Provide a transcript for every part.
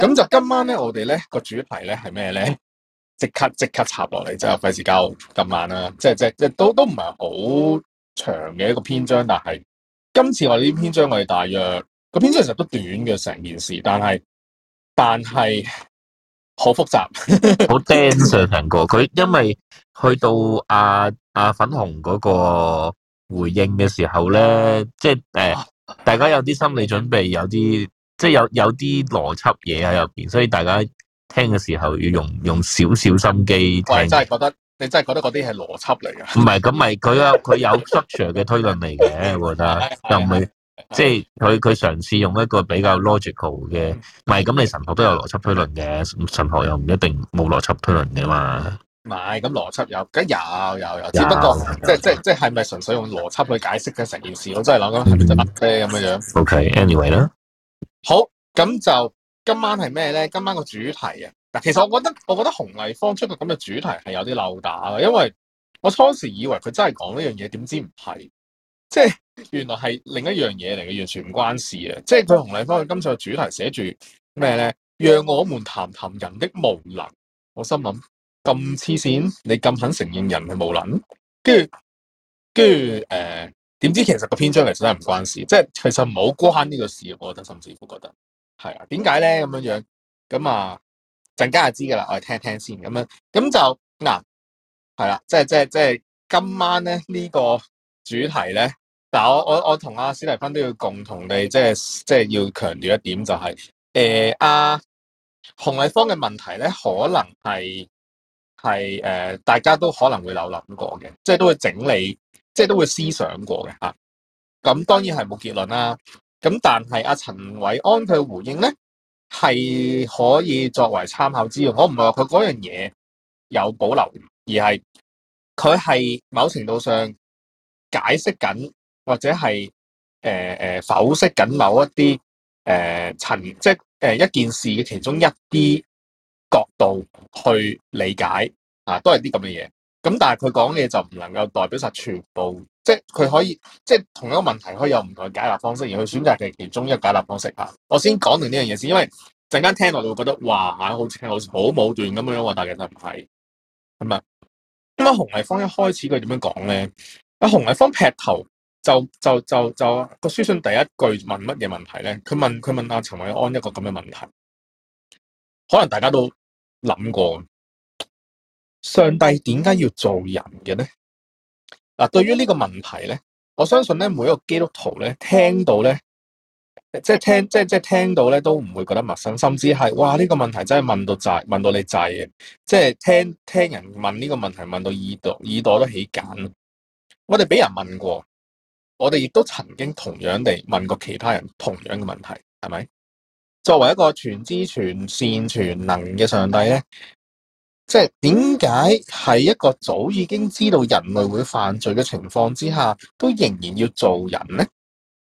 咁就今晚咧，我哋咧個主題咧係咩咧？即刻插落嚟，就費事交咁慢啦。即都唔係好長嘅一個篇章，但係今次我哋呢篇章我哋大約個篇章其實都短嘅成件事，但係好複雜， 好 dense 成個佢，因為去到粉紅嗰個回應嘅時候咧，即係大家有啲心理準備，有啲即係有啲邏輯嘢喺入邊，所以大家聽嘅時候要用少少心機聽。 你真係覺得嗰啲係邏輯嚟㗎？ 唔係，咁咪佢有 structure 嘅推論嚟嘅，我覺得又唔係即係佢嘗試用一個比較 logical 嘅，唔係咁你神學都有邏輯推論嘅，神學又唔一定冇邏輯推論嘅嘛。 唔係，咁邏輯有，梗有，只不過即係咪純粹用邏輯去解釋嘅成件事？我真係諗緊係咪真係啫咁樣樣。 OK，anyway 啦。 好，咁就今晚係咩咧？今晚個主題啊，嗱，其實我覺得洪麗芳出個咁嘅主題係有啲漏打嘅，因為我初時以為佢真係講呢樣嘢，點知唔係，即係原來係另一樣嘢嚟嘅，完全唔關事嘅。即係佢洪麗芳佢今次個主題寫住咩咧？讓我們談談人的無能。我心諗咁黐線，你咁肯承認人係無能？跟住點知其實個篇章其實真係唔關事，即係其實唔好關呢個事，我覺得甚至乎覺得係啊，點解咧咁樣樣？咁啊陣間就知噶啦，我哋聽聽先咁樣，咁就嗱係啦，即係今晚咧呢個主題咧，但係我同阿史蒂芬都要共同地即係要強調一點就係洪麗芳嘅問題咧，可能係大家都可能會有諗過嘅，即係都會整理。即係都會思想過嘅嚇，咁當然係冇結論啦。咁但係阿陳韋安佢嘅回應咧係可以作為參考之用。我唔係話佢嗰樣嘢有保留，而係佢係某程度上解釋緊或者係剖析緊某一啲即係一件事嘅其中一啲角度去理解啊，都係啲咁嘅嘢。咁但係佢講嘅嘢就唔能夠代表晒全部，即係佢可以即係同一個問題可以有唔同嘅解答方式，而佢選擇嘅其中一個解答方式啊。我先講定呢樣嘢先，因為陣間聽落你會覺得哇，好似好武斷咁樣喎，但係其實唔係，係咪？咁啊，洪麗芳一開始佢點樣講咧？阿洪麗芳劈頭就個書信第一句問乜嘢問題咧？佢問阿陳韋安一個咁嘅問題，可能大家都諗過。上帝點解要做人嘅咧？嗱，對於呢個問題咧，我相信咧每一個基督徒咧聽到咧，即係聽到咧都唔會覺得陌生，甚至係哇呢個問題真係問到你滯嘅，即係聽人問呢個問題問到耳朵都起繭。我哋俾人問過，我哋亦都曾經同樣地問過其他人同樣嘅問題，係咪？作為一個全知全善全能嘅上帝咧，即係點解喺一個早已經知道人類會犯罪嘅情況之下，都仍然要做人呢？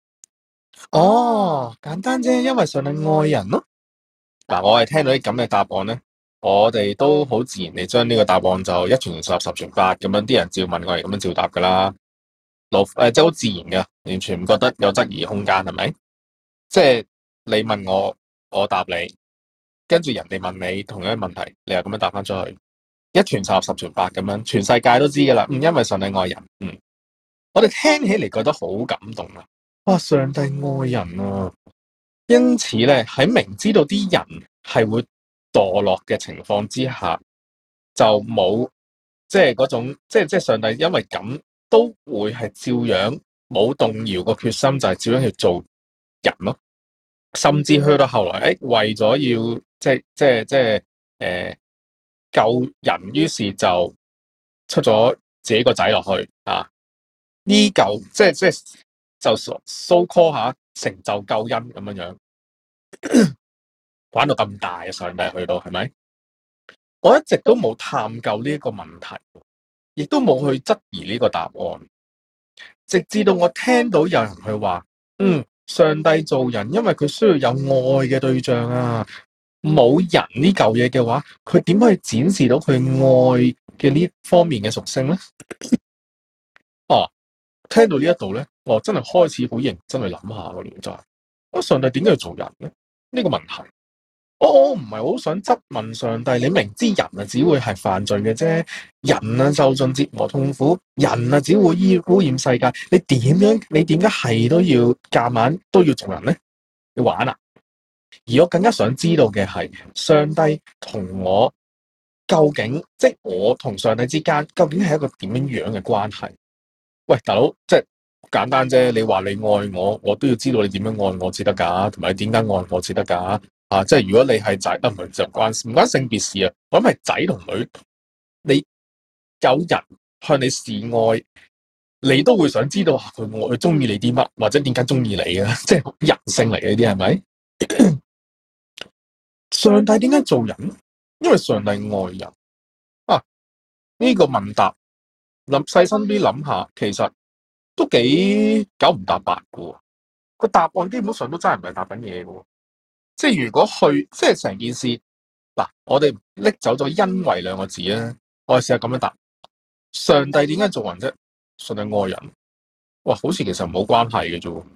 哦，簡單啫，因為上帝愛人咯。嗱，我係聽到啲咁嘅答案咧，我哋都好自然地將呢個答案就一傳十，十傳百咁樣，啲人照問我係咁樣照答噶啦。即係好自然嘅，完全唔覺得有質疑空間，係咪？即係你問我，我答你，跟住人哋問你同樣嘅問題，你又咁樣答翻出去。一傳十，十傳百咁樣，全世界都知噶啦。因為上帝愛人，我哋聽起嚟覺得好感動啊！哇，上帝愛人啊！因此咧，喺明知道啲人係會墮落嘅情況之下，就冇即係嗰種，即係上帝因為咁都會係照樣冇動搖個決心，就係照樣去做人咯。甚至去到後來，為咗要救人，於是就出咗自己個仔落去啊！呢嚿就 so call 下成就救恩咁樣樣，玩到咁大嘅上帝去到係咪？我一直都冇探究呢一個問題，亦都冇去質疑呢個答案，直至到我聽到有人去話，上帝做人，因為佢需要有愛嘅對象啊。冇人呢嚿嘢嘅話，佢點可以展示到佢愛嘅呢方面嘅屬性咧？聽到呢一度咧，我真係開始好認真去諗下個原則。上帝點解要做人咧？呢個問題， 我唔係好想質問上帝，你明知人啊只會係犯罪嘅啫，人啊受盡折磨痛苦，人啊只會污染世界，你點解係都要夾硬都要做人呢？你玩啊！而我更加想知道嘅係，上帝同我究竟，即係我同上帝之間究竟係一個點樣樣嘅關係？喂，大佬，即係簡單啫。你話你愛我，我都要知道你點樣愛我至得㗎，同埋你點解愛我至得㗎？啊，即係如果你係仔，唔係就唔關性別事啊。我諗係仔同女，你有人向你示愛，你都會想知道佢中意你啲乜，或者點解中意你嘅，即係人性嚟嘅呢啲係咪？上帝點解做人？因為上帝愛人啊！呢個問答細心啲諗下，其實都幾九唔搭八嘅。個答案基本上都真係唔係答緊嘢嘅。即係如果即係成件事嗱，我哋拎走咗因為兩個字啊，我哋試下咁樣答：上帝點解做人啫？上帝愛人，哇，好似其實冇關係嘅啫。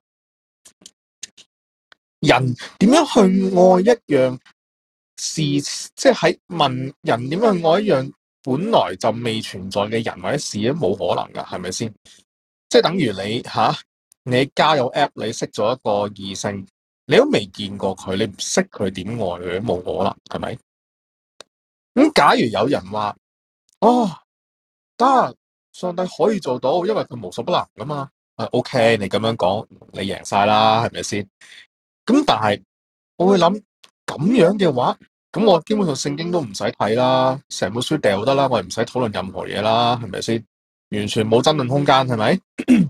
人點樣去愛一樣事，即係喺問人點樣去愛一樣本來就未存在嘅人或者事都冇可能噶，係咪先？即係等於你交友 app， 你識咗一個異性，你都未見過佢，你唔識佢點愛佢都冇可能，係咪？咁假如有人話得，上帝可以做到，因為佢無所不能噶嘛。OK， 你咁樣講，你贏晒啦，係咪先？咁但係我會諗咁樣嘅話，咁我基本上聖經都唔使睇啦，成本書掉得啦，我哋唔使討論任何嘢啦，係咪先？完全冇爭論空間，係咪？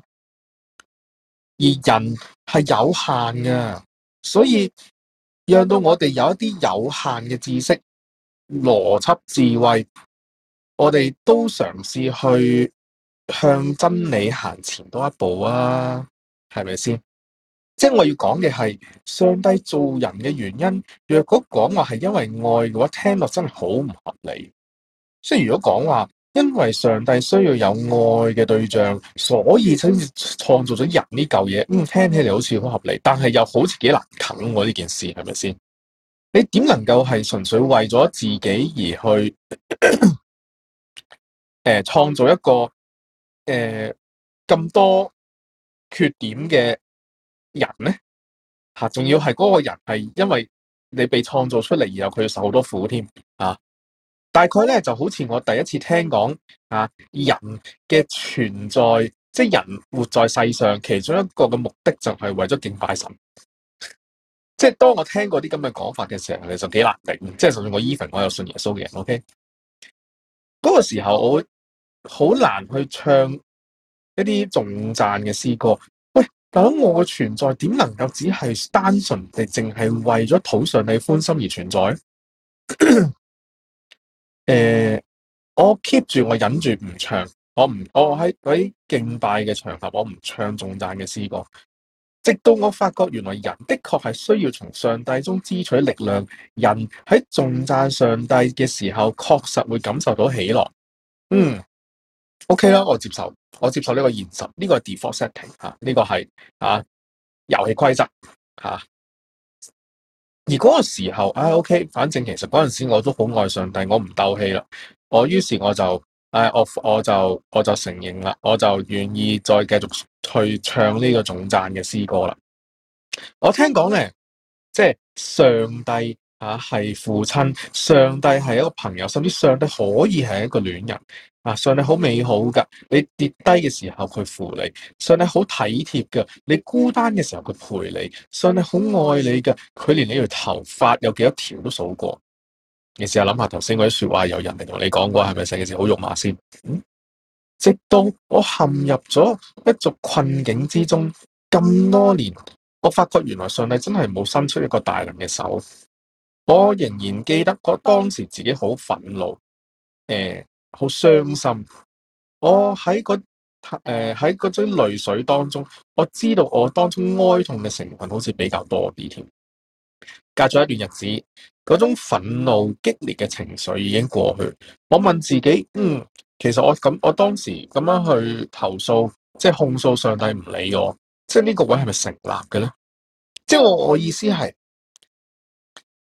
而人係有限嘅，所以讓到我哋有一啲有限嘅知識、邏輯、智慧，我哋都嘗試去向真理行前多一步啊，係咪先？即係我要講嘅係上帝做人嘅原因。若果講話係因為愛嘅話，聽落真係好唔合理。即係如果講話因為上帝需要有愛嘅對象，所以先至創造咗人呢嚿嘢，聽起嚟好似好合理，但係又好似幾難啃喎呢件事，係咪先？你點能夠係純粹為咗自己而去創造一個咁多缺點嘅人呢？仲要係嗰個人係因為你被創造出嚟，然後佢要受好多苦添啊！大概咧就好似我第一次聽講人嘅存在，即係人活在世上，其中一個嘅目的就係為咗敬拜神。即係當我聽過啲咁嘅講法嘅時候，其實幾難頂。即係就算我 even 我有信耶穌嘅人，OK，嗰個時候我會好難去唱一啲頌讚嘅詩歌。喂，大佬，我嘅存在點能夠只係單純地淨係為咗討上帝歡心而存在？我 keep 住我忍住唔唱，我喺敬拜嘅場合，我唔唱頌讚嘅詩歌，直到我發覺原來人的確係需要從上帝中支取力量。人喺頌讚上帝嘅時候，確實會感受到喜樂。OK 啦，我接受呢個現實，呢個係 default setting 呢個係遊戲規則吓。而嗰個時候，OK， 反正其實嗰陣時我都好愛上帝，我唔鬥氣啦。於是我就我就承認啦，我就願意再繼續去唱呢個頌讚嘅詩歌啦。我聽講咧，即係上帝係父親，上帝係一個朋友，甚至上帝可以係一個戀人。上帝好美好噶，你跌低嘅時候佢扶你，上帝好體貼噶，你孤單嘅時候佢陪你，上帝好愛你噶，佢連你條頭髮有幾多條都數過。你試下諗下頭先嗰啲說話，有人嚟同你講過，係咪成件事好肉麻先？直到我陷入咗一族困境之中咁多年，我發覺原來上帝真係冇伸出一個大能嘅手。我仍然記得當時自己好憤怒，好傷心。我喺嗰種淚水當中，我知道我當中哀痛嘅成分好似比較多啲添。隔咗一段日子，嗰種憤怒激烈嘅情緒已經過去。我問自己，其實我當時咁樣去投訴，即係控訴上帝唔理我，即係呢個位係咪成立嘅咧？即係我意思係，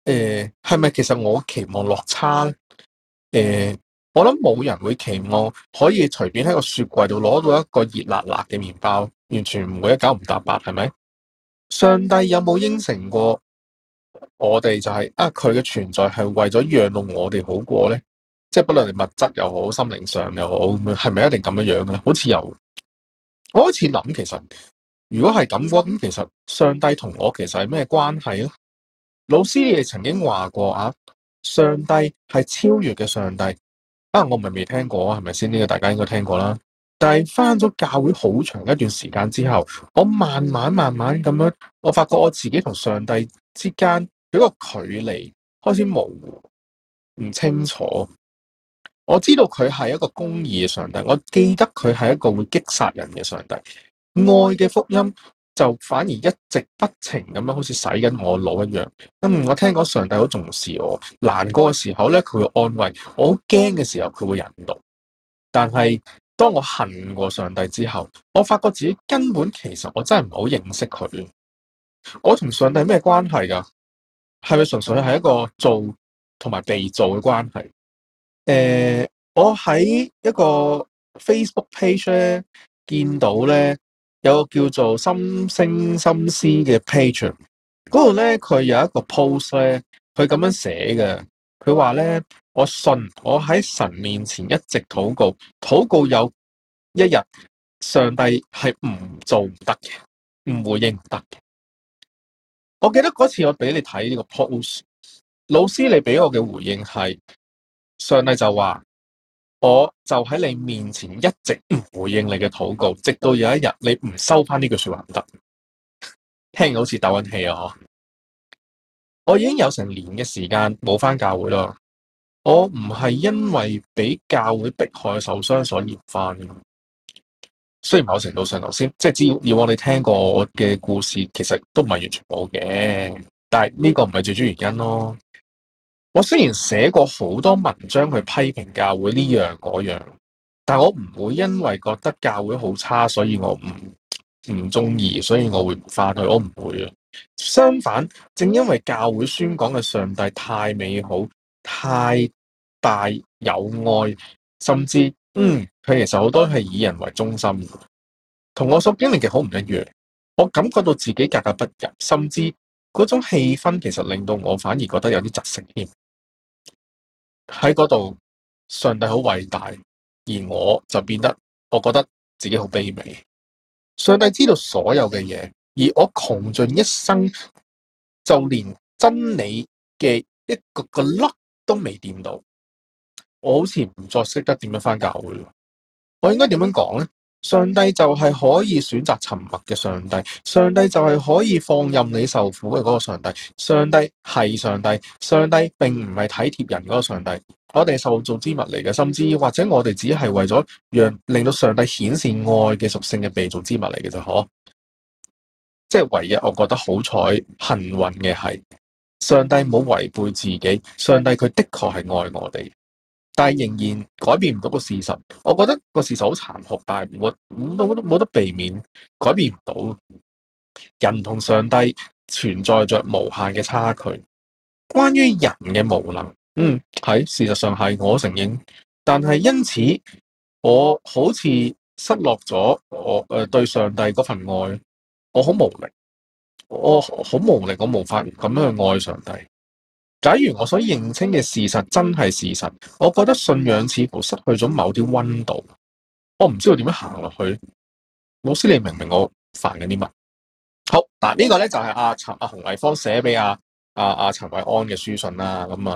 係咪其實我期望落差咧？我諗冇人會期望可以隨便喺個雪櫃度攞到一個熱辣辣嘅麵包，完全唔會一九唔搭八，係咪？上帝有冇應承過我哋就係佢嘅存在係為咗讓到我哋好過咧？即係不論係物質又好，心靈上又好，咁樣係咪一定咁樣樣嘅咧？好似我開始諗，其實如果係咁嘅話，咁其實上帝同我其實係咩關係咧？老師你哋曾經話過上帝係超越嘅上帝我咪未聽過係咪先？呢個大家應該聽過啦。但係翻咗教會好長一段時間之後，我慢慢咁樣，我發覺我自己同上帝之間有一個距離開始模糊，唔清楚。我知道佢係一個公義嘅上帝，我記得佢係一個會擊殺人嘅上帝。愛嘅福音就反而一直不停咁樣，好似洗緊我腦一樣。我聽講上帝好重視我，難過嘅時候咧，佢會安慰我；好驚嘅時候，佢會引導。但係當我恨過上帝之後，我發覺自己根本其實我真係唔好認識佢。我同上帝咩關係噶？係咪純粹係一個做同埋被造嘅關係？我喺一個 Facebook page 咧見到咧有個叫做心聲心思嘅 page，嗰度咧佢有一個 post 咧，佢咁樣寫嘅，佢話咧，我信我喺神面前一直禱告，禱告有一日上帝係唔做唔得嘅，唔回應唔得嘅。我記得嗰次我俾你睇呢個 post，老師你俾我嘅回應係，上帝就話，我就喺你面前一直唔回應你嘅禱告，直到有一日你唔收翻呢句說話唔得。聽好似鬥緊氣啊！我已經有成年嘅時間冇翻教會啦。我唔係因為俾教會迫害受傷所以唔翻。雖然某程度上頭先即係只要以往你聽過我嘅故事，其實都唔係完全冇嘅，但係呢個唔係最主要原因咯。我雖然寫過好多文章去批評教會呢樣嗰樣，但我唔會因為覺得教會好差，所以我唔中意，所以我會唔翻去。我唔會啊。相反，正因為教會宣講嘅上帝太美好、太大有愛，甚至佢其實好多係以人為中心，同我所經歷嘅好唔一樣。我感覺到自己格格不入，甚至嗰種氣氛其實令到我反而覺得有啲窒息添。喺嗰度，上帝好偉大，而我就變得，我覺得自己好卑微。上帝知道所有嘅嘢，而我窮盡一生，就連真理嘅一個粒都未掂到。我好似唔再識得點樣返教會。我應該點樣講呢？上帝就係可以選擇沉默嘅上帝，上帝就係可以放任你受苦嘅嗰個上帝。上帝係上帝，上帝並唔係體貼人嗰個上帝。我哋受造之物嚟嘅，甚至或者我哋只係為咗令到上帝顯示愛嘅屬性嘅被造之物嚟嘅啫，嗬。即係唯一我覺得好彩幸運嘅係，上帝冇違背自己，上帝佢的確係愛我哋。但係仍然改變唔到個事實，我覺得個事實好殘酷，但係冇得避免，改變唔到。人同上帝存在着無限嘅差距。關於人嘅無能，係事實上係我承認，但係因此我好似失落咗我對上帝嗰份愛，我好無力，我好無力，我無法咁樣去愛上帝。假如我所認清嘅事實真係事實，我覺得信仰似乎失去咗某啲溫度，我唔知道點樣行落去。老師，你明唔明我煩緊啲乜？好，嗱，呢個咧就係阿洪麗芳寫俾阿陳韋安嘅書信啦。咁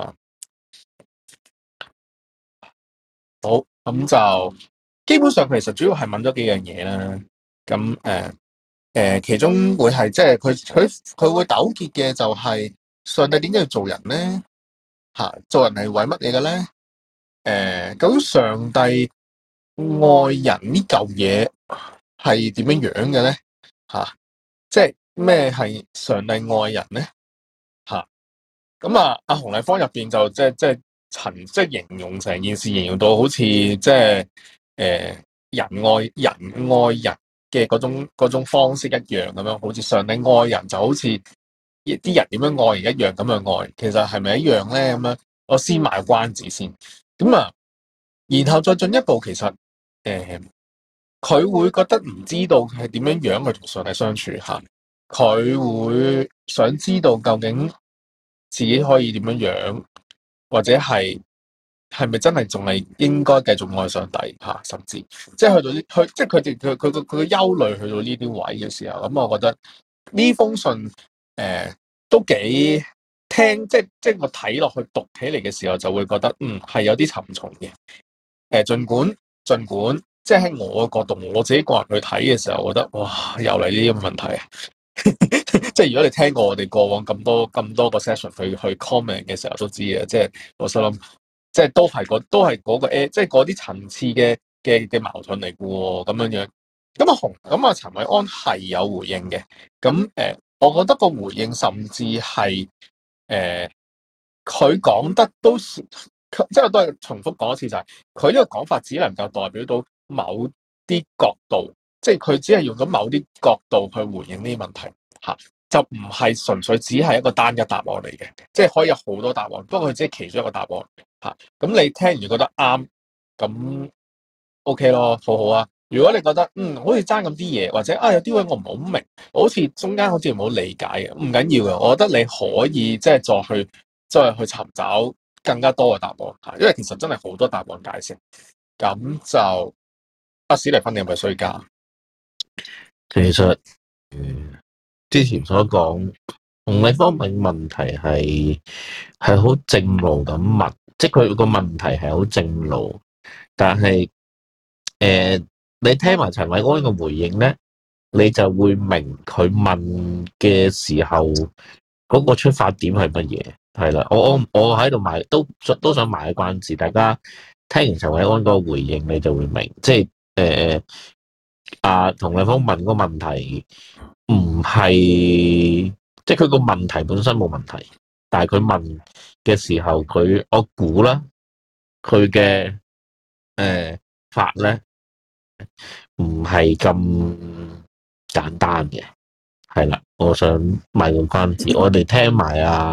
好，咁就基本上其實主要係問咗幾樣嘢啦。咁其中會係即係佢會糾結嘅就係上帝點解要做人咧？做人係為乜嘢嘅咧？究竟上帝愛人呢嚿嘢係點樣樣嘅咧？即係咩係上帝愛人咧？咁阿洪麗芳入邊就即係形容成件事，形容到好似即係人愛人嘅嗰種方式一樣咁樣，好似上帝愛人就好似啲人點樣愛而一樣咁樣愛，其實係咪一樣咧？咁樣我先賣關子先，咁啊，然後再進一步，其實佢會覺得唔知道係點樣樣去同上帝相處嚇，佢會想知道究竟自己可以點樣樣，或者係咪真係仲係應該繼續愛上帝嚇，甚至即係去到啲即係佢嘅憂慮去到呢啲位嘅時候，咁我覺得呢封信都幾聽，即係我睇落去讀起嚟嘅時候就會覺得係有啲沉重嘅。儘管即係喺我嘅角度，我自己個人去睇嘅時候，我覺得哇，又嚟呢啲咁嘅問題啊！即係如果你聽過我哋過往咁多個 session 去 comment 嘅時候，都知嘅。即係我心諗，即係都係嗰個即係嗰啲層次嘅矛盾嚟嘅喎，咁樣樣。咁啊陳韋安係有回應嘅。咁我覺得個回應甚至係佢講得都即係我都係重複講一次，就係佢呢個講法只能夠代表到某啲角度，即係佢只係用咗某啲角度去回應呢啲問題嚇，就唔係純粹只係一個單一答案嚟嘅，即係可以有好多答案，不過佢只係其中一個答案嚇。咁你聽完覺得啱，咁 OK 咯，好好啊。如果你覺得好似爭咁啲嘢，或者有啲位我唔好明，好似中間好似唔好理解嘅，唔緊要嘅。我覺得你可以即係再去尋找更加多嘅答案嚇，因為其實真係好多答案解釋。咁就史蒂芬，你係咪衰家？ 其實之前所講洪麗芳問問題係好正路咁問，即係佢個問題係好正路，但係你聽埋陳韋安嘅回應咧，你就會明佢問嘅時候嗰個出發點係乜嘢。係啦，我喺度賣都想賣個關子，大家聽完陳韋安嗰個回應，你就會明，即係洪麗芳問個問題唔係，即係佢個問題本身冇問題，但係佢問嘅時候，我估啦，佢嘅法咧唔係咁簡單嘅。係啦，我想賣個關子，我哋聽埋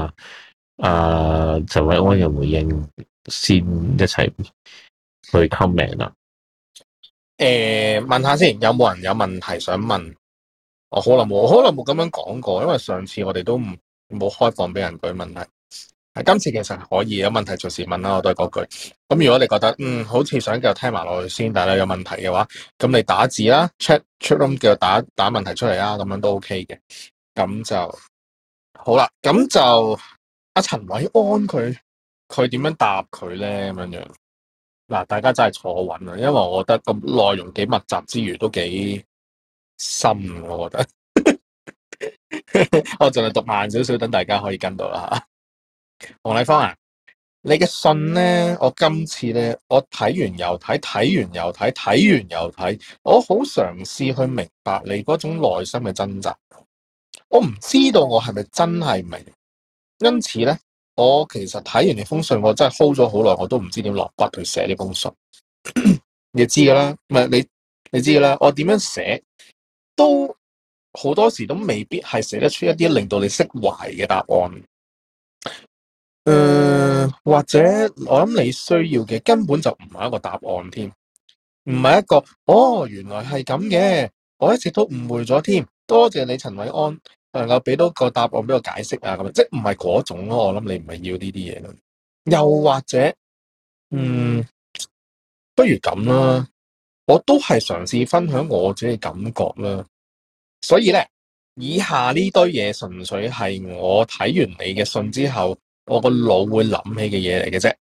陳韋安嘅回應先，一齊去 comment 啦。 問下先，有冇人有問題想問？我可能冇咁樣講過，因為上次我哋都冇開放俾人舉問題。今次其實可以有問題隨時問啦，我都係嗰句。咁如果你覺得好似想繼續聽埋落去先，但係你有問題嘅話，咁你打字啦 ，chat room 繼續打問題出嚟啦，咁樣都 OK 嘅。咁就好啦。咁就陳韋安佢點樣答佢咧？咁樣嗱，大家真係坐穩啦，因為我覺得個內容幾密集之餘都幾深，我覺得。我盡量讀慢少少，等大家可以跟到啦吓。洪麗芳啊，你嘅信咧，我今次咧，我睇完又睇，睇完又睇，睇完又睇，我好嘗試去明白你嗰種內心嘅掙扎。我唔知道我係咪真係明，因此咧，我其實睇完你封信，我真係 hold 咗好耐，我都唔知點落筆去寫呢封信。你知噶啦，唔係你知噶啦，我點樣寫都好多時都未必係寫得出一啲令到你釋懷嘅答案。或者我諗你需要嘅根本就唔係一個答案添，唔係一個原來係咁嘅，我一直都誤會咗添。多謝你陳韋安能夠俾到個答案俾我解釋啊，咁即係唔係嗰種咯。我諗你唔係要呢啲嘢咯。又或者不如咁啦，我都係嘗試分享我自己嘅感覺啦。所以咧，以下呢堆嘢純粹係我睇完你嘅信之後，我個腦會諗起嘅嘢嚟嘅啫。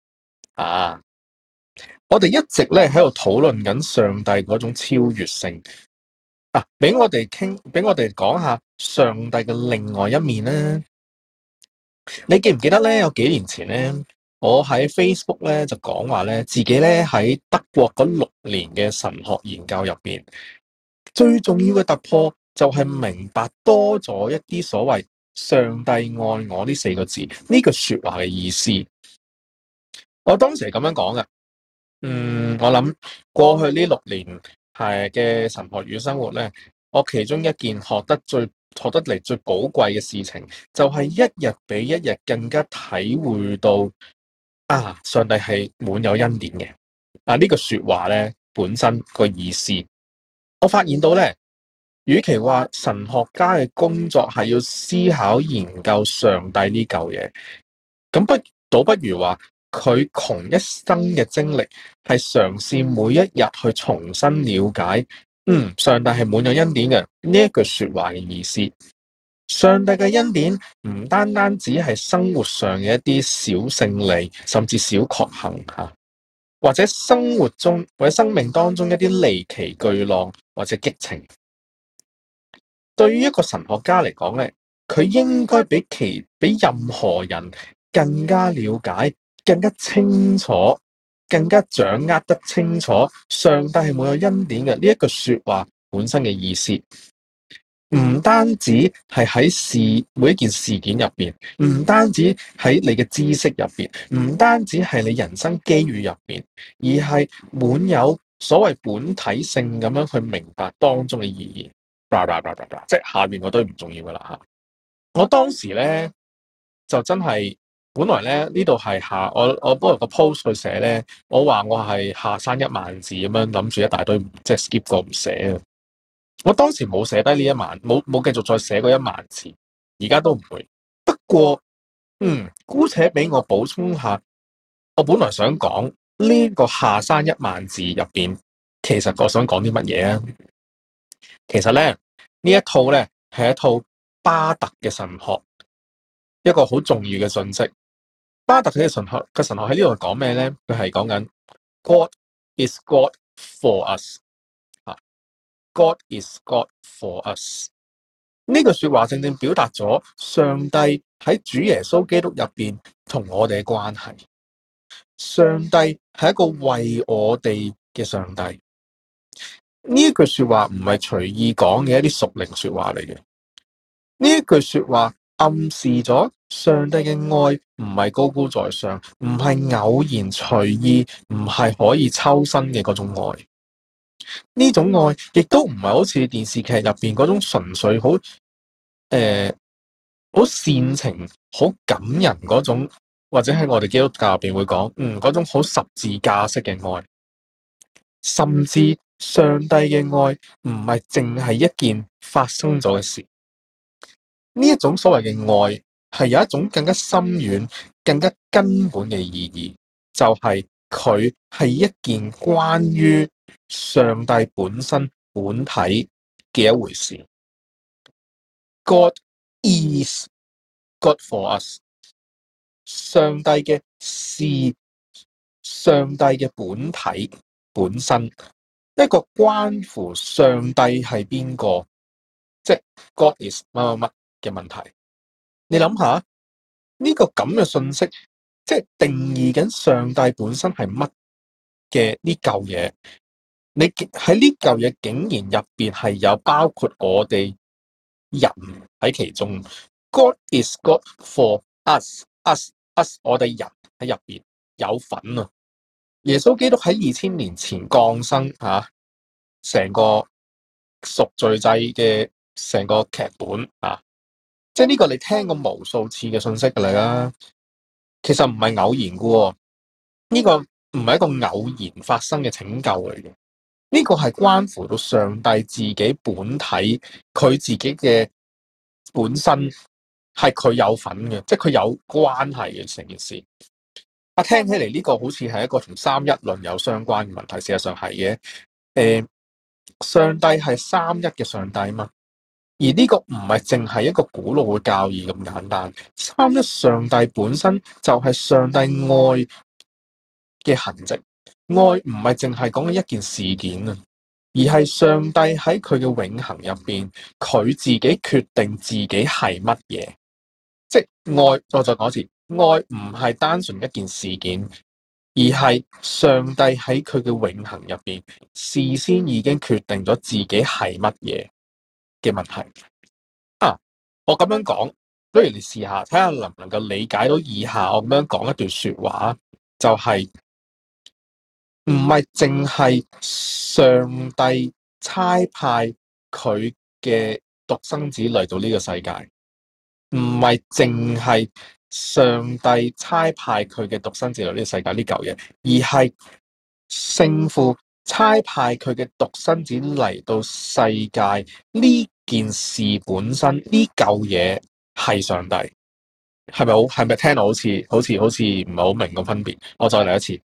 我哋一直咧喺度討論緊上帝嗰種超越性俾我哋講下上帝嘅另外一面咧。你記唔記得咧？有幾年前咧，我喺 Facebook 咧就講話咧，自己咧喺德國嗰6年嘅神學研究入邊，最重要嘅突破就係明白多咗一啲所謂上帝愛我呢4個字呢句說話嘅意思。我當時係咁樣講嘅。我諗過去呢6年係嘅神學與生活咧， 我其中一件學得嚟最寶貴嘅事情，就係一日比一日更加體會到上帝係滿有恩典嘅。呢句說話咧本身個意思，我發現到咧，與其話神學家嘅工作係要思考研究上帝呢嚿嘢，咁倒不如話佢窮一生嘅精力係嘗試每一日去重新了解，上帝係滿有恩典嘅呢一句說話嘅意思。上帝嘅恩典唔單單只係生活上嘅一啲小勝利，甚至小確幸或者生活中或者生命當中一啲離奇巨浪或者激情。對於一個神學家嚟講咧，佢應該比任何人更加了解、更加清楚、更加掌握得清楚上帝係滿有恩典嘅呢一句說話本身嘅意思。唔單止係喺每一件事件入邊，唔單止喺你嘅知識入邊，唔單止係你人生機遇入邊，而係滿有所謂本體性咁樣去明白當中嘅意義。即係下邊嗰堆唔重要噶啦吓。我當時咧就真係本來咧呢度係我幫個 post 去寫咧，我話我係下山1萬字咁樣諗住一大堆，即係 skip 過唔寫。我當時冇寫低呢1萬，冇繼續再寫過1萬字，而家都唔會。不過，姑且俾我補充下，我本來想講呢個下山1萬字入邊，其實我想講啲乜嘢啊？其實咧呢一套咧係一套巴特嘅神學，一個好重要嘅信息。巴特嘅神學喺呢度講咩咧？佢係講緊 God is God for us。God is God for us。呢句說話正正表達咗上帝喺主耶穌基督入邊同我哋嘅關係。上帝係一個為我哋嘅上帝。呢一句說話唔係隨意講嘅一啲屬靈說話嚟嘅。呢一句說話暗示咗上帝嘅愛唔係高高在上，唔係偶然隨意，唔係可以抽身嘅嗰種愛。呢種愛亦都唔係好似電視劇入邊嗰種純粹好煽情、好感人嗰種，或者喺我哋基督教入邊會講，嗰種好十字架式嘅愛。甚至上帝嘅愛唔係淨係一件發生咗嘅事。呢一種所謂嘅愛係有一種更加深遠、更加根本嘅意義，就係佢係一件關於上帝本身本體嘅一回事。God is God for us。上帝嘅事，上帝嘅本體本身，一個關乎上帝係邊個，即係 God is 乜乜乜嘅問題。你諗下呢個咁嘅信息，即係定義緊上帝本身係乜嘅呢嚿嘢。你喺呢嚿嘢竟然入邊係有包括我哋人喺其中。God is God for us， 我哋人喺入邊有份啊！耶穌基督喺2000年前降生成個贖罪祭嘅成個劇本即係呢個你聽過無數次嘅信息噶啦，其實唔係偶然噶，呢個唔係一個偶然發生嘅拯救嚟嘅。呢個係關乎到上帝自己本體，佢自己嘅本身係佢有份嘅，即係佢有關係嘅成件事。聽起嚟呢個好似係一個同三一論有相關嘅問題，事實上係嘅。上帝係三一嘅上帝嘛，而呢個唔係淨係一個古老嘅教義咁簡單。三一上帝本身就係上帝愛嘅痕跡。愛唔係淨係講緊一件事件啊，而係上帝喺佢嘅永恆入邊，佢自己決定自己係乜嘢。即係愛，我再講一次，愛唔係單純一件事件，而係上帝喺佢嘅永恆入邊，事先已經決定咗自己係乜嘢嘅問題。我咁樣講，不如你試下睇下能唔能夠理解到以下我咁樣講一段說話，就係唔係淨係上帝差派佢嘅獨生子嚟到呢個世界，唔係淨係上帝差派佢嘅獨生子嚟呢個世界呢嚿嘢，而係聖父差派佢嘅獨生子嚟到世界呢件事本身，呢嚿嘢係上帝。係咪聽到好似唔係好明個分別？我再嚟一次，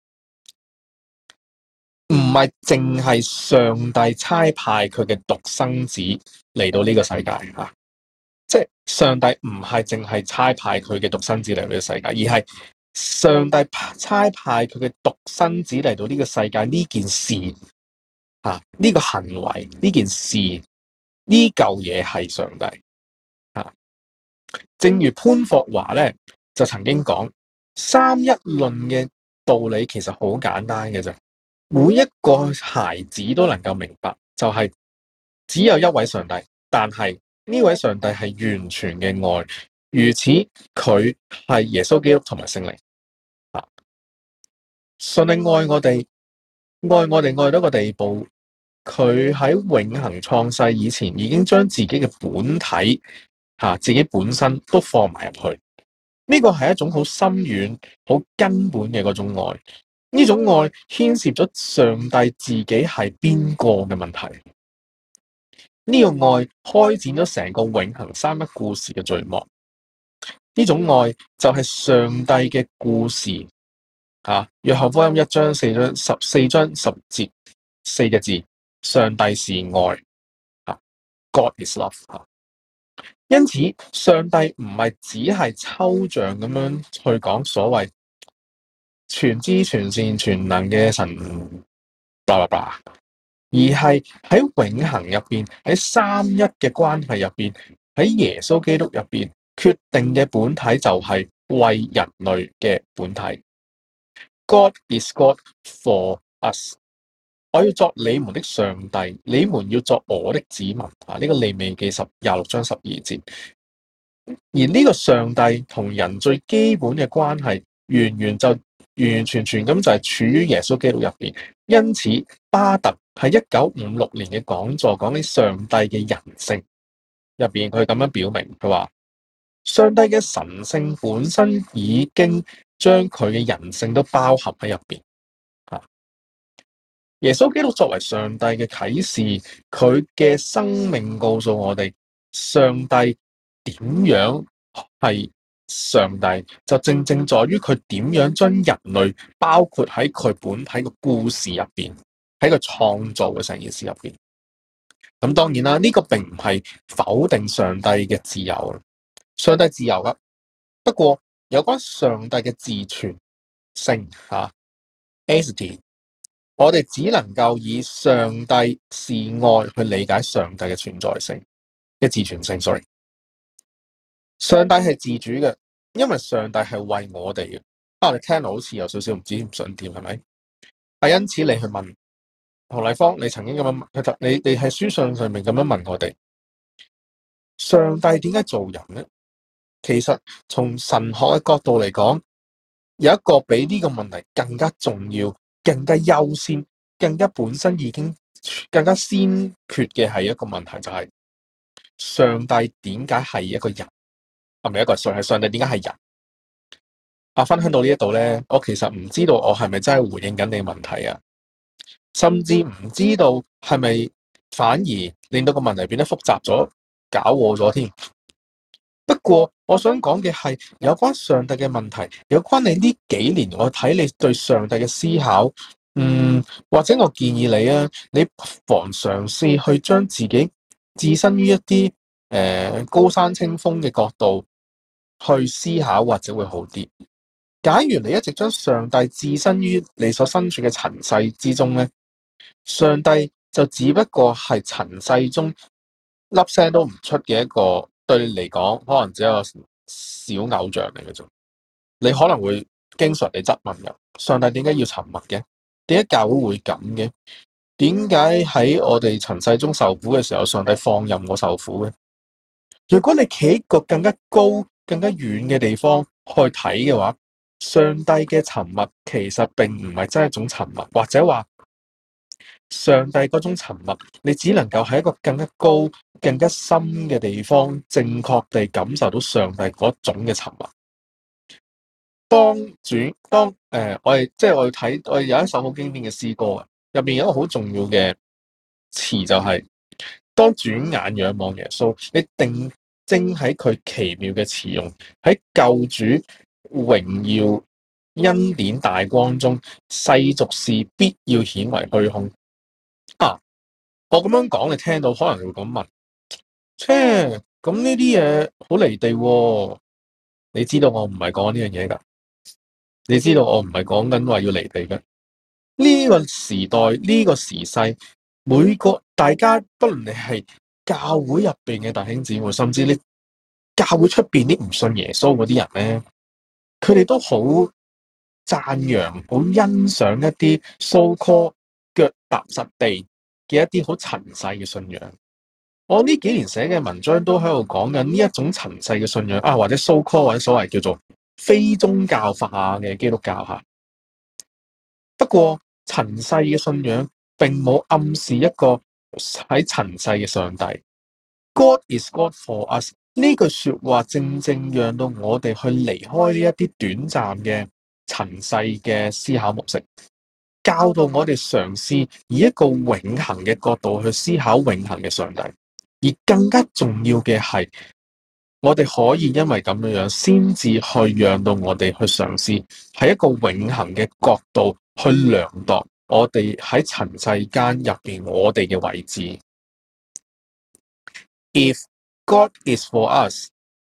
唔係淨係上帝差派佢嘅獨生子嚟到呢個世界吓，即係上帝唔係淨係差派佢嘅獨生子嚟到呢個世界，而係上帝差派佢嘅獨生子嚟到呢個世界呢件事吓，呢個行為呢件事呢嚿嘢係上帝吓。正如潘霍華咧就曾經講，三一論嘅道理其實好簡單嘅啫，每一個孩子都能夠明白，就係只有一位上帝，但係呢位上帝係完全嘅愛，如此佢係耶穌基督同埋聖靈啊。上帝愛我哋愛到一個地步，佢喺永恆創世以前已經將自己嘅本體自己本身都放埋入去。呢個係一種好深遠、好根本嘅嗰種愛。呢種愛牽涉咗上帝自己係邊個嘅問題。呢個愛開展咗成個永恆三一故事嘅序幕。呢種愛就係上帝嘅故事。約翰福音1章4章10節4個字：上帝是愛。God is love。因此，上帝唔係只係抽象咁樣去講所謂全知全善全能嘅神，blah blah blah，而係喺永恆入邊，喺三一嘅關係入邊，喺耶穌基督入邊決定嘅本體就係為人類嘅本體。God is God for us。我要作你們的上帝，你們要作我的子民。呢個利未記26章12節。而呢個上帝同人最基本嘅關係，完完全全咁就係處於耶穌基督入邊。因此，巴特喺1956年嘅講座講起上帝嘅人性入邊，佢咁樣表明，佢話上帝嘅神性本身已經將佢嘅人性都包含喺入邊。耶穌基督作為上帝嘅啟示，佢嘅生命告訴我哋，上帝點樣係上帝，就正正在於佢點樣將人類包括喺佢本體嘅故事入邊，喺佢創造嘅成件事入邊。咁當然啦，呢個並唔係否定上帝嘅自由，上帝自由啦。不過有關上帝嘅自存性，aseity，我哋只能夠以上帝是愛去理解上帝嘅存在性嘅自存性。Sorry， 上帝係自主嘅，因為上帝係為我哋嘅。你聽到好似有少少唔知唔想點，係咪？因此你去問洪麗芳，你曾經咁樣問，你喺書信上面咁樣問我哋，上帝點解做人呢？其實從神學嘅角度嚟講，有一個比呢個問題更加重要、更加優先、更加本身已經更加先決嘅係一個問題，就係上帝點解係一個人？係咪一個上帝點解係人？分享到呢一度咧，我其實唔知道我係咪真係回應緊你嘅問題啊，甚至唔知道係咪反而令到個問題變得複雜咗、搞禍咗添。不過我想講嘅係有關上帝嘅問題，有關你呢幾年我睇你對上帝嘅思考，或者我建議你啊，你不妨嘗試去將自己置身於一啲高山清風嘅角度去思考，或者會好啲。假如你一直將上帝置身於你所身處嘅塵世之中咧，上帝就只不過係塵世中粒聲都唔出嘅一個，對你嚟講可能只有小偶像嚟嘅啫。你可能會經常地質問嘅，上帝點解要沉默嘅？點解教會會咁嘅？點解喺我哋塵世中受苦嘅時候，上帝放任我受苦嘅？如果你企喺個更加高、更加遠嘅地方去睇嘅話，上帝嘅沉默其實並唔係真係一種沉默，或者話上帝嗰種沉默，你只能夠喺一個更加高、更加深嘅地方，正確地感受到上帝嗰種嘅沉默。我哋睇我哋有一首好經典嘅詩歌啊，入邊有一個好重要嘅詞就係、當轉眼仰望耶穌，你定睛喺佢奇妙嘅慈容，喺救主榮耀恩典大光中，世俗事必要顯為虛空。我咁樣講，你聽到可能會咁問：咁呢啲嘢好離地喎？你知道我唔係講呢樣嘢㗎，你知道我唔係講緊話要離地嘅。呢個時代，呢個時勢，每個大家，不論你係教會入邊嘅弟兄姊妹，甚至你教會出邊啲唔信耶穌嗰啲人咧，佢哋都好讚揚、好欣賞一啲 so called 腳踏實地嘅一啲好塵世嘅信仰。我呢幾年寫嘅文章都喺度講緊呢一種塵世嘅信仰或者 so called 或者所謂叫做非宗教化嘅基督教嚇。不過塵世嘅信仰並冇暗示一個喺塵世嘅上帝。God is God for us 呢句說話正正讓到我哋去離開呢一啲短暫嘅塵世嘅思考模式，教導我哋嘗試以一個永恆嘅角度去思考永恆嘅上帝。而更加重要嘅係，我哋可以因為咁樣先至去讓到我哋去嘗試喺一個永恆嘅角度去量度我哋喺塵世間入邊我哋嘅位置。If God is for us,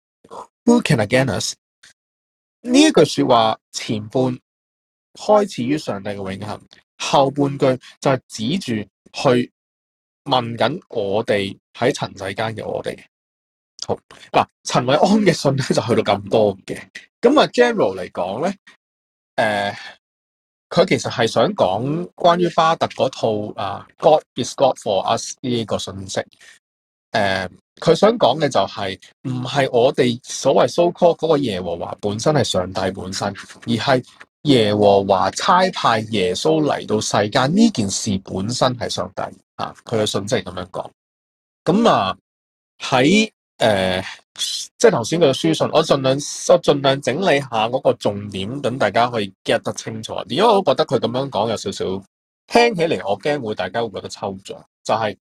who can against us？ 呢一句說話前半開始於上帝嘅永恆，後半句就係指住去問緊我哋喺塵世間嘅我哋。好嗱，陳韋安嘅信咧就去到咁多嘅，咁啊 general 嚟講咧，佢其實係想講關於巴特嗰套God is God for us 呢個信息。佢想講嘅就係唔係我哋所謂 so called 嗰個耶和華本身係上帝本身，而係耶和華差派耶穌嚟到世間呢件事本身係上帝啊。佢嘅信息係咁樣講。咁喺即係頭先佢嘅書信，我盡量整理下嗰個重點，等大家可以 get 得清楚。因為我覺得佢咁樣講有少少聽起嚟，我驚大家會覺得抽象。就係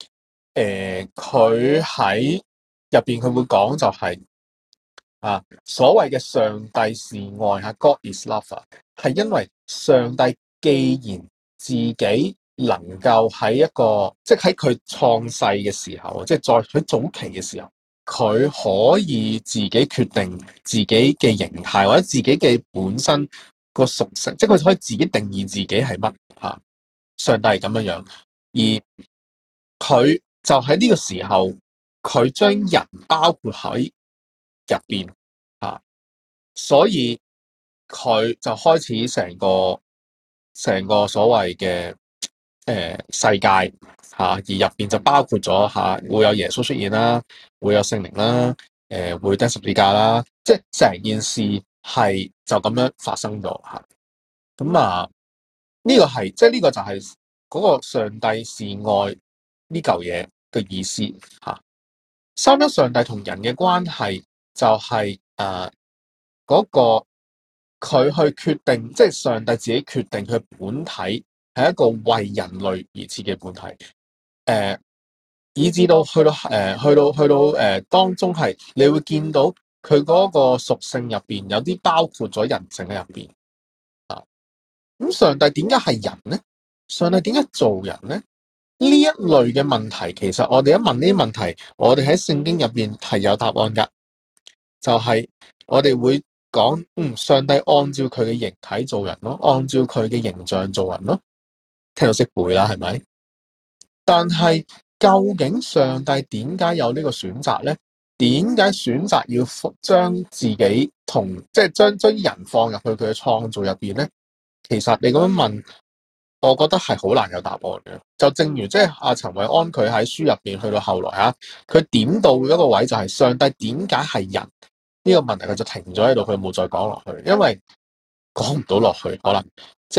佢喺入邊佢會講就係所謂嘅上帝是愛God is love 係因為上帝既然自己能夠喺一個即係喺佢創世嘅時候，即係在佢早期嘅時候。佢可以自己決定自己嘅形態或者自己嘅本身個屬性，即係佢可以自己定義自己係乜吓。上帝係咁樣樣，而佢就喺呢個時候，佢將人包括喺入邊吓，所以佢就開始成個所謂嘅世界而入邊就包括咗會有耶穌出現啦，會有聖靈啦，會釘十字架啦，即係成件事係就咁樣發生咗吓。咁呢個係即係呢個就係嗰個上帝是愛呢嚿嘢嘅意思吓。三一上帝同人嘅關係就係嗰個佢去決定，即係上帝自己決定佢本體係一個為人類而設嘅本體。以至到去到當中係，你會見到佢嗰個屬性入邊有啲包括咗人性喺入邊咁上帝點解係人呢？上帝點解做人呢？呢一類嘅問題，其實我哋一問呢啲問題，我哋喺聖經入邊係有答案噶，就係我哋會講，上帝按照佢嘅形體做人咯，按照佢嘅形象做人咯，聽到識背啦，係咪？但係究竟上帝點解有呢個選擇呢？點解選擇要將自己即係將人放入去佢嘅創造入邊呢？其實你咁樣問，我覺得係好難有答案嘅。就正如即係阿陳韋安佢喺書入邊去到後來佢點到一個位就係上帝點解係人呢個問題，佢就停咗喺度，佢冇再講落去，因為講唔到落去，可能即係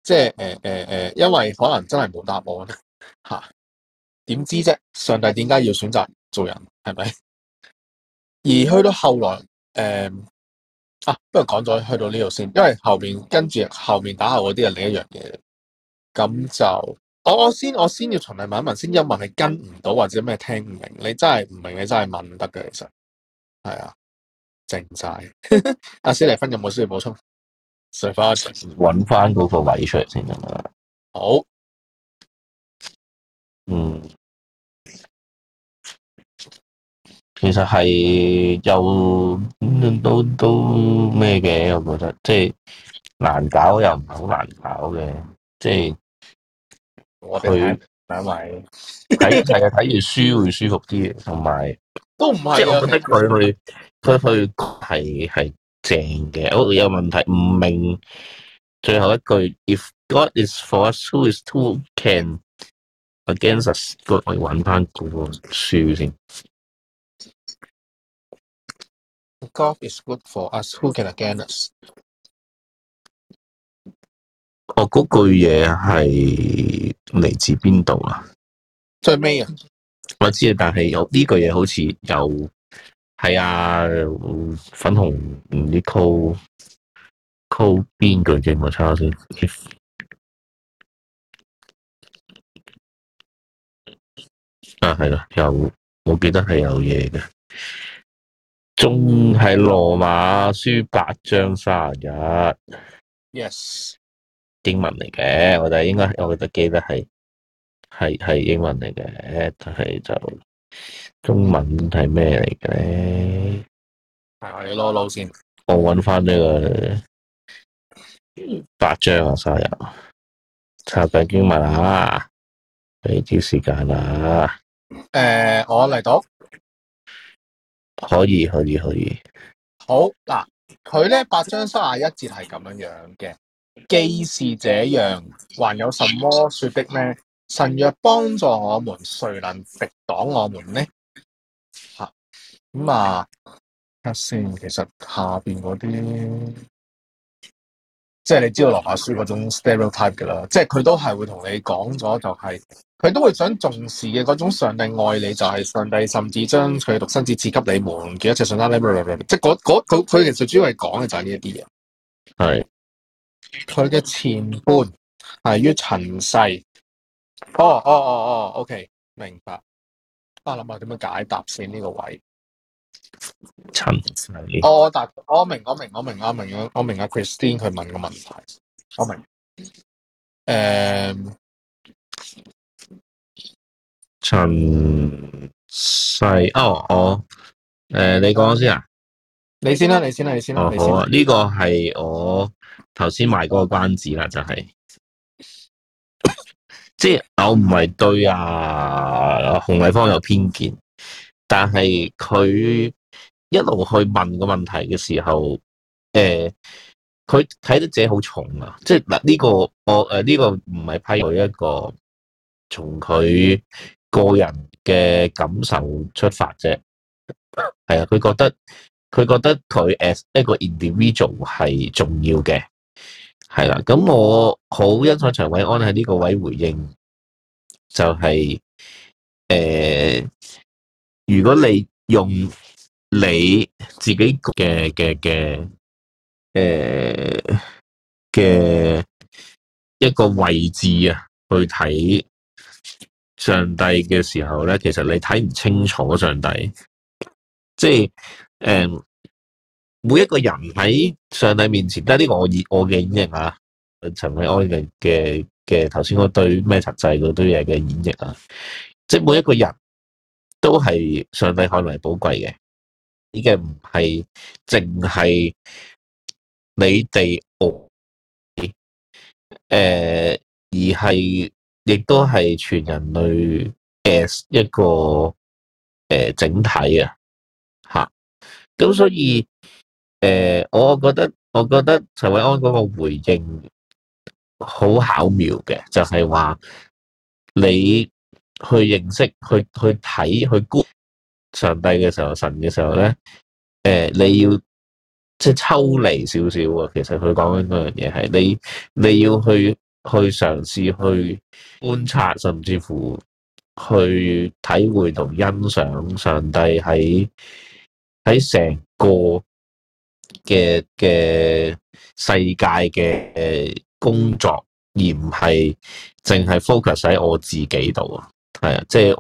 即係因為可能真係冇答案嚇，點知啫？上帝點解要選擇做人係咪？而去到後來不如講咗去到呢度先，因為跟住後面打後嗰啲係另一樣嘢。咁就我先要循例問一問先，一問係跟唔到或者咩聽唔明，你真係唔明，你真係問得嘅，其實係啊，靜晒。阿史蒂芬有冇需要補充？隨翻揾翻嗰個位出嚟先得嘛。 好， 其實係又都咩嘅，我覺得即係難搞又唔係好難搞嘅，即係我哋睇兩位係啊，睇完書會舒服啲嘅，同埋都唔係即係我覺得佢係正嘅。我有問題唔明最後一句 ，If God is for us, who is who can against us？ 我要揾翻嗰個書先。 God is good for us, who can against us？ 嗰句嘢係嚟自邊度啊？ 最尾啊， 我知啊，但係有呢句嘢好似有係啊，粉紅唔知 call 邊句嘅，我抄下先。係啦，我記得係有嘢嘅，仲係羅馬書8章31 Yes， 英文嚟嘅，我記得係英文嚟嘅，但係就中文係咩嚟嘅咧？ 係攞攞先， 我揾翻呢個8章啊，31查緊經文啊，俾啲時間啊。 我嚟到。 可以。 好嗱，佢咧8章31節係咁樣嘅，既是這樣，還有什麼說的呢？神若幫助我們，誰能敵擋我們呢？吓咁啊，睇先，其實下邊嗰啲，即係你知道羅馬書嗰種 stereotype 噶啦，即係佢都係會同你講咗，就係佢都會想重視嘅嗰種上帝愛你，就係上帝甚至將佢獨生子賜給你們，叫一切信他，即係佢其實主要係講嘅就係呢一啲嘢。係佢嘅前半係於塵世。OK， 明白。我諗下點樣解答先呢個位。 塵世。 我明阿 Christine 佢問個問題，我明。 塵世你講先啊？ 你先啦。 好啊，呢個係我頭先賣嗰個關子啦，就係即係我唔係對洪麗芳有偏見，但係佢一路去問個問題嘅時候，佢睇得自己好重啊！即係嗱，呢個呢個唔係批佢一個從佢個人嘅感受出發啫。係啊，佢覺得佢 as 一個 individual 係重要嘅。係啦，咁我好欣賞陳韋安喺呢個位回應，就係如果你用你自己嘅一個位置啊，去睇上帝嘅時候咧，其實你睇唔清楚上帝，即係每一個人喺上帝面前，呢個我嘅演繹啊，陳韋安嘅頭先嗰堆咩實際嗰堆嘢嘅演繹啊，即係每一個人都係上帝看為寶貴嘅，呢個唔係淨係你哋而係亦都係全人類 as 一個整體啊，吓，咁所以我覺得陳韋安嗰個回應好巧妙嘅，就係話你去認識、去睇、去觀上帝嘅時候、神嘅時候咧，你要即係抽離少少啊。其實佢講緊嗰樣嘢係你要去嘗試去觀察，甚至乎去體會同欣賞上帝喺成個嘅世界嘅工作，而唔係淨係 focus 喺我自己度啊。係啊，即係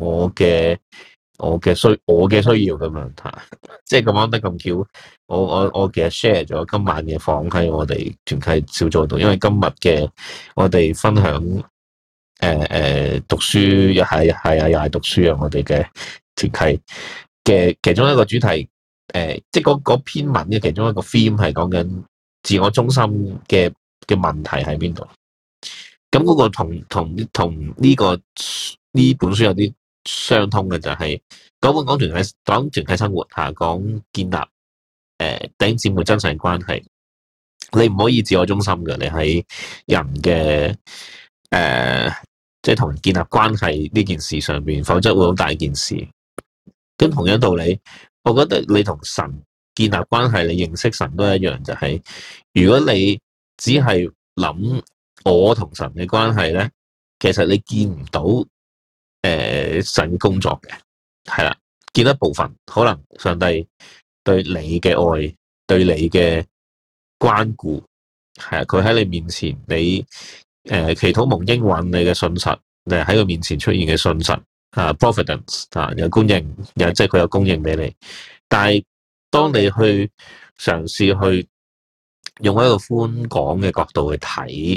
我嘅需要咁樣嚇，即係咁啱得咁巧。我其實 share 咗今晚嘅房喺我哋團契小組度，因為今日嘅我哋分享讀書又係讀書啊，我哋嘅團契嘅其中一個主題。即係嗰篇文嘅其中一個 theme 係講緊自我中心嘅問題喺邊度？咁嗰個同呢本書有啲相通嘅就係講團契生活嚇，講建立弟兄姊妹真實關係。你唔可以自我中心嘅，你喺人嘅即係同人建立關係呢件事上邊，否則會好大件事。咁同樣道理，我覺得你同神建立關係，你認識神都一樣，就係如果你只係諗我同神嘅關係咧，其實你見唔到神工作嘅，係啦，見一部分，可能上帝對你嘅愛，對你嘅關顧，係啊，佢喺你面前，你祈禱蒙應允，你嘅信實，你喺佢面前出現嘅信實。providence 有供應，即係佢有供應俾你。但係當你去嘗試去用一個寬廣嘅角度去睇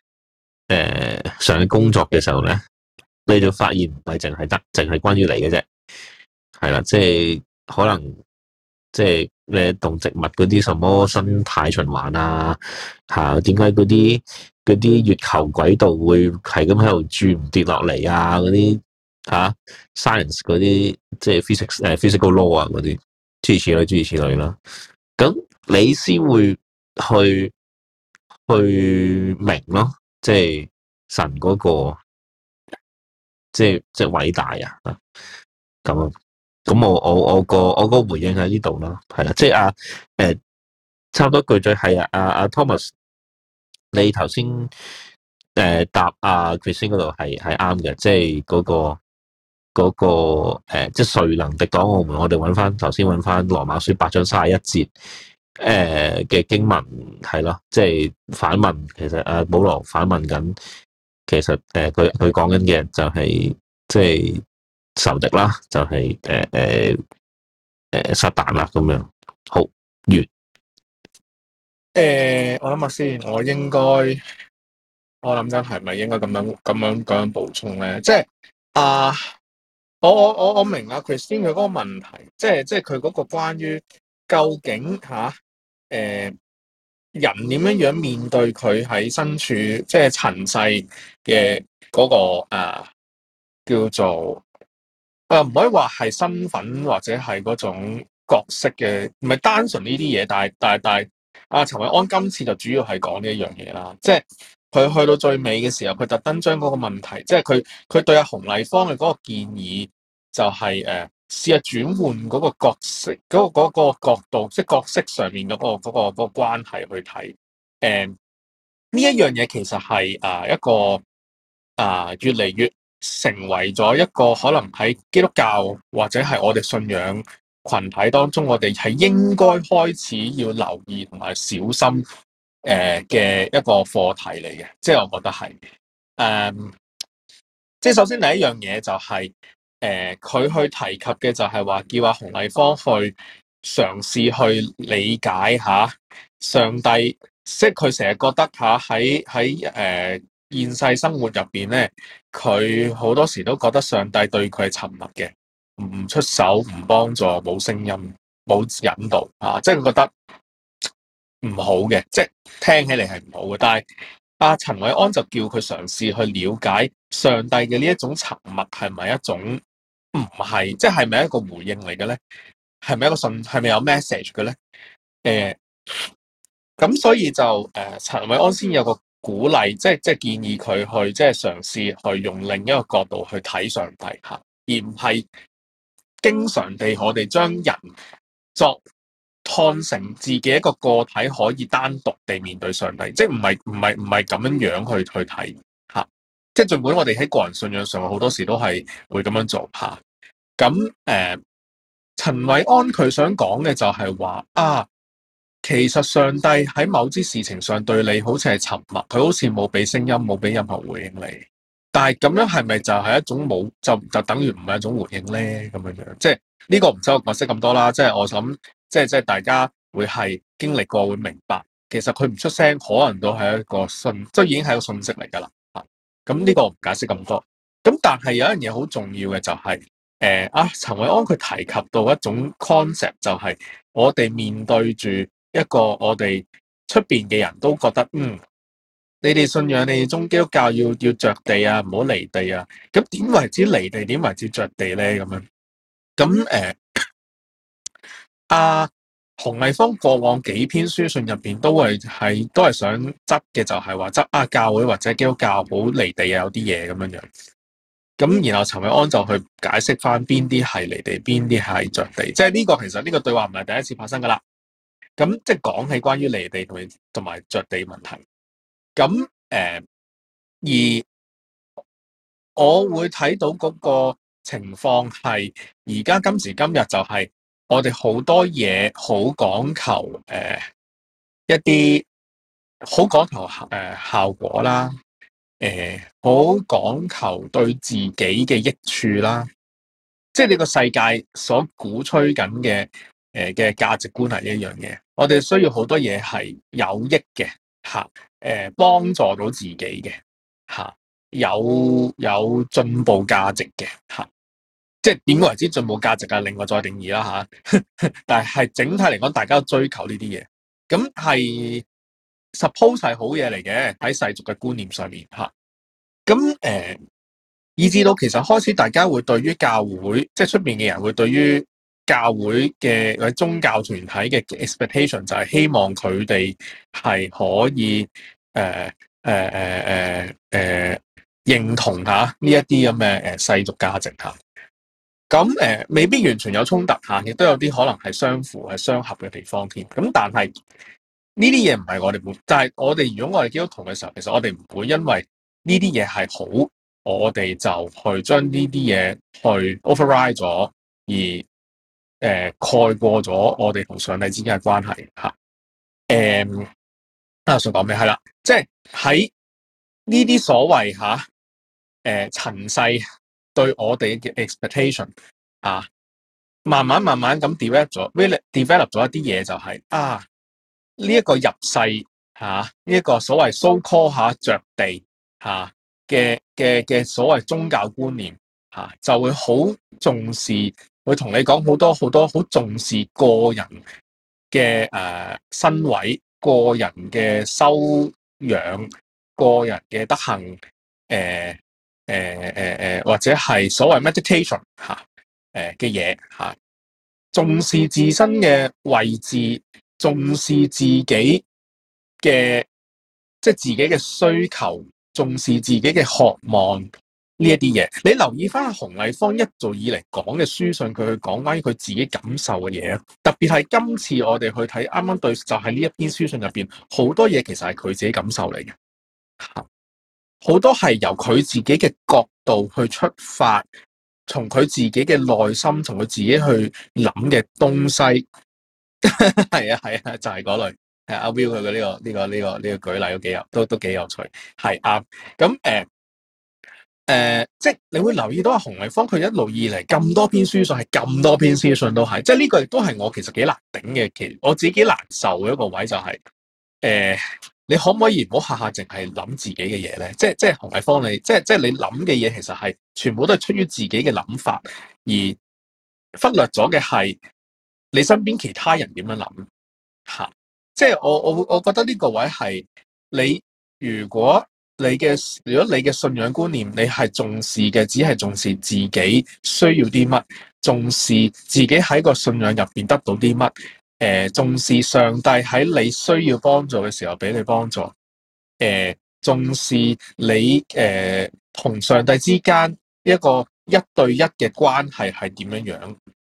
上嘅工作嘅時候咧，你就發現唔係淨係關於你嘅啫，係啦，即係可能即係你動植物嗰啲什麼生態循環啊，點解嗰啲月球軌道會係咁喺度轉唔跌落嚟啊？嗰啲science 嗰啲即係 physical law 啊，嗰啲諸如此類啦。咁你先會去明咯，即係神嗰個即係偉大啊！咁我個回應喺呢度啦，係啦，即係差唔多句句係阿 Thomas， 你頭先答Christine 嗰度係啱嘅，即係嗰個即係誰能敵擋我們？我哋頭先揾翻羅馬書8章31節嘅經文係咯，即係反問，其實保羅反問緊，其實佢講緊嘅就係即係仇敵啦，就係撒旦啦咁樣。好完。 我諗下先，我諗緊係咪應該咁樣補充咧？即係我明啊，Christine 佢嗰個問題，即係佢嗰個關於究竟人點樣面對佢喺身處即係塵世嘅嗰個叫做唔可以話係身份或者係嗰種角色嘅，唔係單純呢啲嘢，但係陳韋安今次就主要係講呢一樣嘢啦，即係佢去到最尾嘅時候，佢特登將嗰個問題，即係佢對阿洪麗芳嘅嗰個建議就係試下轉換嗰個角色嗰個角度，即係角色上面嗰個關係去睇呢一樣嘢，其實係一個越嚟越成為咗一個可能喺基督教或者係我哋信仰群體當中，我哋係應該開始要留意同埋小心嘅一個課題嚟嘅，即係我覺得係即係首先第一樣嘢就係佢去提及嘅就係話叫阿洪麗芳去嘗試去理解下上帝，即係佢成日覺得喺現世生活入邊咧，佢好多時都覺得上帝對佢係沉默嘅，唔出手、唔幫助、冇聲音、冇引導即係佢覺得唔好嘅，即係聽起嚟係唔好嘅。但係陳韋安就叫佢嘗試去了解上帝嘅呢一種沉默係咪一種唔係，即係咪一個回應嚟嘅咧？係咪一個係咪有 message 嘅咧？咁所以就陳韋安先有個鼓勵，即係建議佢去即係嘗試去用另一個角度去睇上帝而唔係經常地我哋將人作看成自己一個個體可以單獨地面對上帝，即係唔係咁樣樣去睇嚇。即係儘管我哋喺個人信仰上好多時都係會咁樣做嚇。咁陳韋安佢想講嘅就係話啊，其實上帝喺某啲事情上對你好似係沉默，佢好似冇俾聲音，冇俾任何回應你。但係咁樣係咪就係一種冇就等於唔係一種回應咧？咁樣樣即係呢個唔使我解釋咁多啦。即係我諗，即係大家會係經歷過會明白，其實佢唔出聲，可能都係一個信，即係已經係一個信息嚟㗎啦。咁呢個我唔解釋咁多。咁但係有一樣嘢好重要嘅就係陳韋安佢提及到一種 concept，就係我哋面對住一個我哋出邊嘅人都覺得你哋信仰，你哋宗基督教要着地啊，唔好離地啊。咁點為之離地？點為之着地咧？咁樣咁洪麗芳過往幾篇書信入邊都係想執嘅，就係話執教會或者基督教好離地啊，有啲嘢咁樣樣。咁然後陳韋安就去解釋翻邊啲係離地，邊啲係着地。即係呢個其實呢個對話唔係第一次發生噶啦。咁即係講起關於離地同埋着地問題。咁而我會睇到嗰個情況係而家今時今日就係我哋好多嘢好講求一啲好講求效果啦，好講求對自己嘅益處啦，即係呢個世界所鼓吹緊嘅價值觀係一樣嘢。我哋需要好多嘢係有益嘅嚇，幫助到自己嘅嚇。有進步價值嘅嚇，即係點為之進步價值啊？另外再定義啦嚇。但係整體嚟講，大家都追求呢啲嘢，咁係 suppose 係好嘢嚟嘅喺世俗嘅觀念上面嚇。咁以至到其實開始大家會對於教會，即係出邊嘅人會對於教會嘅或者宗教團體嘅 expectation 就係希望佢哋係可以認同下呢一啲咁嘅世俗價值嚇，咁未必完全有衝突嚇，亦都有啲可能係相符係相合嘅地方添。咁但係呢啲嘢唔係我哋會，但係我哋如果我哋基督徒嘅時候，其實我哋唔會因為呢啲嘢係好，我哋就去將呢啲嘢去 override 咗，而蓋過咗我哋同上帝之間嘅關係嚇。想講咩係啦，即係喺呢啲所謂嚇。塵世對我哋嘅 expectation 慢慢咁 develop 咗一啲嘢，就係呢一個入世呢一個所謂 so call 着地嘅所謂宗教觀念就會好重視，會同你講好多好重視個人嘅身位、個人嘅修養、個人嘅德行或者係所謂 meditation 嘅嘢重視自身嘅位置，重視自己嘅即係自己嘅需求，重視自己嘅渴望呢一啲嘢。你留意翻洪麗芳一早以嚟講嘅書信，佢去講關於佢自己感受嘅嘢，特別係今次我哋去睇啱啱對，就係呢一篇書信入邊好多嘢其實係佢自己感受嚟嘅。好多係由佢自己嘅角度去出發，從佢自己嘅內心，從佢自己去諗嘅東西，係啊，就係嗰類。阿 Will 佢嘅呢個舉例都幾有趣，係啱。咁即係你會留意到洪麗芳佢一路以嚟咁多篇書信，係咁多篇書信都係，即係呢個亦都係我其實幾難頂嘅，其實我自己幾難受嘅一個位就係你可唔可以唔好下下淨係諗自己嘅嘢咧？即係洪麗芳，你即係你諗嘅嘢，其實係全部都係出於自己嘅諗法，而忽略咗嘅係你身邊其他人點樣諗嚇。即係我覺得呢個位係你，如果你嘅信仰觀念，你係重視嘅，只係重視自己需要啲乜，重視自己喺個信仰入邊得到啲乜。重視上帝喺你需要幫助嘅時候俾你幫助，重視你同上帝之間一個一對一嘅關係係點樣樣，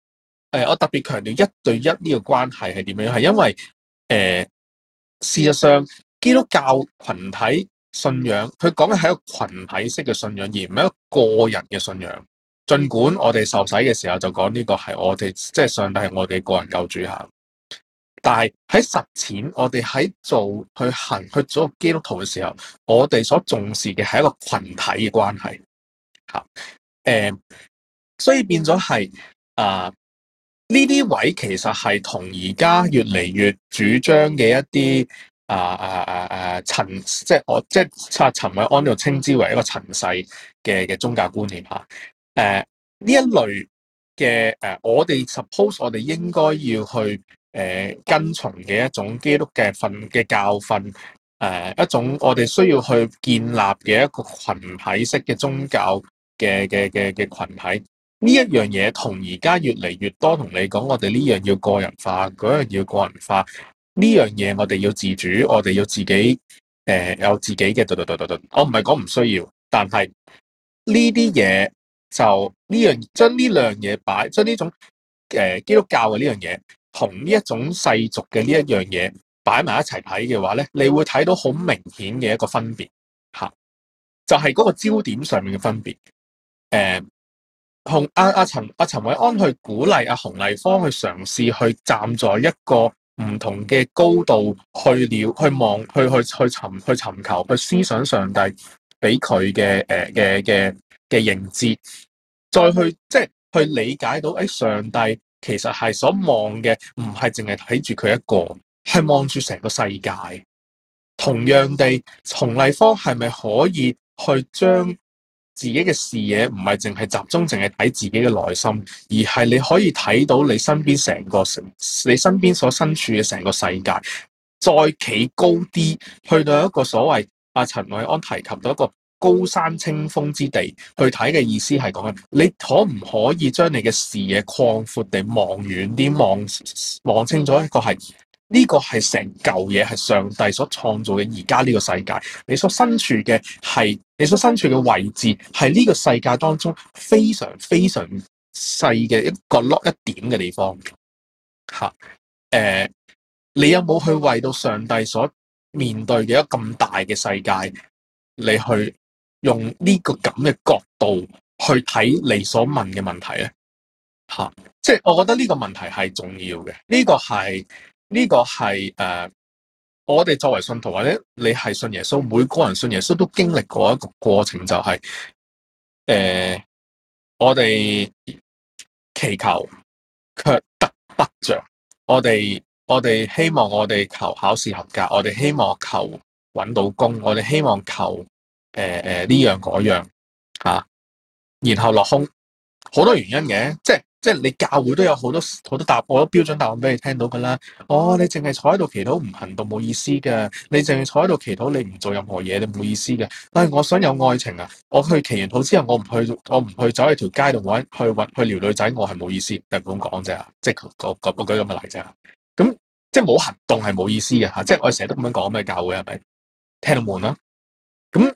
我特別強調一對一呢個關係係點樣？係因為事實上基督教群體信仰，佢講嘅係一個群體式嘅信仰，而唔係一個個人嘅信仰。儘管我哋受洗嘅時候就講呢個係我哋，即係上帝係我哋個人救主下，但係喺實踐，我哋喺去做基督徒嘅時候，我哋所重視嘅係一個群體嘅關係嚇。所以變咗係呢啲位其實係同而家越嚟越主張嘅一啲即係陳韋安就稱之為一個塵世嘅宗教觀念嚇。呢一類嘅我哋 suppose 我哋應該要去跟從嘅一種基督嘅教訓，一種我哋需要去建立嘅一個群體式嘅宗教嘅群體。呢一樣嘢同而家越嚟越多同你講，我哋呢樣要個人化，嗰樣要個人化。呢樣嘢我哋要自主，我哋要自己有自己嘅我唔係講唔需要，但係呢啲嘢就將呢兩樣嘢擺，將呢種基督教嘅呢樣嘢同呢一種世俗嘅呢一樣嘢擺埋一齊睇嘅話咧，你會睇到好明顯嘅一個分別嚇，就係嗰個焦點上面嘅分別。同陳韋安去鼓勵洪麗芳去嘗試去站在一個唔同嘅高度去尋求去思想上帝俾佢嘅認知，再去即係去理解到上帝其實係所望嘅唔係淨係睇住佢一個，係望住成個世界。同樣地，洪麗芳係咪可以去將自己嘅視野唔係淨係集中，淨係睇自己嘅內心，而係你可以睇到你身邊你身邊所身處嘅成個世界，再企高啲，去到一個所謂陳韋安提及到一個高山清風之地去睇嘅意思係講緊，你可唔可以將你嘅視野擴闊地望遠啲，望清楚一個係。呢個係成嚿嘢，係上帝所創造嘅而家呢個世界，你所身處嘅位置係呢個世界當中非常非常細嘅一個角落一點嘅地方嚇。你有冇去為到上帝所面對嘅一個咁大嘅世界，你去用呢個咁嘅角度去睇你所問嘅問題咧？嚇，即係我覺得呢個問題係重要嘅，呢個係我哋作為信徒或者你係信耶穌，每個人信耶穌都經歷過一個過程，就係我哋祈求卻得不着，我哋希望我哋求考試合格，我哋希望求揾到工，我哋希望求呢樣嗰樣嚇，然後落空，好多原因嘅，即係你教會都有好多答案，好多標準答案俾你聽到噶啦。你淨係坐喺度祈禱唔行動冇意思嘅，你淨係坐喺度祈禱你唔做任何嘢，你冇意思嘅。但係我想有愛情啊，我去祈完禱之後，我唔去走喺條街度去撩女仔，我係冇意思，就咁講啫。即係我舉咁嘅例啫。咁即係冇行動係冇意思嘅嚇。即係我成日都咁樣講咩教會係咪聽到悶啦？咁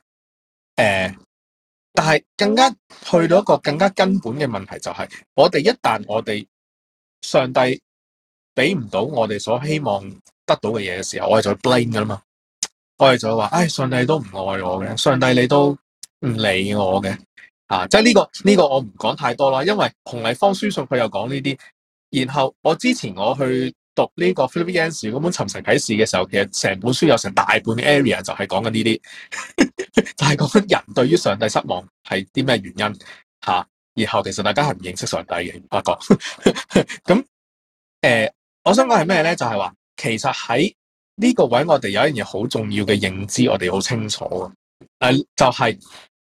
但係更加去到一個更加根本嘅問題，就係我哋上帝俾唔到我哋所希望得到嘅嘢嘅時候，我哋就 blame 噶啦嘛。我哋就話，上帝都唔愛我嘅，上帝你都唔理我嘅，即係呢個我唔講太多啦，因為洪麗芳書信佢又講呢啲。然後我之前我去讀呢個 Philip Yancey 嗰本尋神啟示嘅時候，其實成本書有成大半嘅 area 就係講緊呢啲。就係講緊人對於上帝失望係啲咩原因嚇，然後其實大家係唔認識上帝嘅，發覺咁我想講係咩咧？就係話其實喺呢個位，我哋有一樣嘢好重要嘅認知，我哋好清楚就係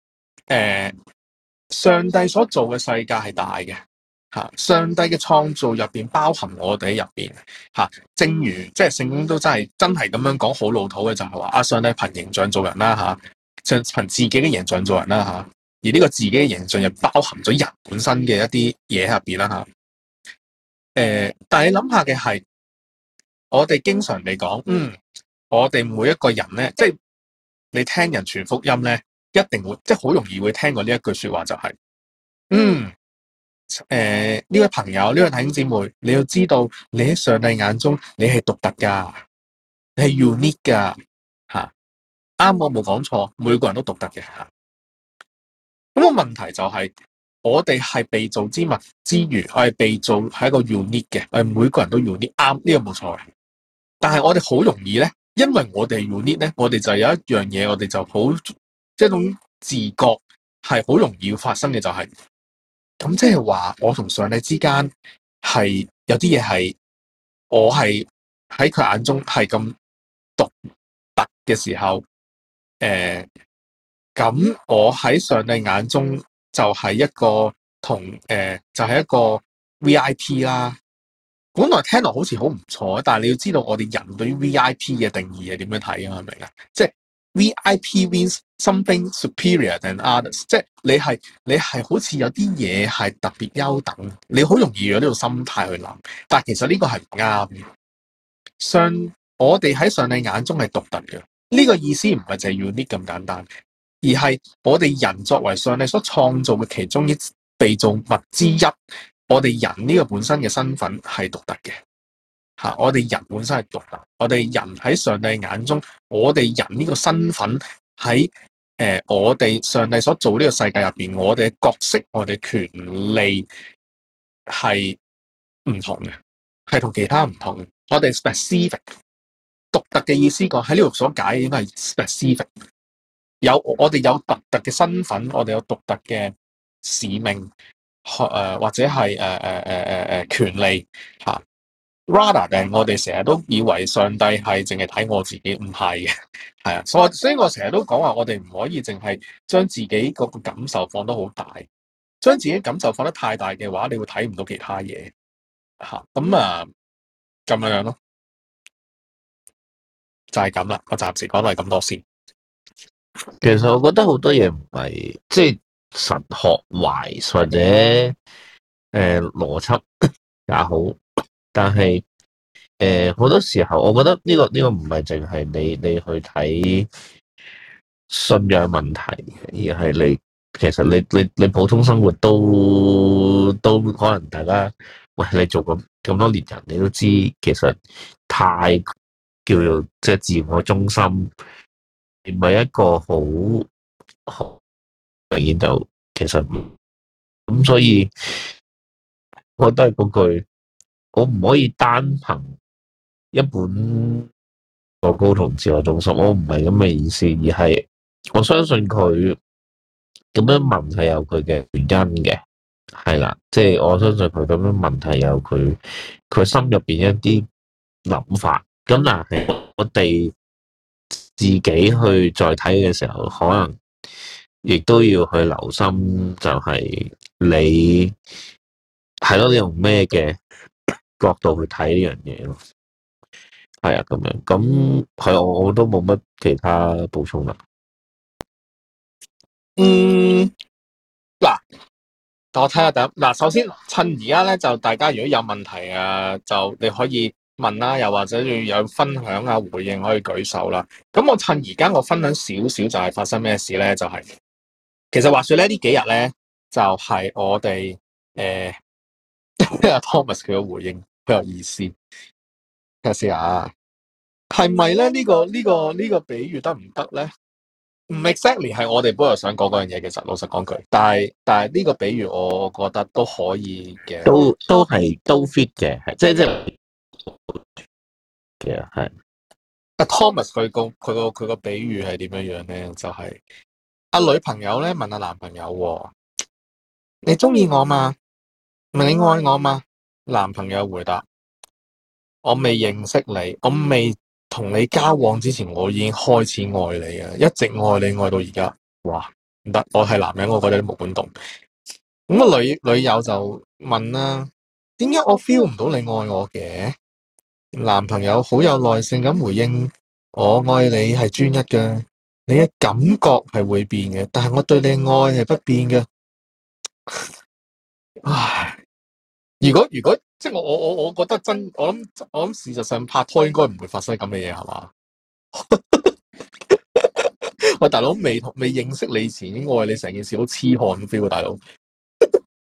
上帝所做嘅世界係大嘅嚇，上帝嘅創造入邊包含我哋喺入邊嚇，正如即係聖經都真係咁樣講，好老土嘅就係話上帝憑形象做人啦嚇，憑自己嘅形象做人啦嚇，而呢個自己嘅形象又包含咗人本身嘅一啲嘢喺入邊啦嚇。但係你諗下嘅係，我哋經常嚟講，我哋每一個人咧，即係你聽人傳福音咧，一定會即係好容易會聽過呢一句説話，就係呢位朋友，呢位弟兄姊妹，你要知道，你喺上帝眼中，你係獨特噶，你係 unique 噶，吓，啱，我冇講錯，每個人都獨特嘅吓。咁個問題就係，我哋係被造之物之餘，我係被造係一個 unique 嘅，我哋每個人都 unique，啱，呢個冇錯嘅。但係我哋好容易咧，因為我哋 unique 咧，我哋就有一樣嘢，我哋就好即係一種自覺係好容易要發生嘅，就係咁，即係話我同上帝之間係有啲嘢係我係喺佢眼中係咁獨特嘅時候，咁我喺上帝眼中就係一個就係一個 VIP 啦。本來聽落好似好唔錯，但係你要知道我哋人對於 VIP 嘅定義係點樣睇啊？明唔明啊？即係 VIP means something superior than others，即係你係好似有啲嘢係特別優等，你好容易有呢個心態去諗，但係其實呢個係唔啱嘅。我哋喺上帝眼中係獨特嘅，呢個意思唔係就係 unique 咁簡單，而係我哋人作為上帝所創造嘅其中一被造物之一。我哋人呢個本身嘅身份係獨特嘅，吓，我哋人本身係獨特，我哋人喺上帝眼中，我哋人呢個身份喺我哋上帝所做呢個世界入邊，我哋嘅角色，我哋權利係唔同嘅，係同其他唔同嘅。我哋 specific 獨特嘅意思講喺呢度所解應該係 specific， 我哋有獨特嘅身份，我哋有獨特嘅使命。或者係權利嚇，rather than我哋成日都以為上帝係淨係睇我自己，唔係嘅，係啊，所以我成日都講話，我哋唔可以淨係將自己嗰個感受放得好大，將自己感受放得太大嘅話，你會睇唔到其他嘢嚇，咁樣咯，就係咁啦，我暫時講到係咁多先。 其實我覺得好多嘢唔係即係神學壞或者邏輯也好，但係好多時候，我覺得呢個唔係淨係你去睇信仰問題，而係其實你普通生活都可能大家喂，你做咁多年人，你都知其實太叫做即係自我中心，唔係一個好明顯就其實咁，所以我都係嗰句，我唔可以單憑一本個高同自我中心，我唔係咁嘅意思，而係我相信佢咁樣問係有佢嘅原因嘅，係啦，即係我相信佢咁樣問係有佢心入邊一啲諗法，咁但係我哋自己去再睇嘅時候，可能亦都要去留心，就係你係咯，你用咩嘅角度去睇呢樣嘢咯？係啊，咁樣咁係我都冇乜其他補充啦。 嗱，我睇下第一嗱，首先趁而家咧，就大家如果有問題啊，就你可以問啦，又或者要有分享啊、回應可以舉手啦。咁我趁而家我分享少少就係發生咩事咧？就係其實話說咧，呢幾日咧就係我哋Thomas 佢嘅回應好有意思。睇下先啊，係咪咧？呢個比喻得唔得咧？唔 exactly 係我哋本來想講嗰樣嘢，其實老實講句，但係呢個比喻我覺得都可以嘅， 都 fit 嘅，係即嘅係。 阿 Thomas 佢個比喻係點樣樣咧？就係阿女朋友咧問阿男朋友：你中意我嘛？問你愛我嘛？男朋友回答：我未認識你，我未同你交往之前，我已經開始愛你啊，一直愛你愛到而家。哇，唔得，我係男人，我覺得都冇管動。咁個女友就問啦：點解我 feel 唔到你愛我嘅？男朋友好有耐性咁回應：我愛你係專一嘅，你嘅感覺係會變嘅，但係我對你愛係不變嘅。唉，如果即係我覺得我諗事實上拍拖應該唔會發生咁嘅嘢，係嘛？喂，大佬未認識你前已經愛你，成件事好痴漢 feel 啊，大佬。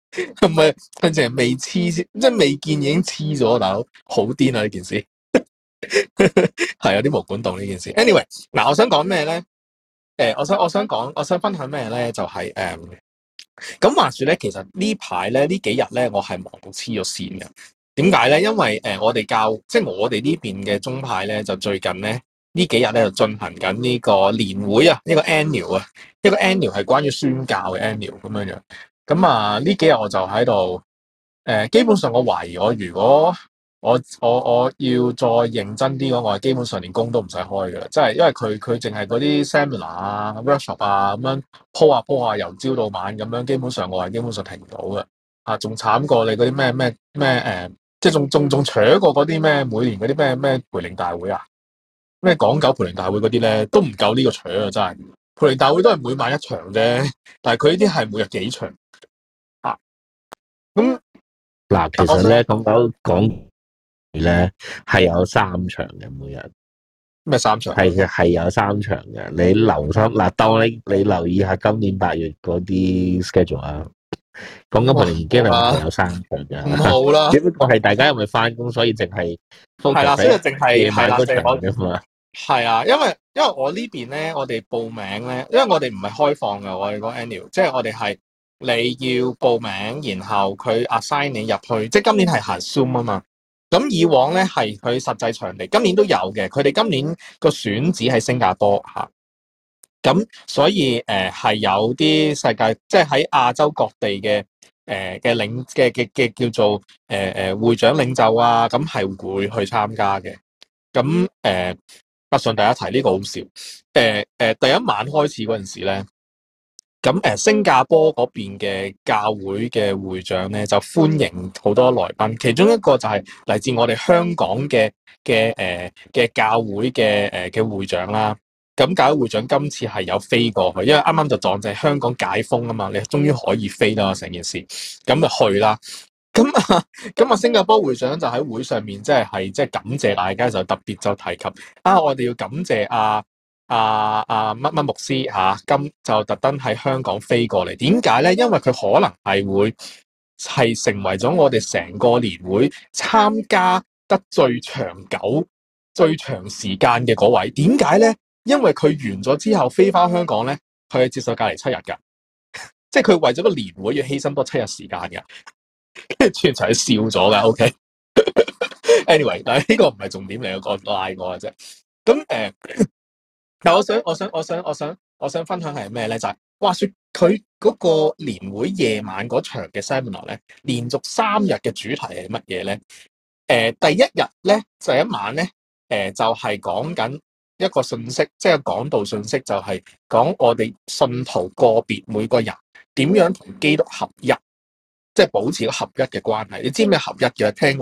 唔係佢淨係未黐，即係未見已經黐咗，大佬好癲啊呢件事，係有啲毛管戙呢件事。anyway， 嗱，我想講咩咧？我想分享咩咧？就係咁話說咧，其實呢排咧呢幾日咧，我係忙到黐咗線嘅。點解咧？因為我哋即係我哋呢邊嘅宗派咧，就最近咧呢幾日咧就進行緊呢個年會啊，呢個 annual 啊，一個 annual 係關於宣教嘅 annual 咁樣樣。咁啊呢幾日我就喺度基本上我懷疑我如果我要再認真啲嘅話，我係基本上連工都唔使開嘅，即係因為佢淨係嗰啲 seminar 啊、workshop 啊咁樣鋪下由朝到晚咁樣，基本上我係基本上停唔到嘅。仲慘過你嗰啲咩即係仲扯過嗰啲咩每年嗰啲咩培靈大會啊，咩港九培靈大會嗰啲咧都唔夠呢個扯啊！真係培靈大會都係每晚一場啫，但係佢呢啲係每日幾場啊。咁嗱，其實咧講咧係有3場嘅，每日咩3場？ 係有3場嘅。你留心嗱，當你留意下今年8月嗰啲 schedule 啊。講緊培靈經歷係有3場嘅， 唔好啦。 只不過係大家因為翻工，所以淨係 focus 所以淨係夜晚嗰場啫嘛。 係啊，因為我呢邊咧，我哋報名咧，因為我哋唔係開放嘅，我哋個 annual，即係我哋係你要報名，然後佢 assign 你入去，即係今年係行 Zoom 啊嘛。咁以往咧係佢實際場地，今年都有嘅。佢哋今年個選址喺新加坡嚇。咁所以係有啲世界，即係喺亞洲各地嘅嘅叫做會長領袖啊，咁係會去參加嘅。咁不順第一提呢個好笑。第一晚開始嗰陣時咧，咁新加坡嗰邊嘅教會嘅會長咧就歡迎好多來賓，其中一個就係嚟自我哋香港嘅教會嘅會長啦。咁教會會長今次係有飛過去，因為啱啱就撞正香港解封啊嘛，你終於可以飛啦成件事，咁就去啦。咁新加坡會長就喺會上面即係感謝大家，就特別就提及我哋要感謝乜乜牧師咁就特登喺香港飛過嚟。點解咧？因為佢可能係會係成為咗我哋成個年會參加得最長久、最長時間嘅嗰位。點解咧？因為佢完咗之後飛翻香港咧，佢係接受隔離7日噶，即係佢為咗個年會要犧牲多7日時間噶，跟住全場係笑咗噶。OK，anyway，但係呢個唔係重點嚟，我拉我嘅啫。咁但係我想分享係咩咧？就係話說佢嗰個年會夜晚嗰場嘅 seminar 咧，連續3日嘅主題係乜嘢咧？第一日咧就一晚咧，就係講緊一個信息，即係講道信息，就係講我哋信徒個別每個人點樣同基督合一，即係保持個合一嘅關係。你知咩合一嘅？聽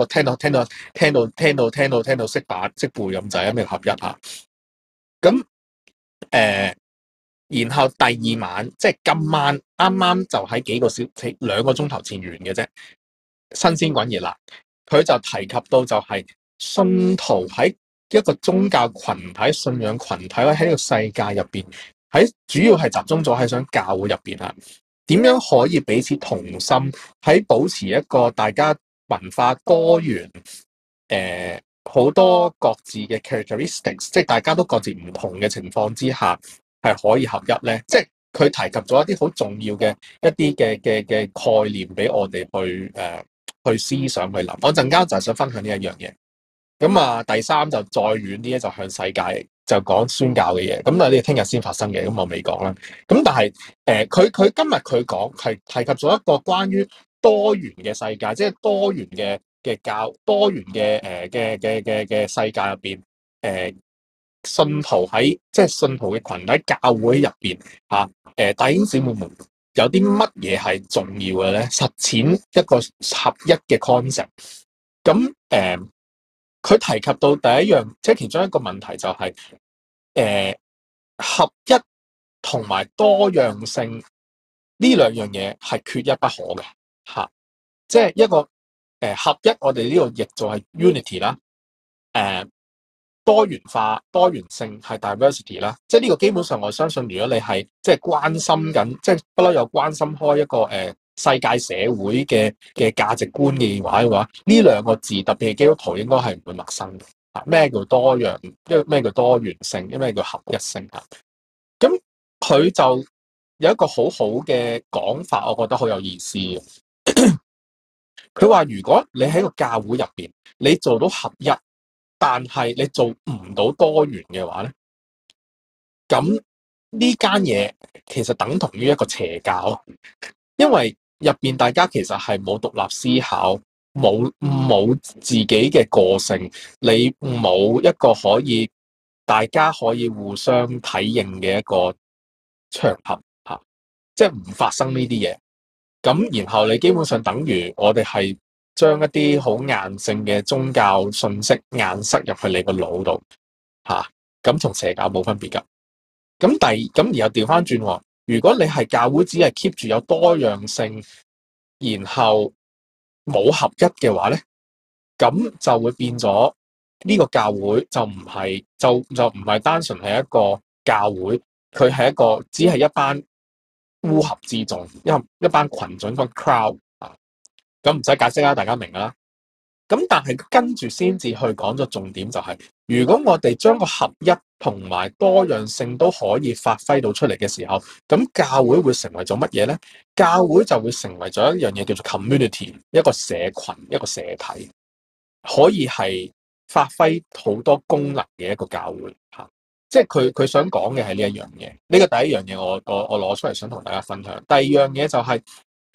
到識打識背咁滯，咩合一啊？咁然後第2晚即係今晚啱啱就喺2個鐘頭前完嘅啫，新鮮滾熱辣。佢就提及到就係信徒喺一個宗教群體、信仰群體喺呢個世界入邊，喺主要係集中咗喺想教會入邊啊，點樣可以彼此同心，喺保持一個大家文化多元，好多各自嘅 characteristics，即係大家都各自唔同嘅情況之下，係可以合一咧。即係佢提及咗一啲好重要嘅一啲嘅概念俾我哋去思想去諗。我陣間就係想分享呢一樣嘢。咁第3就再遠啲咧，就向世界就講宣教嘅嘢。咁呢啲聽日先發生嘅，咁我未講啦。咁但係佢今日佢講係提及咗一個關於多元嘅世界，即係多元嘅多元嘅世界入邊，信徒喺即係信徒嘅群體教會入邊弟兄姊妹們有啲乜嘢係重要嘅咧？實踐一個合一嘅 concept。咁佢提及到第一樣，即係其中一個問題就係合一同埋多樣性呢兩樣嘢係缺一不可嘅即係一個合一，我哋呢度譯做係 unity 啦。多元化、多元性係 diversity 啦。即係呢個基本上我相信，如果你係即係關心緊，即係不嬲有關心開一個世界社會嘅價值觀嘅話，呢兩個字特別係基督徒應該係唔會陌生嘅。咩叫多樣？咩叫多元性？咩叫合一性啊？咁佢就有一個好好嘅講法，我覺得好有意思嘅。佢話如果你喺個教會入邊，你做到合一，但係你做唔到多元嘅話咧，咁呢間嘢其實等同於一個邪教，因為入邊大家其實係冇獨立思考，冇自己嘅個性，你冇一個可以大家可以互相體認嘅一個場合吓，即係唔發生呢啲嘢。咁然後你基本上等於我哋係將一啲好硬性嘅宗教信息硬塞入去你個腦度吓，咁同邪教冇分別噶。咁而又調翻轉，如果你係教會只係 keep 住有多樣性，然後冇合一嘅話咧，咁就會變咗呢個教會就唔係就唔係單純係一個教會，佢係一個只係一班烏合之眾，一班群眾，一班 crowd 啊。咁唔使解釋啦，大家明啦。咁但係跟住先至去講咗重點，就係如果我哋將個合一同埋多樣性都可以發揮到出嚟嘅時候，咁教會會成為咗乜嘢咧？教會就會成為咗一樣嘢叫做 community， 一個社群，一個社體，可以係發揮好多功能嘅一個教會吓。即係佢想講嘅係呢一樣嘢。呢個第一樣嘢我攞出嚟想同大家分享。第二樣嘢就係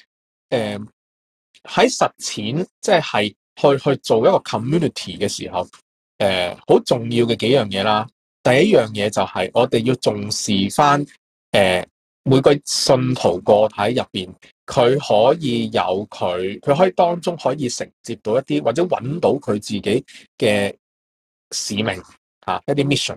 喺實踐，即係去做一個 community 嘅時候，好重要嘅幾樣嘢啦。第一樣嘢就係我哋要重視翻，每個信徒個體入邊，佢可以有佢可以當中可以承接到一啲或者揾到佢自己嘅使命一啲 mission，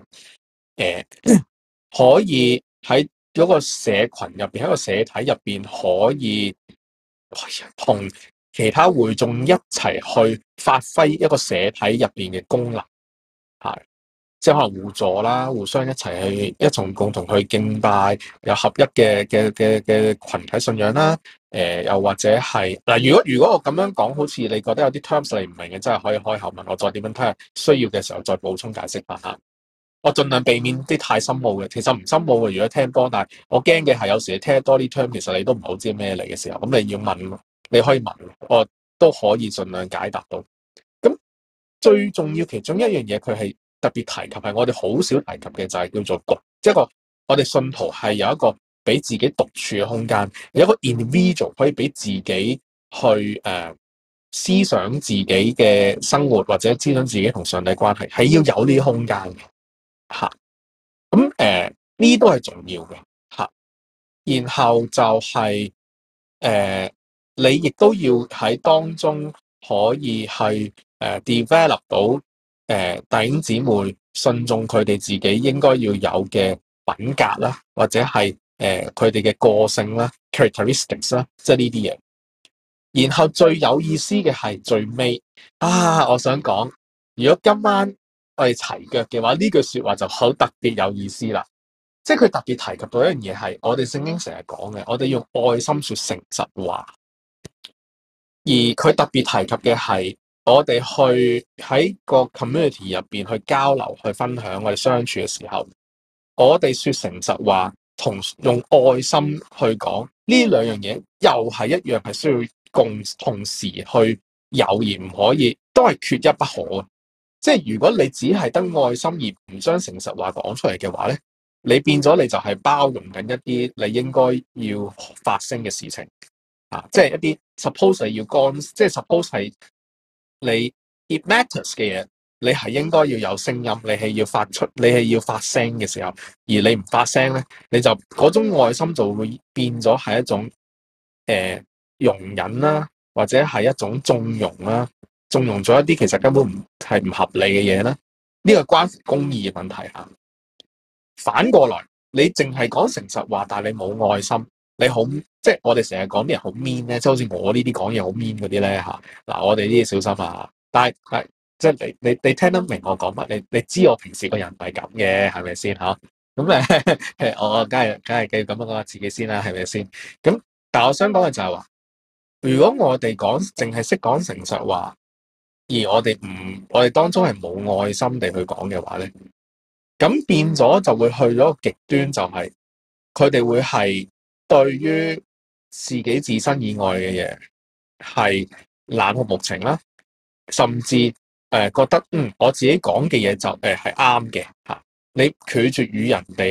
可以喺嗰個社群入邊，喺個社體入邊可以同其他會眾一齊去發揮一個社體入邊嘅功能，係即係可能互助啦，互相一齊去一同共同去敬拜，有合一嘅群體信仰啦。又或者係嗱，如果我咁樣講，好似你覺得有啲 terms 你唔明嘅，真係可以開口問我，再點樣睇下需要嘅時候再補充解釋翻吓。我盡量避免啲太深奧嘅，其實唔深奧嘅，如果聽多，但係我驚嘅係有時你聽多啲 term，其實你都唔好知咩嚟嘅時候，咁你要問，你可以問，我都可以盡量解答到。咁最重要其中一樣嘢，佢係特別提及，係我哋好少提及嘅，就係叫做獨，即係個我哋信徒係有一個俾自己獨處嘅空間，有一個 individual 可以俾自己去思想自己嘅生活，或者思想自己同上帝關係，係要有呢啲空間嘅。吓，咁呢啲都係重要嘅吓，然後就係你亦都要喺當中可以去develop 到弟兄姊妹信眾佢哋自己應該要有嘅品格啦，或者係佢哋嘅個性啦 characteristics 啦，即係呢啲嘢。然後最有意思嘅係最尾我想講，如果今晚我哋齊腳嘅話，呢句說話就好特別有意思啦。即係佢特別提及到一樣嘢，係我哋聖經成日講嘅，我哋用愛心說誠實話。而佢特別提及嘅係我哋去喺個 community 入邊去交流、去分享我哋相處嘅時候，我哋說誠實話同用愛心去講呢兩樣嘢，又係一樣係需要同時去有，而唔可以都係缺一不可嘅。即係如果你只係得愛心而唔將誠實話講出嚟嘅話咧，你變咗你就係包容緊一啲你應該要發生嘅事情即係一啲 suppose 係要幹，即係 suppose 係你 it matters 嘅嘢，你係應該要有聲音，你係要發出，你係要發聲嘅時候，而你唔發聲咧，你就嗰種愛心就會變咗係一種容忍啦，或者係一種縱容啦。縱容咗一啲其實根本唔合理嘅嘢啦，呢個關乎公義嘅問題吓。反過來，你淨係講誠實話，但係你冇愛心，你好即係我哋成日講啲人好 mean 咧，即係好似我呢啲講嘢好 mean 嗰啲咧吓。嗱，我哋呢啲小心啊！但係即係你聽得明我講乜？你知我平時個人唔係咁嘅，係咪先吓？咁我梗係咁樣講下自己先啦，係咪先？咁但係我想講嘅就係話， 如果我哋淨係識講誠實話，而我哋當中係冇愛心地去講嘅話咧，咁變咗就會去咗個極端，就係佢哋會係對於自己自身以外嘅嘢係冷酷無情啦，甚至覺得我自己講嘅嘢就係啱嘅嚇，你拒絕與人哋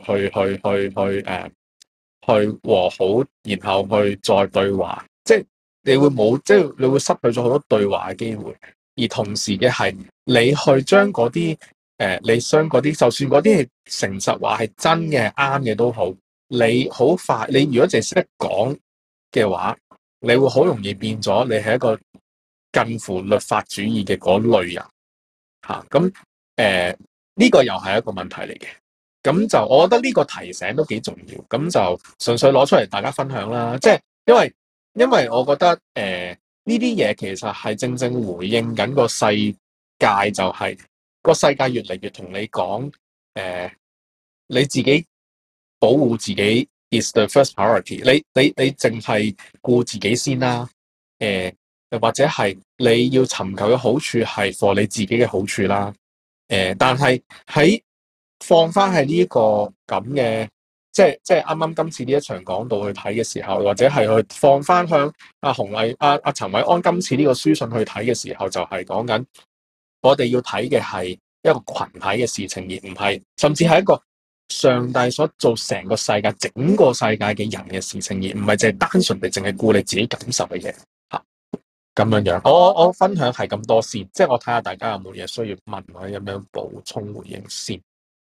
去和好，然後去再對話，即係你會冇，即係你會失去咗好多對話嘅機會。而同時嘅係，你去將嗰啲你將嗰啲，就算嗰啲係誠實話係真嘅、啱嘅都好，你好快，你如果淨係識得講嘅話，你會好容易變咗，你係一個近乎律法主義嘅嗰類人嚇。咁呢個又係一個問題嚟嘅。咁就我覺得呢個提醒都幾重要，咁就純粹攞出嚟大家分享啦。即係因為我覺得呢啲嘢其實係正正回應緊個世界，就係個世界越嚟越同你講你自己保護自己 is the first priority。你淨係顧自己先啦。或者係你要尋求嘅好處係 for 你自己嘅好處啦。但係喺放翻喺呢一個咁嘅，即係啱啱今次呢一場講道去睇嘅時候，或者係去放翻向阿洪麗、阿陳偉安今次呢個書信去睇嘅時候，就係講緊我哋要睇嘅係一個群體嘅事情，而唔係甚至係一個上帝所做成個世界、整個世界嘅人嘅事情，而唔係淨係單純地淨係顧你自己感受嘅嘢嚇。咁樣樣，我分享係咁多先，即係我睇下大家有冇嘢需要問或者有咩補充回應先。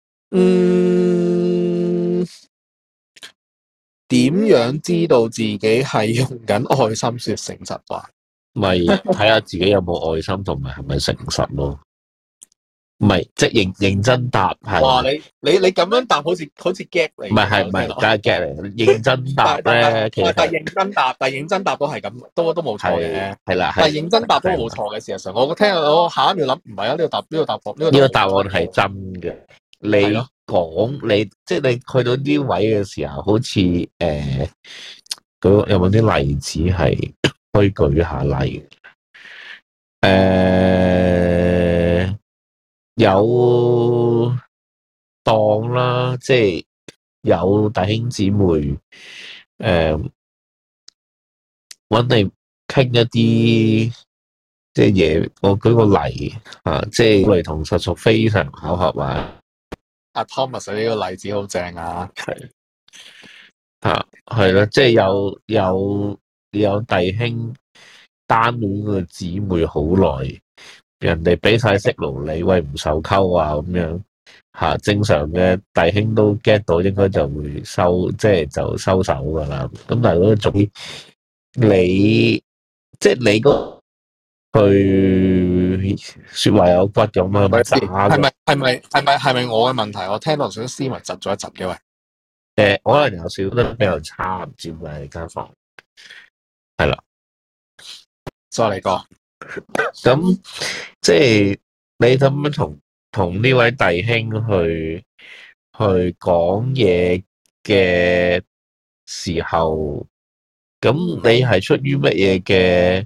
點樣知道自己係用緊愛心說誠實話？ 咪睇下自己有冇愛心同埋係咪誠實咯。唔係，即係認真答係。 哇！你咁樣答好似 get 嚟。 唔係，梗係 get 嚟。認真答咧，其實但認真答都係咁，都冇錯嘅。 係啦， 但係認真答都冇錯嘅。事實上，我下一秒諗唔係啊，呢個答案係真嘅。你講你即係你去到呢位嘅時候，好似有冇啲例子係可以舉下例？有當啦，即係有弟兄姊妹搵你傾一啲即係嘢，我舉個例啊，即係雷同實屬非常巧合啊。 阿 Thomas 呢個例子好正啊， 係啦，即係有弟兄單戀個姊妹好耐，人哋俾晒息勞你，喂唔受溝啊咁樣吓，正常嘅弟兄都 get 到，應該就會就收手噶啦。咁但係嗰種你即係你嗰句說話有骨咁啊， 係咪我嘅問題？我聽到想斯文窒咗一窒嘅喂。 可能有少得比較差，唔知點解間房係啦。 再嚟個咁，即係你咁樣同呢位弟兄去講嘢嘅時候，咁你係出於乜嘢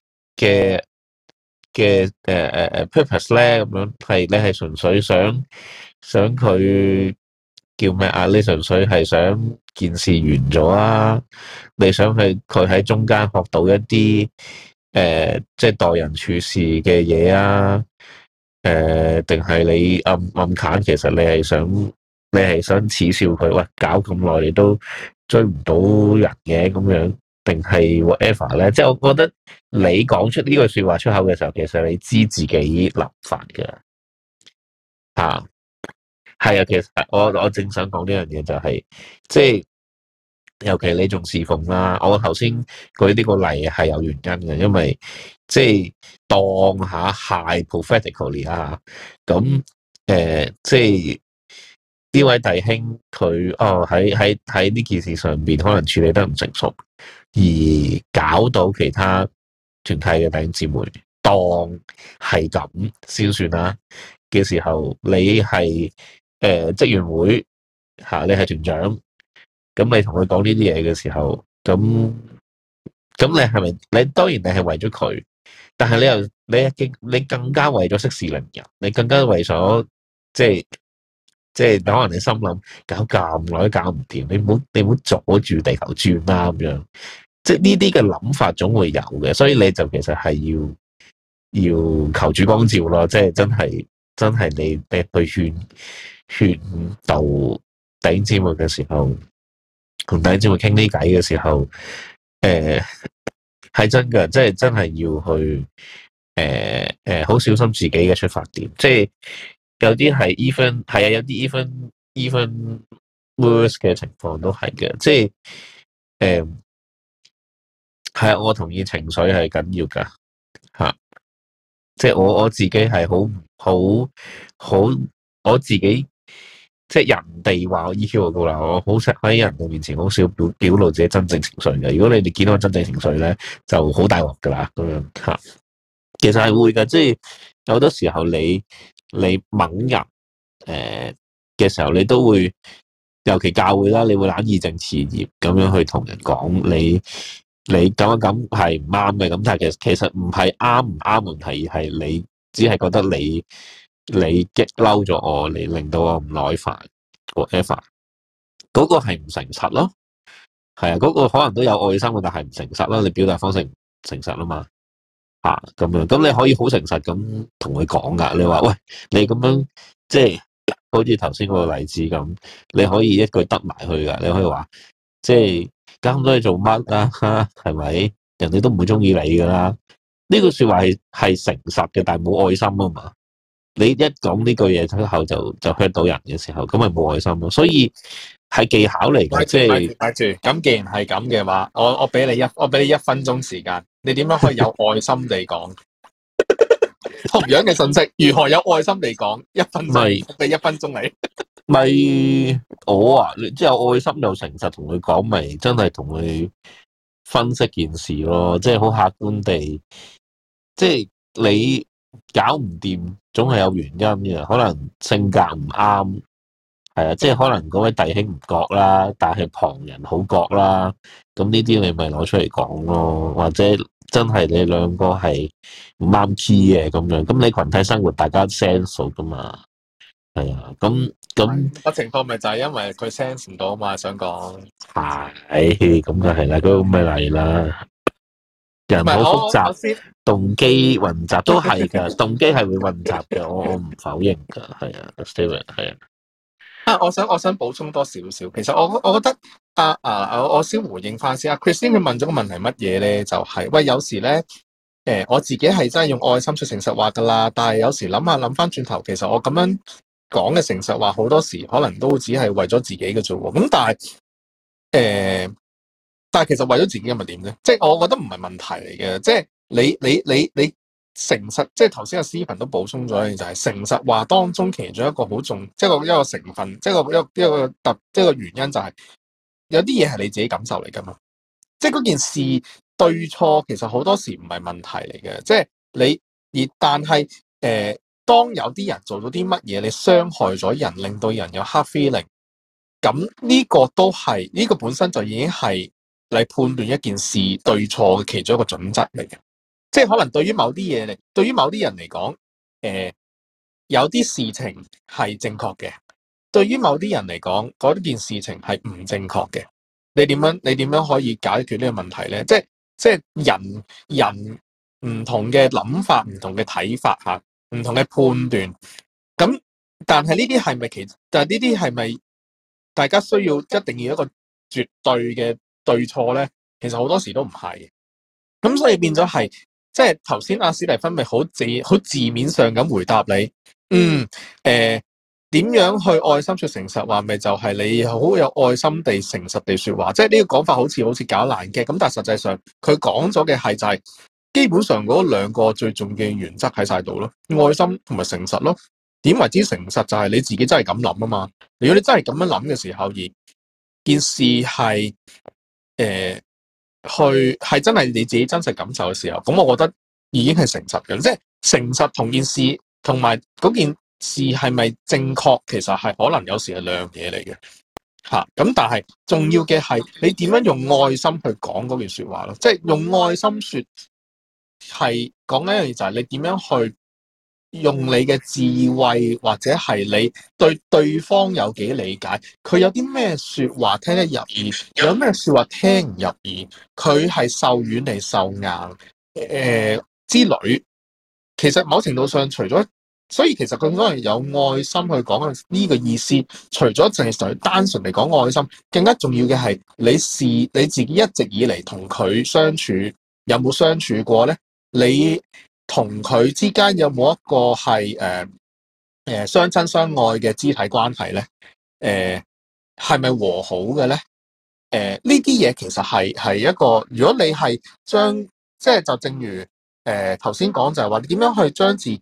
嘅purpose 咧？咁樣係你係純粹想佢叫咩啊？你純粹係想件事完咗啊？你想佢喺中間學到一啲即係待人處事嘅嘢啊？定係你暗砍？其實你係想恥笑佢，喂，搞咁耐你都追唔到人嘅咁樣，定係 whatever 咧？即係我覺得你講出呢句說話出口嘅時候，其實你知自己諗法㗎吓。係啊，其實我正想講呢樣嘢就係，即係尤其你仲侍奉啦。我頭先舉呢個例係有原因嘅，因為即係當下係 prophetically 啊，咁即係呢位弟兄佢喺呢件事上邊可能處理得唔成熟，而搞到其他團體嘅弟兄姊妹當係咁先算啦嘅時候，你係職員會你係團長，咁你同佢講呢啲嘢嘅時候，咁咁你係咪你當然你係為咗佢，但係你更加為咗息事寧人，你更加為咗即係可能你心諗搞咁耐都搞唔掂，你唔好阻住地球轉啦咁樣，即係呢啲嘅諗法總會有嘅，所以你就其實係要求主光照咯，即係真係你去勸導弟兄姊妹嘅時候，同弟兄姊妹傾呢偈嘅時候，係真嘅，即係真係要去好小心自己嘅出發點，即係有啲係 even 係啊，有啲 even worse 嘅情況都係嘅，即係係啊，我同意情緒係緊要噶吓，即係我自己係好我自己。即係人哋話我 EQ 好高啦，我好識喺人哋面前好少表露自己真正情緒嘅。如果你哋見到我真正情緒咧，就好大鑊噶啦咁樣吓。其實係會噶，即係有好多時候你猛人嘅時候，你都會，尤其教會啦，你會懶義正辭嚴咁樣去同人講你咁樣咁係唔啱嘅。咁但係其實唔係啱唔啱問題，而係你只係覺得你激嬲咗我，你令到我唔耐煩 whatever， 嗰個係唔誠實咯，係啊，嗰個可能都有愛心嘅，但係唔誠實咯，你表達方式唔誠實啊嘛，咁樣，咁你可以好誠實咁同佢講噶，你話喂，你咁樣即係好似頭先嗰個例子咁，你可以一句得埋去噶，你可以話即係搞咁多嘢做乜啊？係咪？人哋都唔會中意你噶啦，呢句說話係誠實嘅，但係冇愛心啊嘛。你一講呢句嘢之後就 hurt 到人嘅時候，咁咪冇愛心咯。所以係技巧嚟嘅，即係睇住。咁既然係咁嘅話，我俾你1分鐘時間，你點樣可以有愛心地講同樣嘅信息？如何有愛心地講？1分鐘，俾1分鐘你。 咪我啊，你即係有愛心又誠實同佢講，咪真係同佢分析件事咯。即係好客觀地，即係你搞唔掂，總係有原因嘅。可能性格唔啱，係啊，即係可能嗰位弟兄唔覺啦，但係旁人好覺啦。咁呢啲你咪攞出嚟講咯，或者真係你兩個係唔啱 key 嘅咁樣。咁你群體生活大家 sense 噶嘛？係啊，咁個情況咪就係因為佢 sense 唔到啊嘛，想講係咁就係啦，嗰個咪嚟啦。人好複雜，動機混雜都係噶，動機係會混雜嘅，我唔否認噶，係啊 Steven 係啊。 我想補充多少少，其實我覺得我先回應翻先。Christine 佢問咗個問題乜嘢咧？就係喂，有時咧我自己係真係用愛心說誠實話噶啦，但係有時諗翻轉頭，其實我咁樣講嘅誠實話，好多時可能都只係為咗自己嘅啫喎。咁但係其實為咗自己咁咪點咧？即係我覺得唔係問題嚟嘅。即係你誠實，即係頭先阿 Stephen 都補充咗嘅，就係誠實話當中其中一個好重，即係一個成分，即係一個原因就係有啲嘢係你自己感受嚟噶嘛。即係嗰件事對錯，其實好多時唔係問題嚟嘅。即係但係當有啲人做到啲乜嘢，你傷害咗人，令到人有 hard feeling，咁呢個都係呢個本身就已經係嚟判斷一件事對錯嘅其中一個準則嚟嘅。即係可能對於某啲人嚟講，有啲事情係正確嘅；對於某啲人嚟講，嗰件事情係唔正確嘅。你點樣可以解決呢個問題咧？即係人唔同嘅諗法、唔同嘅睇法吓、唔同嘅判斷。咁但係呢啲係咪但係呢啲係咪大家需要一定要一個絕對嘅對錯咧？其實好多時都唔係。咁所以變咗係。即係頭先阿史蒂芬咪好字面上咁回答你，點樣去愛心說誠實話，咪就係你好有愛心地誠實地說話。即係呢個講法好似搞爛嘅，咁但係實際上佢講咗嘅係就係基本上嗰兩個最重要嘅原則喺晒度咯，愛心同埋誠實咯。點為之誠實就係你自己真係咁諗啊嘛。如果你真係咁樣諗嘅時候，而件事係係真係你自己真實感受嘅時候，咁我覺得已經係誠實嘅。即係誠實同件事同埋嗰件事係咪正確，其實係可能有時係兩樣嘢嚟嘅。 嚇。咁但係重要嘅係你點樣用愛心去講嗰句説話咯，即係用愛心説係講緊一樣嘢，就係你點樣去用你嘅智慧，或者係你對對方有幾理解，佢有啲咩説話聽得入耳，有咩説話聽唔入耳，佢係受軟定受硬之類。其實某程度上，除咗所以其實佢可能有愛心去講呢個意思，除咗淨係單純嚟講愛心，更加重要嘅係你自己一直以嚟同佢相處有冇相處過咧？你同佢之間有冇一個係相親相愛嘅肢體關係咧？係咪和好嘅咧？呢啲嘢其實係一個，如果你係將即係就正如頭先講就係話，你點樣去將自己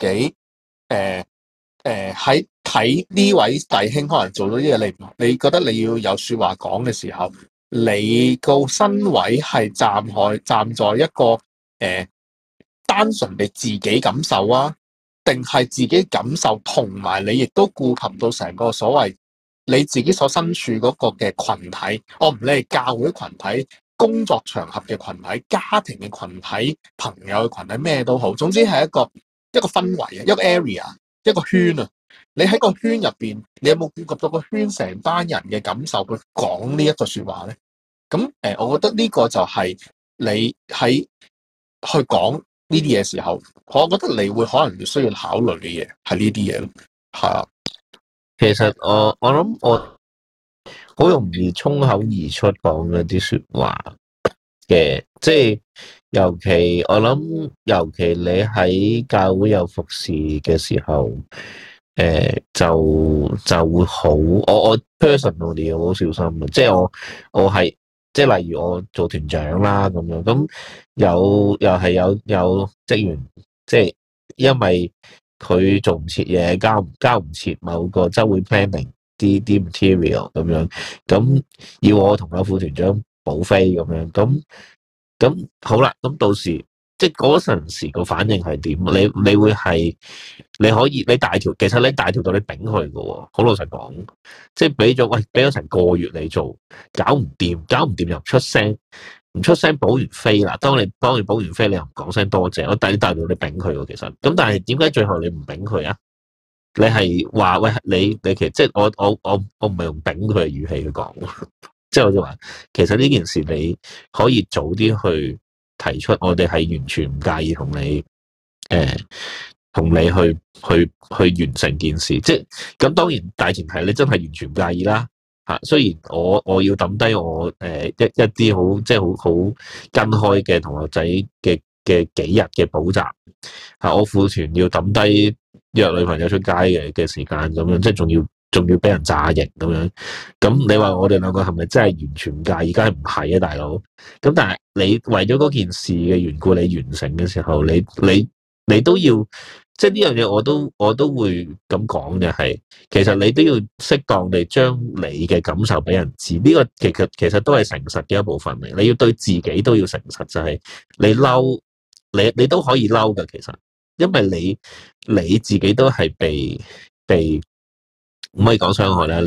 喺睇呢位弟兄可能做到啲嘢，你覺得你要有説話講嘅時候，你個身位係站在一個單純地自己感受啊，定係自己感受同埋你亦都顧及到成個所謂你自己所身處嗰個嘅群體，我唔理係教會群體、工作場合嘅群體、家庭嘅群體、朋友嘅群體，咩都好，總之係一個氛圍啊，一個 area， 一個圈啊。你喺個圈入邊，你有冇顧及到個圈成班人嘅感受去講呢一句説話咧？咁我覺得呢個就係你喺去講呢啲嘢時候，我覺得你會可能需要考慮嘅嘢係呢啲嘢咯，係啊。 其實我諗我好容易衝口而出講嗰啲説話嘅，即係尤其我諗，尤其你喺教會有服侍嘅時候，就會好，我 personally 好小心嘅，即係我係即係例如我做團長啦咁樣，咁又係有職員，即係因為佢做唔切嘢，交唔切某個週會 planning 啲 material 咁樣，咁要我同我副團長補飛咁樣，咁好啦，咁到時即係嗰陣時個反應係點？你會係你可以你大條，其實你大條到你頂佢嘅喎，好老實講，即係俾咗成個月你做，搞唔掂又唔出聲，唔出聲補完飛啦。當你補完飛，你又唔講聲多謝，我大條你頂佢喎，其實咁，但係點解最後你唔頂佢啊？你係話喂，你其實即係我唔係用頂佢嘅語氣去講，即係我就話其實呢件事你可以早啲去提出，我哋係完全唔介意同你去完成件事，即係咁當然大前提你真係完全唔介意啦嚇。雖然我要抌低我一啲好即係好跟開嘅同學仔嘅幾日嘅補習嚇，我副團要抌低約女朋友出街嘅時間咁樣，即係仲要俾人炸型咁樣。咁你話我哋兩個係咪真係完全唔介意？梗係唔係啊，大佬。咁但係你為咗嗰件事嘅緣故，你完成嘅時候，你都要，即係呢樣嘢我都會咁講嘅係，其實你都要適當地將你嘅感受俾人知。呢個其實都係誠實嘅一部分嚟。你要對自己都要誠實，就係你嬲，你都可以嬲㗎。其實因為你自己都係被唔可以講傷害啦。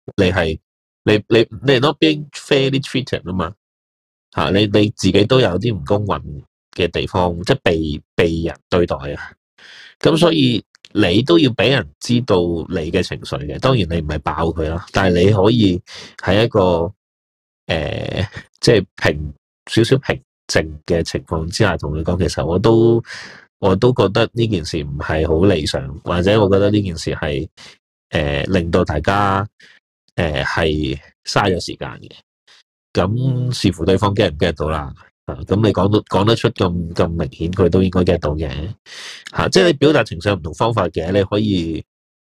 你係 not being fairly treated 啊嘛嚇，你自己都有啲唔公允嘅地方，即係被人對待啊。咁所以你都要俾人知道你嘅情緒嘅。當然你唔係爆佢啦，但係你可以喺一個即係少少平靜嘅情況之下同佢講，其實我都覺得呢件事唔係好理想，或者我覺得呢件事係令到大家係嘥咗時間嘅。咁視乎對方 get 唔 get 到啦。咁你講得出咁明顯，佢都應該 get 到嘅。即係你表達情緒有唔同方法嘅，你可以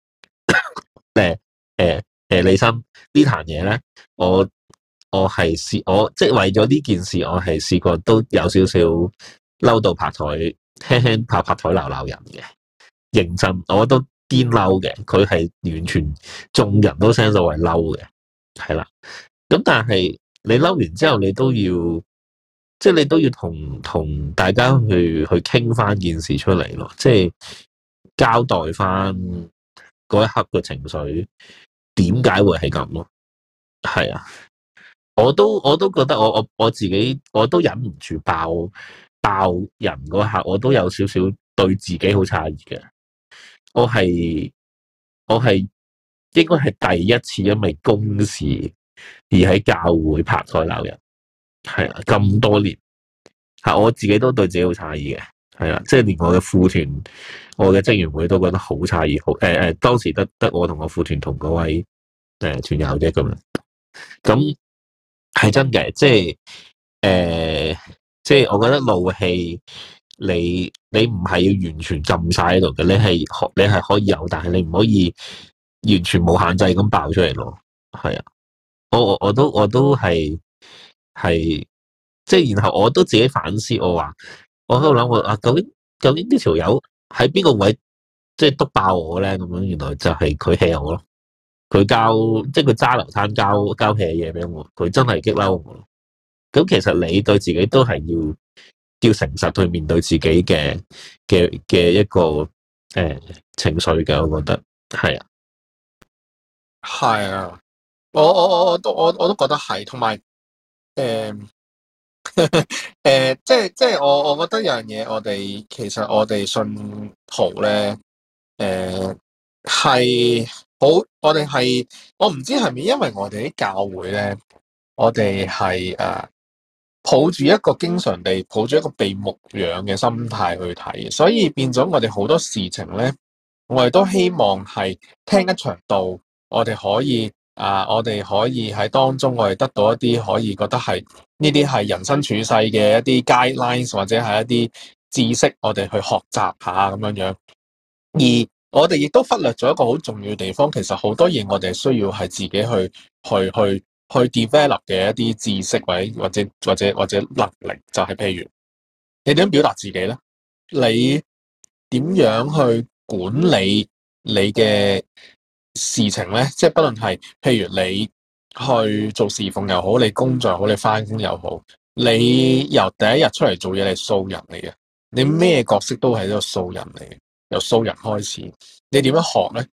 李生呢壇嘢咧，我係我即係為咗呢件事，我係試過都有少少嬲到拍台，輕輕拍台鬧人嘅，認真我都堅嬲嘅。佢係完全眾人都 sense 到係嬲嘅，係啦。咁但係你嬲完之後，你都要即係你都要同大家去傾翻件事出嚟咯，即係交代翻嗰一刻嘅情緒點解會係咁咯。 係啊，我都覺得我自己我都忍唔住爆人嗰下，我都有少少對自己好詫異嘅。我係我係應該係第一次因為公事而喺教會拍台鬧人，係啊，咁多年吓，我自己都對自己好詫異嘅，係啊，即係連我嘅副團、我嘅職員會都覺得好詫異，好當時得我同我副團同嗰位團友啫咁樣，咁係真嘅，即係我覺得怒氣你唔係要完全浸晒喺度嘅，你係可以有，但係你唔可以完全冇限制咁爆出嚟咯。係啊，我都係即係，然後我都自己反思，我喺度諗究竟呢條友喺邊個位即係督爆我咧？咁樣原來就係佢 hea 我咯，佢即係佢揸流灘交 hea 嘢俾我，佢真係激嬲我咯。咁其實你對自己都係要誠實去面對自己嘅一個情緒嘅，我覺得係啊， 係啊，我都覺得係，同埋即係我覺得有樣嘢，其實我哋信徒咧，係好，我唔知係咪因為我哋啲教會咧，我哋係抱住一個經常地抱住一個被牧養嘅心態去睇，所以變咗我哋好多事情咧，我哋都希望係聽一場道，我哋可以喺當中我哋得到一啲可以覺得係呢啲係人生處世嘅一啲 guidelines 或者係一啲知識，我哋去學習下咁樣樣。而我哋亦都忽略咗一個好重要嘅地方，其實好多嘢我哋需要係自己去 develop 嘅一啲知識或者能力，就係譬如你點樣表達自己咧？你點樣去管理你嘅事情咧？即係不論係譬如你去做侍奉又好，你工作又好，你翻工又好，你由第一日出嚟做嘢，你係素人嚟嘅，你咩角色都係一個素人嚟嘅，由素人開始，你點樣學咧？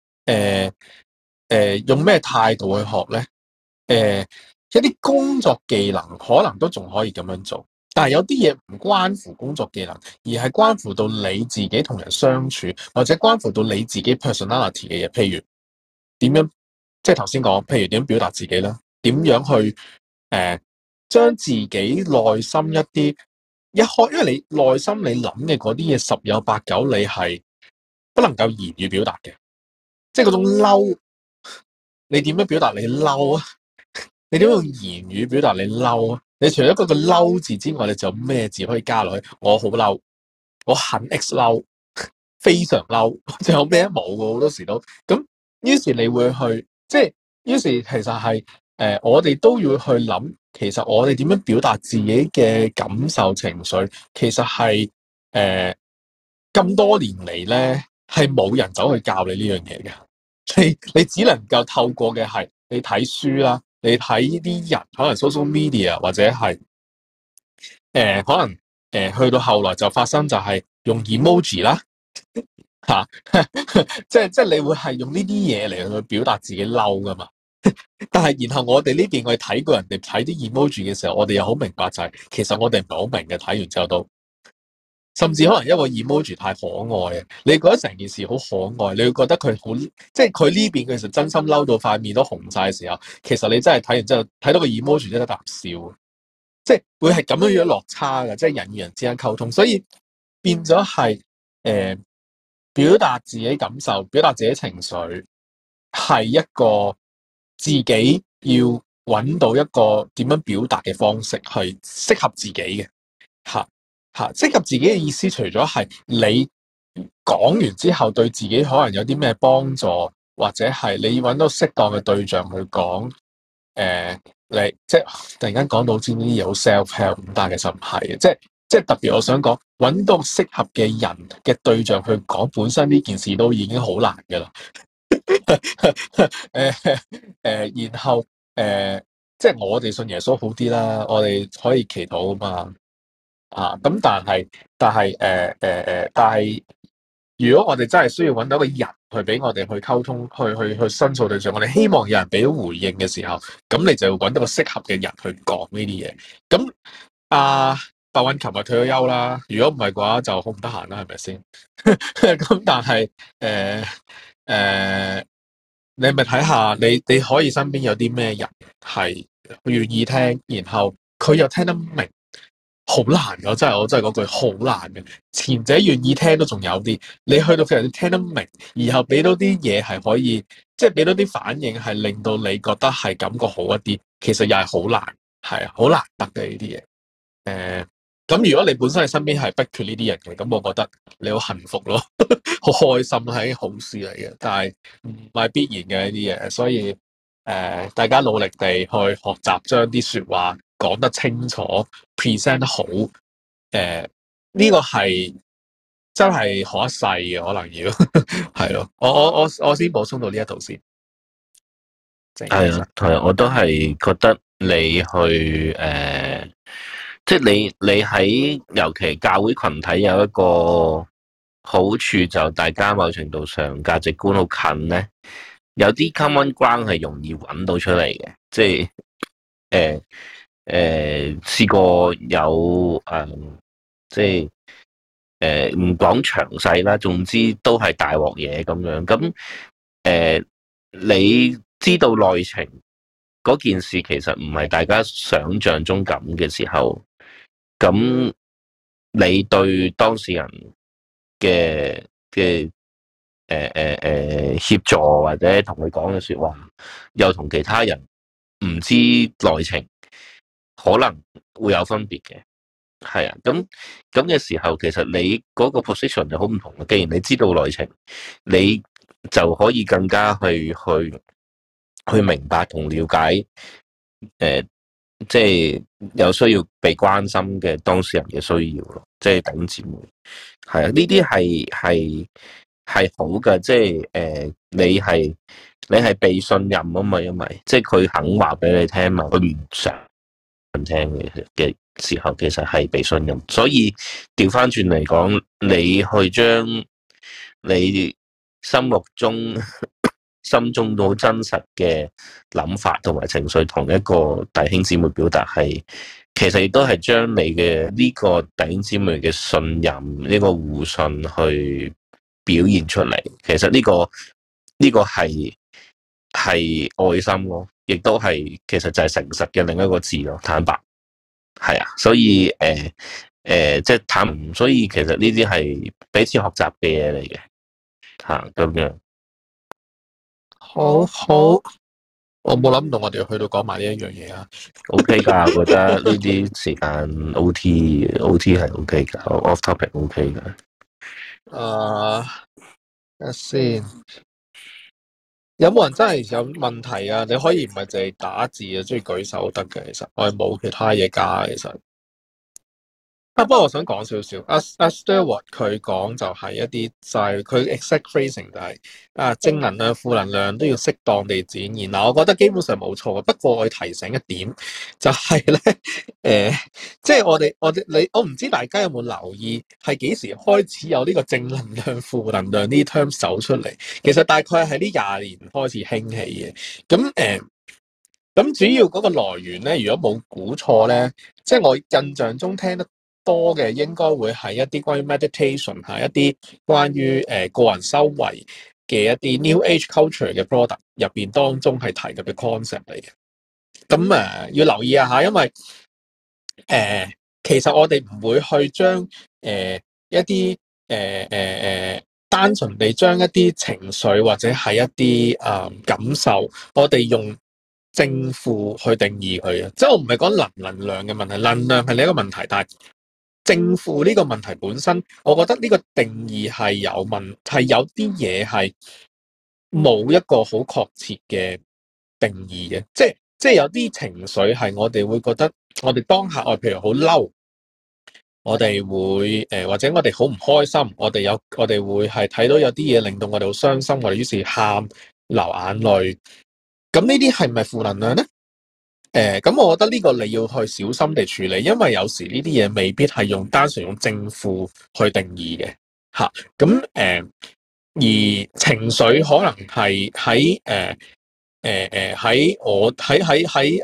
用咩態度去學咧？一啲工作技能可能都仲可以咁樣做，但係有啲嘢唔關乎工作技能，而係關乎到你自己同人相處，或者關乎到你自己 personality 嘅嘢。譬如點樣，即係頭先講，譬如點樣表達自己啦，點樣去將自己內心因為你內心你諗嘅嗰啲嘢十有八九你係不能夠言語表達嘅，即係嗰種嬲，你點樣表達你嬲啊？你點用言語表達你嬲啊？你除咗嗰個嬲字之外，你仲有咩字可以加落去？我好嬲，我很 X 嬲，非常嬲，仲有咩冇嘅？好多時都咁，於是你會去，即係於是其實係我哋都要去諗，其實我哋點樣表達自己嘅感受情緒，其實係咁多年嚟咧，係冇人走去教你呢樣嘢嘅。你只能夠透過嘅係你睇書啦，你睇呢啲人可能 social media 或者係可能去到後來就發生就係用 emoji 啦嚇，即係你會係用呢啲嘢嚟去表達自己嬲噶嘛。但係然後我哋呢邊我哋睇過人哋睇啲 emoji 嘅時候，我哋又好明白就係其實我哋唔係好明嘅，睇完之後都。甚至可能一個 emoji 太可愛，你覺得成件事好可愛，你會覺得佢好，即係佢呢邊其實真心嬲到塊面都紅晒嘅時候，其實你真係睇完之後睇到個 emoji 真係得啖笑，即係會係咁樣樣落差嘅，即係人與人之間溝通，所以變咗係表達自己感受、表達自己情緒，係一個自己要揾到一個點樣表達嘅方式，係適合自己嘅嚇。適合自己嘅意思，除咗係你講完之後對自己可能有啲咩幫助，或者係你揾到適當嘅對象去講，你即係突然間講到知呢啲嘢好 self help，但係其實唔係嘅，即係特別我想講揾到適合嘅人嘅對象去講，本身呢件事都已經好難㗎啦。然後即係我哋信耶穌好啲啦，我哋可以祈禱啊嘛。咁但係如果我哋真係需要揾到一個人去俾我哋去溝通，去申訴對象，我哋希望有人俾到回應嘅時候，咁你就要揾到個適合嘅人去講呢啲嘢。咁白韻琴日退咗休啦，如果唔係嘅話就好唔得閒啦，係咪先？咁但係你咪睇下，你可以身邊有啲咩人係願意聽，然後佢又聽得明。好難㗎，我真係嗰句好難嘅。前者願意聽都仲有啲，你去到佢哋聽得明，然後俾到啲嘢係可以，即係俾到啲反應係令到你覺得係感覺好一啲，其實又係好難，係啊，好難得嘅呢啲嘢。咁如果你本身係身邊係不缺呢啲人嘅，咁我覺得你好幸福咯，好開心係好事嚟嘅，但係唔係必然嘅呢啲嘢，所以大家努力地去學習將啲說話講得清楚 present 得好，呢個係真係學一世嘅，可能要係咯。我先補充到呢一度先。 係啊，係，我都係覺得你去即係你喺尤其教會群體有一個好處，就大家某程度上價值觀好近咧，有啲 common ground 係容易揾到出嚟嘅，即係試過有即係唔講詳細啦，總之都係大鑊嘢咁樣。咁你知道內情嗰件事其實唔係大家想象中咁嘅時候，咁你對當事人嘅協助或者同佢講嘅說話，又同其他人唔知內情，可能會有分別嘅。係啊，咁嘅時候，其實你嗰個 position 就好唔同啦。既然你知道內情，你就可以更加去明白同了解，即係有需要被關心嘅當事人嘅需要咯。即係弟兄姊妹，係啊，呢啲係好嘅。即係你係被信任啊嘛，因為即係佢肯話俾你聽嘛，佢唔想聽嘅時候，其實係被信任。所以調翻轉嚟講，你去將你心中好真實嘅諗法同埋情緒同一個弟兄姊妹表達，係其實亦都係將你嘅呢個弟兄姊妹嘅信任，呢個互信去表現出嚟。其實呢個係愛心咯，亦都係其實就係誠實嘅另一個字咯，坦白。係啊，所以即係坦，所以其實呢啲係彼此學習嘅嘢嚟嘅吓，咁樣。 好，我冇諗到我哋去到講埋呢一樣嘢啊。 OK 噶，我覺得呢啲時間 OT 係 OK 噶，off topic OK 噶。 睇下先，有冇人真係有問題啊？你可以唔係淨係打字啊，中意舉手得嘅。其實我係冇其他嘢加，其實。不過我想講少少，阿 Stewart 佢講就係一啲就係佢 exact phrasing 就係正能量、負能量都要適當地展現。嗱，我覺得基本上冇錯嘅。不過我要提醒一點，就係咧，即係我唔知大家有冇留意，係幾時開始有呢個正能量、負能量呢啲 term 走出嚟？其實大概係呢20年開始興起嘅。咁主要嗰個來源咧，如果冇估錯咧，即係我印象中聽得多嘅應該會係一啲關於 meditation， 係一啲關於個人修為嘅一啲 New Age culture 嘅 product 入邊當中係提及嘅 concept 嚟嘅。咁要留意一下，因為其實我哋唔會去將一啲單純地將一啲情緒或者係一啲感受，我哋用正負去定義佢嘅。即係我唔係講能量嘅問題，能量係另一個問題，但係正負呢個問題本身，我覺得呢個定義係有啲嘢係冇一個好確切嘅定義嘅。即係有啲情緒係我哋會覺得，我哋當下譬如好嬲，我哋會或者我哋好唔開心，我哋會係睇到有啲嘢令到我哋好傷心，我哋於是喊流眼淚。咁呢啲係咪負能量呢？咁我覺得呢個你要去小心地處理，因為有時呢啲嘢未必係單純用正負去定義嘅。 嚇。咁而情緒可能係喺我喺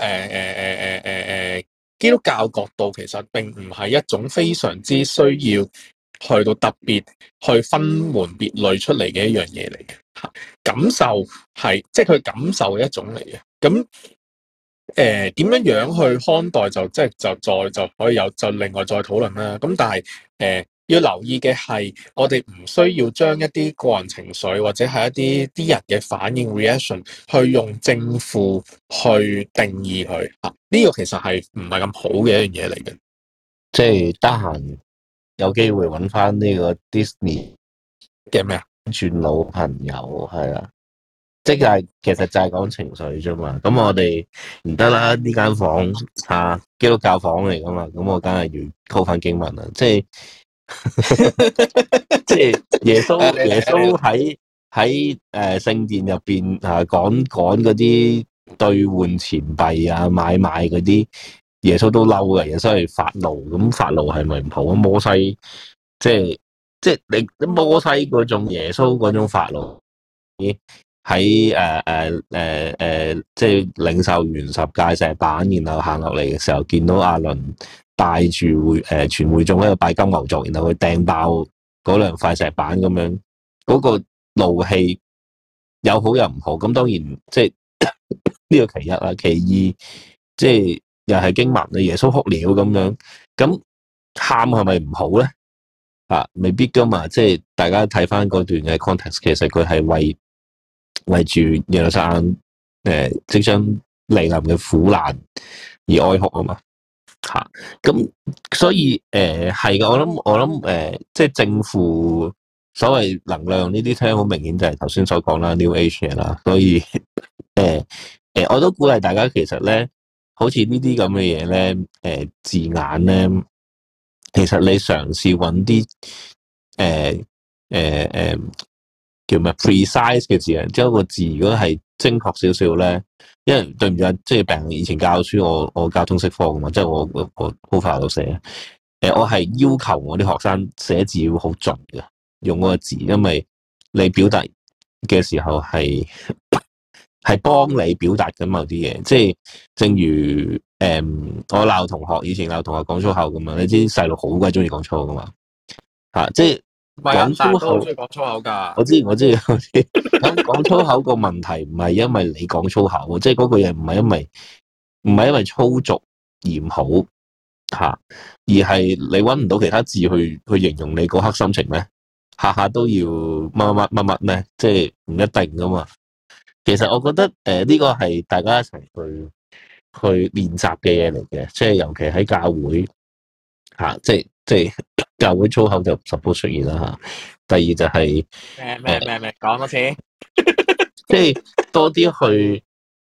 基督教角度，其實並唔係一種非常之需要去到特別去分門別類出嚟嘅一樣嘢嚟嘅嚇。感受係即係佢感受嘅一種嚟嘅。咁點樣樣去看待就即係就可以有就另外再討論啦。咁但係要留意嘅係，我哋唔需要將一啲個人情緒或者係一啲人嘅反應 reaction 去用正負去定義佢啊。呢個其實係唔係咁好嘅一樣嘢嚟嘅。 即係得閒有機會揾翻呢個 Disney 嘅咩啊？ 轉老朋友係啊。即係其實就係講情緒啫嘛，咁我哋唔得啦，呢間房基督教房嚟噶嘛，咁我梗係要溝翻經文啦，即係耶穌喺聖殿入邊講嗰啲兌換錢幣啊買賣嗰啲，耶穌都嬲嘅，耶穌係發怒，咁發怒係咪唔好啊？摩西即係你摩西嗰種耶穌嗰種發怒。喺即係領受完十誡石板，然後行落嚟嘅時候，見到亞倫帶住全會眾喺度拜金牛犢，然後佢掟爆嗰兩塊石板咁樣，嗰個怒氣有好有唔好。咁當然即係呢個其一啦，其二即係又係經文啊，耶穌哭了咁樣，咁喊係咪唔好咧？未必噶嘛，即係大家睇翻嗰段嘅 context， 其實佢係為住耶路撒冷即將嚟臨嘅苦難而哀哭啊嘛。咁所以係嘅，我諗即係正負所謂能量呢啲聽好明顯就係頭先所講啦 New Age 啦，所以我都鼓勵大家其實咧，好似呢啲咁嘅嘢咧，字眼咧，其實你嘗試揾啲叫咩 precise 嘅字啊，即係個字如果係精確少少咧，因為對唔住啊，即係病人以前教書，我教通識科噶嘛，即係我 cover 度寫，我係要求我啲學生寫字要好準嘅，用嗰個字，因為你表達嘅時候係幫你表達緊某啲嘢，即係正如我鬧同學，以前鬧同學講粗口咁嘛，你知細路好鬼中意講粗口噶嘛，即係。 唔係啊， 講粗口， 都中意講粗口㗎。 我知。咁講粗口個問題唔係因為你講粗口，即係嗰句嘢唔係因為粗俗而唔好而係你搵唔到其他字去形容你嗰刻心情咩？下下都要乜咩？即係唔一定噶嘛。其實我覺得呢個係大家一齊去練習嘅嘢嚟嘅，即係尤其喺教會即係。教會粗口就 suppose 出現啦第二就係咩講多次， 即係多啲去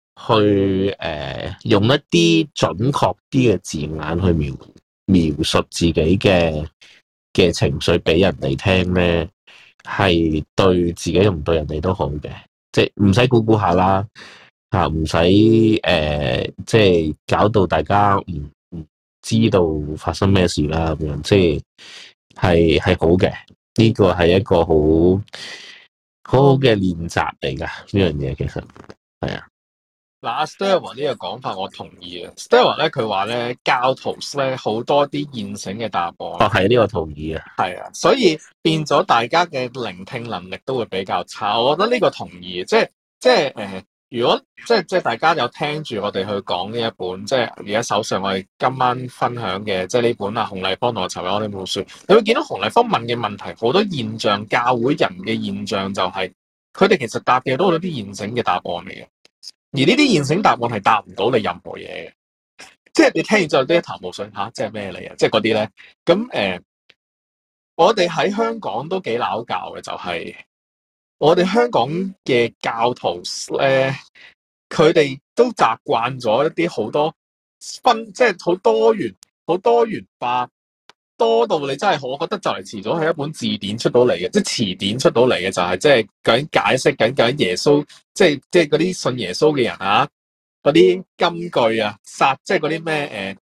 用一啲準確啲嘅字眼去描述自己嘅情緒俾人哋聽咧，係對自己同對人哋都好嘅，即係唔使估下啦唔使即係搞到大家唔知道發生咩事啦咁樣，即係好嘅，呢個係一個好好嘅練習嚟噶，呢樣嘢其實係啊。 嗱，Stella 呢個講法我同意啊。Stella 咧佢話咧教徒咧好多啲現成嘅答案。 係呢個同意啊。 係啊，所以變咗大家嘅聆聽能力都會比較差。我覺得呢個同意，即係如果即係大家有聽住我哋去講呢一本，即係而家手上我哋今晚分享嘅，即係呢本洪麗芳同我籌備我呢本書，你會見到洪麗芳問嘅問題好多現象，教會人嘅現象就係佢哋其實答嘅都係啲現成嘅答案嚟嘅，而呢啲現成答案係答唔到你任何嘢嘅，即係你聽完之後都一頭霧水即係咩嚟啊？即係嗰啲咧，咁我哋喺香港都幾拗教嘅，就係我哋香港嘅教徒咧，佢哋都習慣咗一啲好多即係好多元化，多到你真係我覺得就嚟遲早係一本字典出到嚟嘅，即係詞典出到嚟嘅，就係即係究竟解釋緊究竟耶穌，即係嗰啲信耶穌嘅人嗰啲金句啊，即係嗰啲咩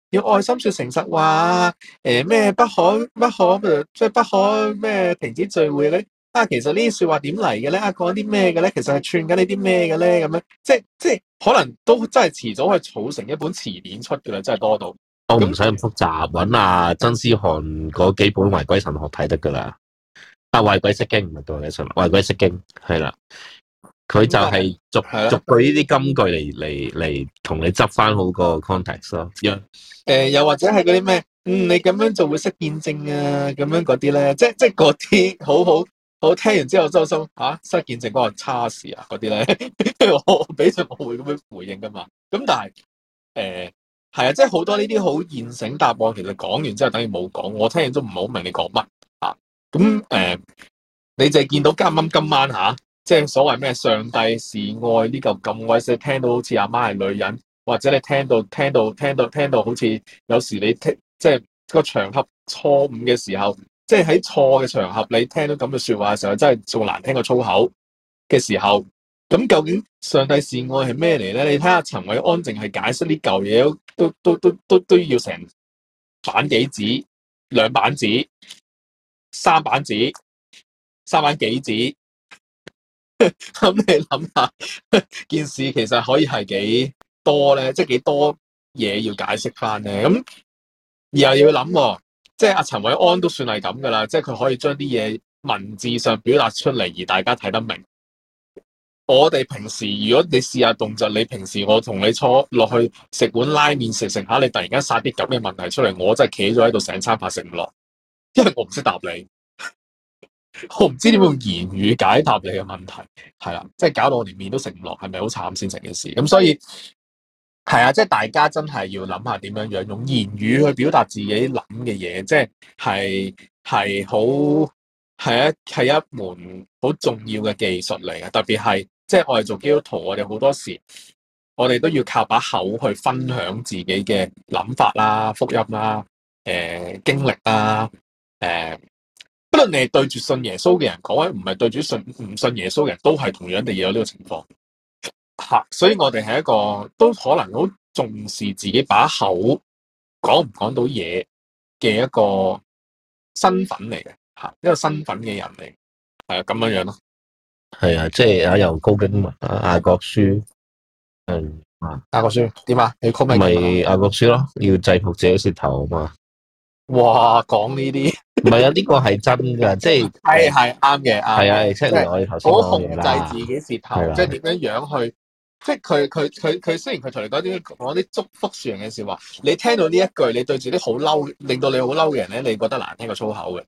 要愛心說誠實話，咩不可即係不可咩停止聚會咧。其實呢啲說話點嚟嘅咧？講啲咩嘅咧？其實係串緊你啲咩嘅咧？咁樣即係可能都真係遲早係儲成一本詞典出嘅啦，真係多到。 我唔使咁複雜，揾阿曾思翰嗰幾本壞鬼神學睇得噶啦。壞鬼釋經唔係對鬼神，壞鬼釋經係啦。佢就係逐句呢啲金句嚟同你執翻好個 context 咯。 又或者係嗰啲咩？你咁樣就會識見證啊，咁樣嗰啲咧，即係嗰啲好聽完之後周心失見證嗰個差事啊嗰啲咧，我俾咗我會咁樣回應噶嘛。咁但係係啊，即係好多呢啲好現成答案，其實講完之後等於冇講，我聽完都唔係好明你講乜啊。咁你淨係見到今晚即係所謂咩上帝是愛呢嚿咁鬼死，聽到好似阿媽係女人，或者你聽到好似有時你即係個場合錯誤嘅時候，即係喺錯嘅場合你聽到咁嘅說話嘅時候，真係仲難聽過粗口嘅時候，咁究竟上帝是愛係咩嚟咧？你睇下陳韋安淨係解釋呢嚿嘢都要成版幾紙、2版紙、3版紙、3版幾紙。咁你諗下，件事其實可以係幾多咧？即係幾多嘢要解釋翻咧？咁而又要諗，即係阿陳韋安都算係咁噶啦，即係佢可以將啲嘢文字上表達出嚟，而大家睇得明。我哋平時如果你試下動作，你平時我同你坐落去食碗拉麵食食下，你突然間殺啲咁嘅問題出嚟，我真係企咗喺度成餐飯食唔落，因為我唔識答你。我唔知點樣用言語解答你嘅問題，係啦，即係搞到我連麵都食唔落，係咪好慘先成件事？咁所以係啊，即係大家真係要諗下點樣樣用言語去表達自己諗嘅嘢，即係好係一門好重要嘅技術嚟嘅，特別係即係我哋做基督徒，我哋好多時我哋都要靠把口去分享自己嘅諗法啦、福音啦、經歷啦、不論你係對住信耶穌嘅人講，或者唔係對住唔信耶穌嘅人都係同樣地有呢個情況。所以我哋係一個都可能好重視自己把口講唔講到嘢嘅一個身份嚟嘅，一個身份嘅人嚟，係啊，咁樣樣咯。 係啊，即係有高經文雅各書， 雅各書點啊？你 call 咩？ 咪雅各書咯，要制服自己舌頭啊嘛。 哇，講呢啲唔係啊，呢個係真噶，即係係啱嘅， 係啊，即係我哋頭先好講嘢啦， 控制自己舌頭，即係點樣去，即係佢雖然佢同你講啲祝福說人嘅說話，你聽到呢一句，你對住啲好嬲，令到你好嬲嘅人咧，你覺得難聽過粗口嘅。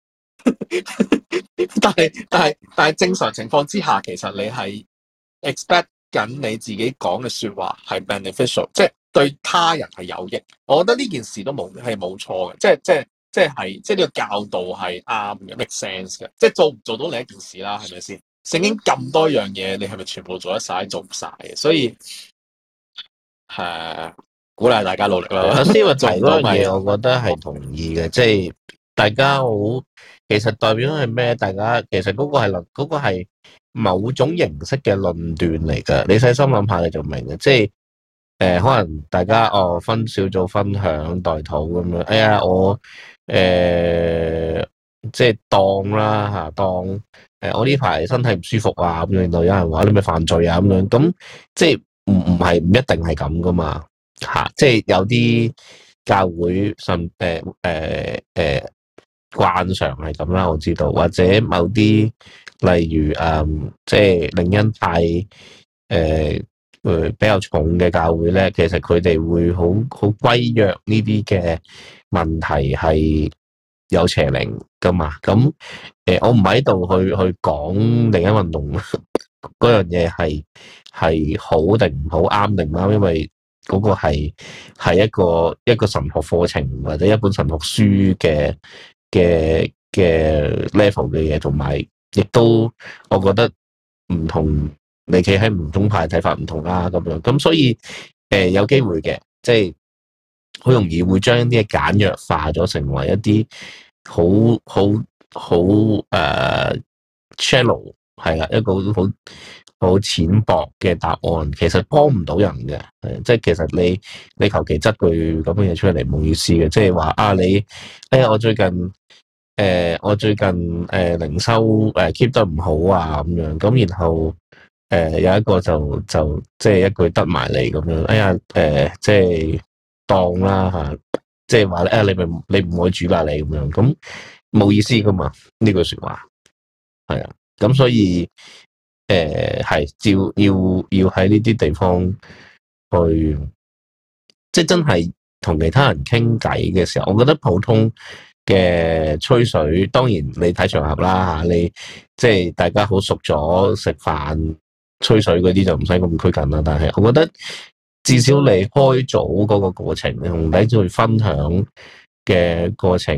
但係正常情況之下，其實你係 expect 緊你自己講嘅說話係 beneficial，即係對他人係有益。我覺得呢件事都冇錯嘅，即係呢個教導係啱嘅 make sense 嘅。即係做唔做到另一件事啦，係咪先？聖經咁多樣嘢，你係咪全部做得晒？做唔晒嘅，所以鼓勵大家努力啦。 阿思話提嗰樣嘢，我覺得係同意嘅，即係大家好，其實代表係咩？大家其實嗰個係某種形式嘅論斷嚟㗎。你細心諗下，你就明嘅。即係可能大家分小組分享代禱咁樣。哎呀，我即係當啦嚇，當我呢排身體唔舒服啊，咁樣令到有人話你咪犯罪啊咁樣。咁即係唔一定係咁噶嘛。即係有啲教會慣常係咁啦，我知道，或者某啲例如即係靈恩派比較重嘅教會咧，其實佢哋會好歸約呢啲嘅問題係有邪靈噶嘛。咁我唔喺度去講靈恩運動嗰樣嘢係好定唔好，啱定唔啱，因為嗰個係一個神學課程或者一本神學書嘅 level 嘅嘢，同埋亦都我覺得唔同，你企喺唔同派睇法唔同啦咁樣，咁所以有機會嘅，即係好容易會將啲嘢簡約化咗，成為一啲好shallow 係啦，一個好好淺薄嘅答案，其實幫唔到人嘅。即係其實你求其執句咁嘅嘢出嚟冇意思嘅，即係話啊你，哎呀我最近零收keep 得唔好啊咁樣，咁然後有一個就即係一句得埋嚟咁樣，哎呀即係當啦嚇，即係話咧你唔愛煮啦你咁樣，咁冇意思噶嘛呢句説話，係啊，咁所以係要喺呢啲地方去，即係真係同其他人傾偈嘅時候，我覺得普通嘅吹水，當然你睇場合啦嚇，你即係大家好熟咗食飯吹水嗰啲就唔使咁拘謹啦。但係我覺得至少你開組嗰個過程，你同大家去分享嘅過程，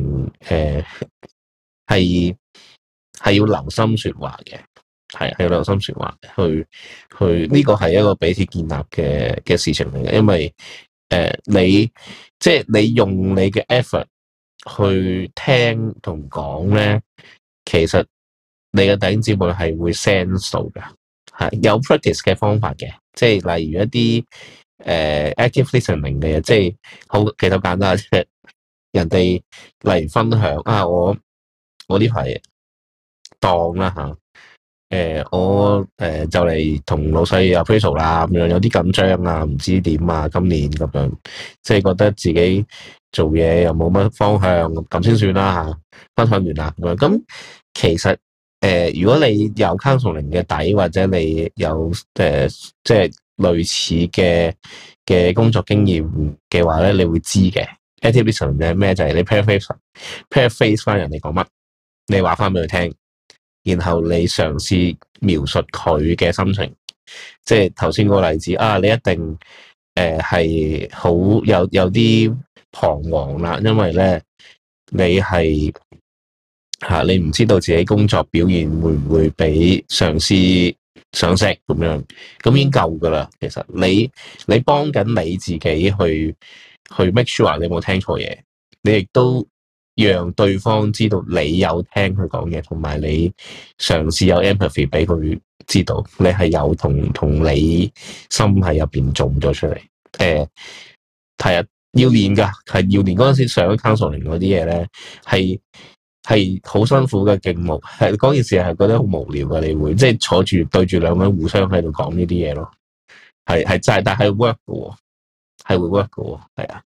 係要留心説話嘅。係要留心説話，去呢個係一個彼此建立嘅事情嚟嘅，因為你即係你用你嘅 effort 去聽同講咧，其實你嘅弟兄姊妹係會 sense 到嘅，係有 practice 嘅方法嘅，即係例如一啲active listening 嘅嘢，即係其實好簡單，即係人哋例如分享啊，我呢排當啦嚇。我就嚟同老細 appraisal 啦，咁樣有啲緊張啊，唔知點啊，今年咁樣，即係覺得自己做嘢又冇乜方向，咁先算啦嚇。分享完啦咁樣，咁其實如果你有 counseling 嘅底，或者你有即係類似嘅工作經驗嘅話咧，你會知嘅。active listening 係咩？就係你 paraphrase 翻人哋講乜，你話翻俾佢聽。然後你嘗試描述佢嘅心情，即係頭先嗰個例子啊，你一定係好有啲彷徨啦，因為咧你係你唔知道自己工作表現會唔會俾上司賞識咁樣，咁已經夠噶啦。其實你幫緊你自己去 make sure 你冇聽錯嘢，你亦都讓對方知道你有聽佢講嘢，同埋你嘗試有 empathy 俾佢知道你係有同你心喺入邊做咗出嚟。係啊，要練噶，係要練。嗰陣時上 counseling 嗰啲嘢咧，係好辛苦嘅勁無，係嗰件事係覺得好無聊嘅，你會即係坐住對住兩個人互相喺度講呢啲嘢咯，係真係，但係 work 嘅，係會 work 嘅，係啊。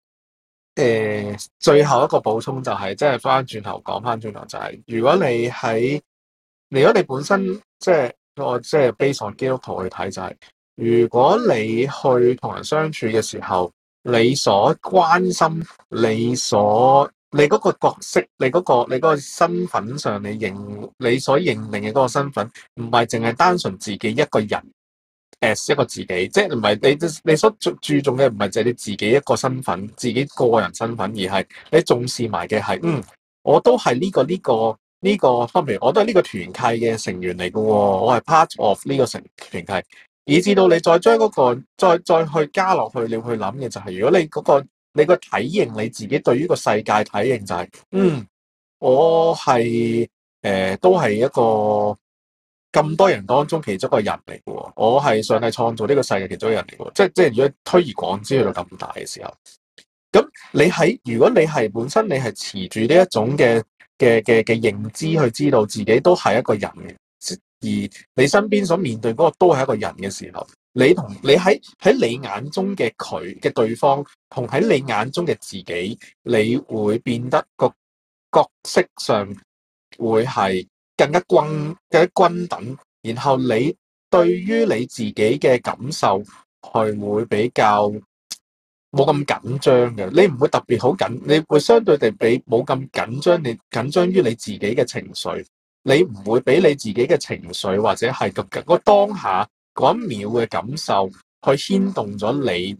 最後一個補充就係，即係翻轉頭講翻轉頭就係，如果你本身即係我即係 base on 基督徒去睇就係，如果你去同人相處嘅時候，你所關心、你嗰個角色、你嗰個身份上，你所認定嘅嗰個身份，唔係淨係單純自己一個人。as 一個自己，即係唔係你所注重嘅唔係就係你自己一個身份，自己個人身份，而係你重視埋嘅係，我都係呢個方面，我都係呢個團契嘅成員嚟嘅，我係 part of 呢個團契，以至到你再將嗰個再去加落去，你要去諗嘅就係，如果你個體認你自己對於個世界體認就係，我係都係一個咁多人當中其中一個人嚟嘅，我係上帝創造呢個世界其中一個人嚟嘅，即係如果推而廣之去到咁大嘅時候，咁如果你係本身你係持住呢一種嘅認知去知道自己都係一個人嘅，而你身邊所面對嗰個都係一個人嘅時候，你喺你眼中嘅佢嘅對方，同喺你眼中嘅自己，你會變得個角色上會係更加均等，然後你對於你自己嘅感受係會比較冇咁緊張嘅，你唔會特別好緊，你會相對地比冇咁緊張，你緊張於你自己嘅情緒，你唔會俾你自己嘅情緒或者係個當下嗰一秒嘅感受去牽動咗你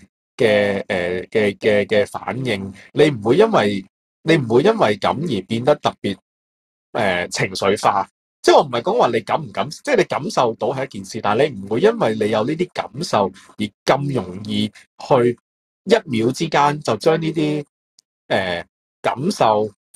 嘅反應，你唔會因為咁而變得特別情緒化。即係我唔係講話你感唔感，即係你感受到係一件事，但係你唔會因為你有呢啲感受而咁容易去一秒之間就將呢啲感受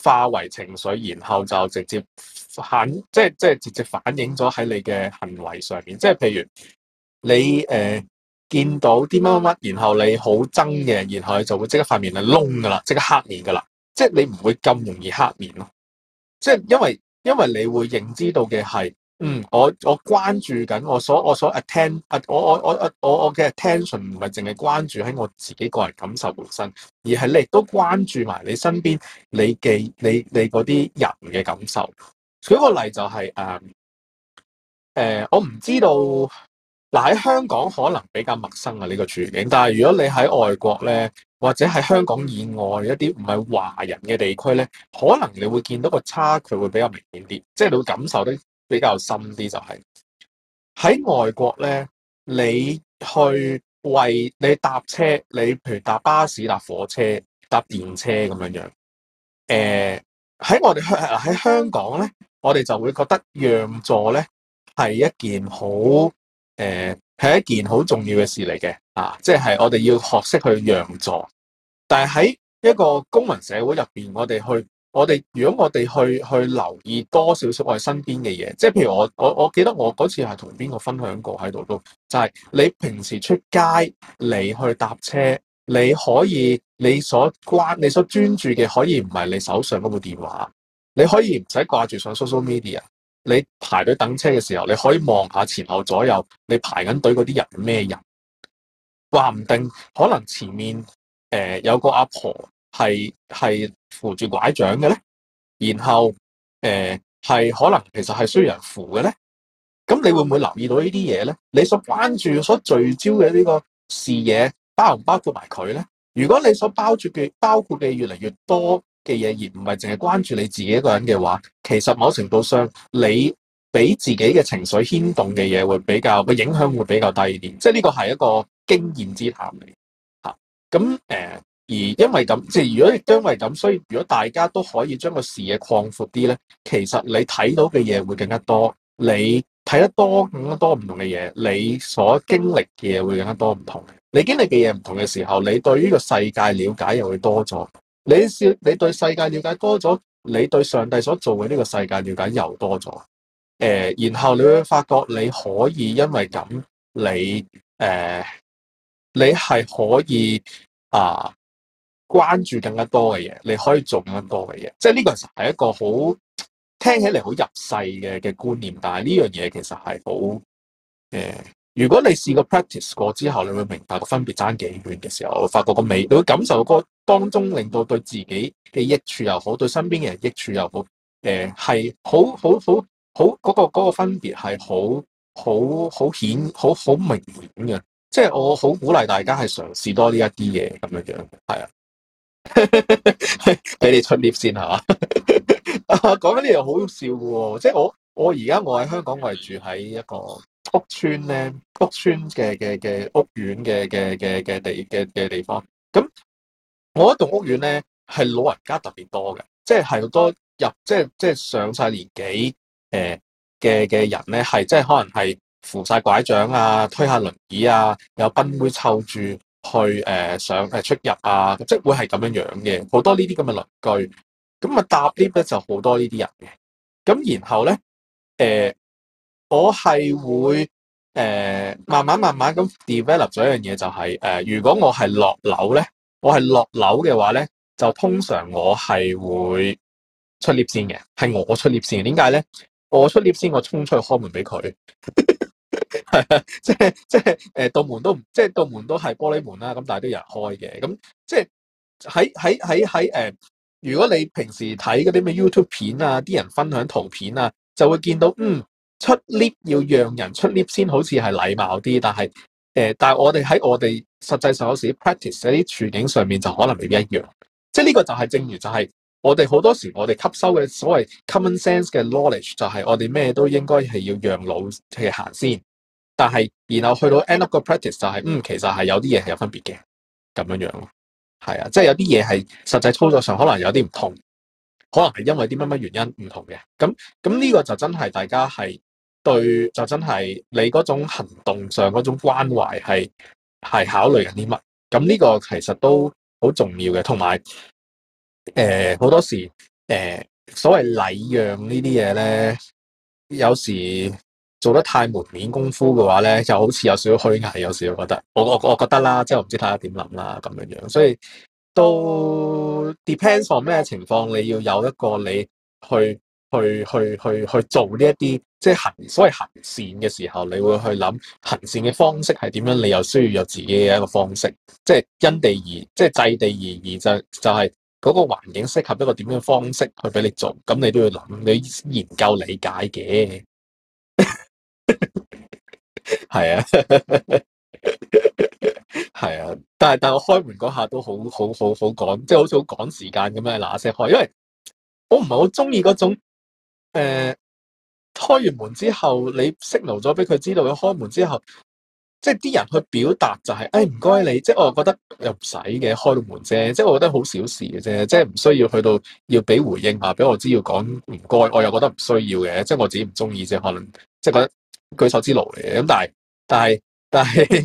化為情緒，然後就直接直接反映咗喺你嘅行為上面。即係譬如你見到啲乜乜乜，然後你好憎嘅，然後你就會即刻塊面係燶噶啦，即刻黑面噶啦。即係你唔會咁容易黑面咯。即係因為你會認知到嘅係，我關注緊我所 attend 我嘅 attention 唔係淨係關注喺我自己個人感受本身，而係你亦都關注埋你身邊你嗰啲人嘅感受。舉個例就係我唔知道嗱，喺香港可能比較陌生啊呢個處境，但係如果你喺外國咧，或者喺香港以外一啲唔係華人嘅地區咧，可能你會見到個差距會比較明顯啲，即係你會感受得比較深啲。就係喺外國咧，你去為你搭車，你譬如搭巴士、搭火車、搭電車咁樣樣，喺我哋喺香港咧，我哋就會覺得讓座咧係一件係一件好重要嘅事嚟嘅啊！即係我哋要學識去讓座。但係喺一個公民社會入邊，如果我哋去留意多少少我哋身邊嘅嘢，即係譬如我記得我嗰次係同邊個分享過喺度都，就係你平時出街你去搭車，你可以你所專注嘅可以唔係你手上嗰部電話，你可以唔使掛住上 social media。你排隊等車嘅時候，你可以望下前後左右，你排緊隊嗰啲人係咩人？話唔定可能前面有個阿婆係扶住拐杖嘅咧，然後係可能其實係需要人扶嘅咧。咁你會唔會留意到呢啲嘢咧？你所關注、所聚焦嘅呢個視野，包唔包括埋佢咧？如果你所包括嘅越嚟越多嘅嘢，而唔係淨係關注你自己一個人嘅話，其實某程度上你俾自己嘅情緒牽動嘅嘢會比較個影響會比較低啲，即係呢個係一個經驗之談嚟嚇。咁而因為咁，即係如果因為咁，所以如果大家都可以將個視野擴闊啲咧，其實你睇到嘅嘢會更加多，你睇得多更加多唔同嘅嘢，你所經歷嘅嘢會更加多唔同。你經歷嘅嘢唔同嘅時候，你對呢個世界了解又會多咗。你對世界了解多咗，你對上帝所做嘅呢個世界了解又多咗。然後你會發覺你可以因為咁，你係可以關注更加多嘅嘢，你可以做更加多嘅嘢。即係呢個其實係一個好聽起嚟好入世嘅觀念，但係呢樣嘢其實係好如果你試過 practice 過之後，你會明白個分別爭幾遠嘅時候，我發覺個美，你會感受個當中令到對自己嘅益處又好，對身邊嘅人益處又好，係好嗰個分別係好顯好明顯嘅。即係我好鼓勵大家係嘗試多呢一啲嘢咁樣樣，係啊，俾你出 lift 先係嘛？講緊呢樣好笑嘅喎，即係我而家我喺香港，我係住喺一個屋村咧，屋村嘅屋苑嘅地方。咁我一棟屋苑咧係老人家特別多嘅，即係好多即係上晒年紀嘅人咧，係即係可能係扶晒拐杖啊，推下輪椅啊，有賓妹湊住去上出入啊，即係會係咁樣樣嘅，好多呢啲咁嘅鄰居。咁啊搭 lift 咧就好多呢啲人嘅。咁然後咧我係會慢慢咁 develop 咗一樣嘢，就係如果我係落樓咧，我係落樓嘅話咧，就通常我係會出 lift 先嘅，係我出 lift 先嘅。點解咧？我出 lift 先，我衝出去開門俾佢，係啊，即係道門都即係道門都係玻璃門啦，咁但係都有人開嘅。咁即係喺如果你平時睇嗰啲咩 YouTube 片啊，啲人分享圖片啊，就會見到出 lift 要讓人出 lift 先，好似係禮貌啲，但係我哋喺我哋實際上有時 practice 喺啲處境上面就可能未必一樣。即係呢個就係正如就係我哋好多時我哋吸收嘅所謂 common sense 嘅 knowledge， 就係我哋咩都應該係要讓路去行先，但係然後去到 end up 個 practice 就係其實係有啲嘢係有分別嘅咁樣樣咯。係啊，即係有啲嘢係實際操作上可能有啲唔同，可能係因為啲乜原因唔同嘅。咁呢個就真係大家係對，就真係你嗰種行動上嗰種關懷係考慮緊啲乜？咁呢個其實都好重要嘅。同埋好多時所謂禮讓呢啲嘢咧，有時做得太門面功夫嘅話咧，就好似有少少虛偽，有時我覺得，我覺得啦，即係我唔知大家點諗啦咁樣樣，所以都 depends on 咩情況，你要有一個你去做呢一啲即係所謂行善嘅時候，你會去諗行善嘅方式係點樣，你又需要有自己嘅一個方式，即係因地而即係制地而異，就係嗰個環境適合一個點樣方式去俾你做，咁你都要諗，你研究理解嘅，係啊，係啊，但係我開門嗰下都好趕，即係好似好趕時間咁樣嗱聲開，因為我唔係好中意嗰種開完門之後，你 signal 咗俾佢知道，佢開門之後，即係啲人去表達就係，誒唔該你，即係我覺得又唔使嘅，開到門啫，即係我覺得好小事嘅啫，即係唔需要去到要俾回應啊，俾我知要講唔該，我又覺得唔需要嘅，即係我自己唔中意啫，可能即係覺得舉手之勞嚟嘅，咁但係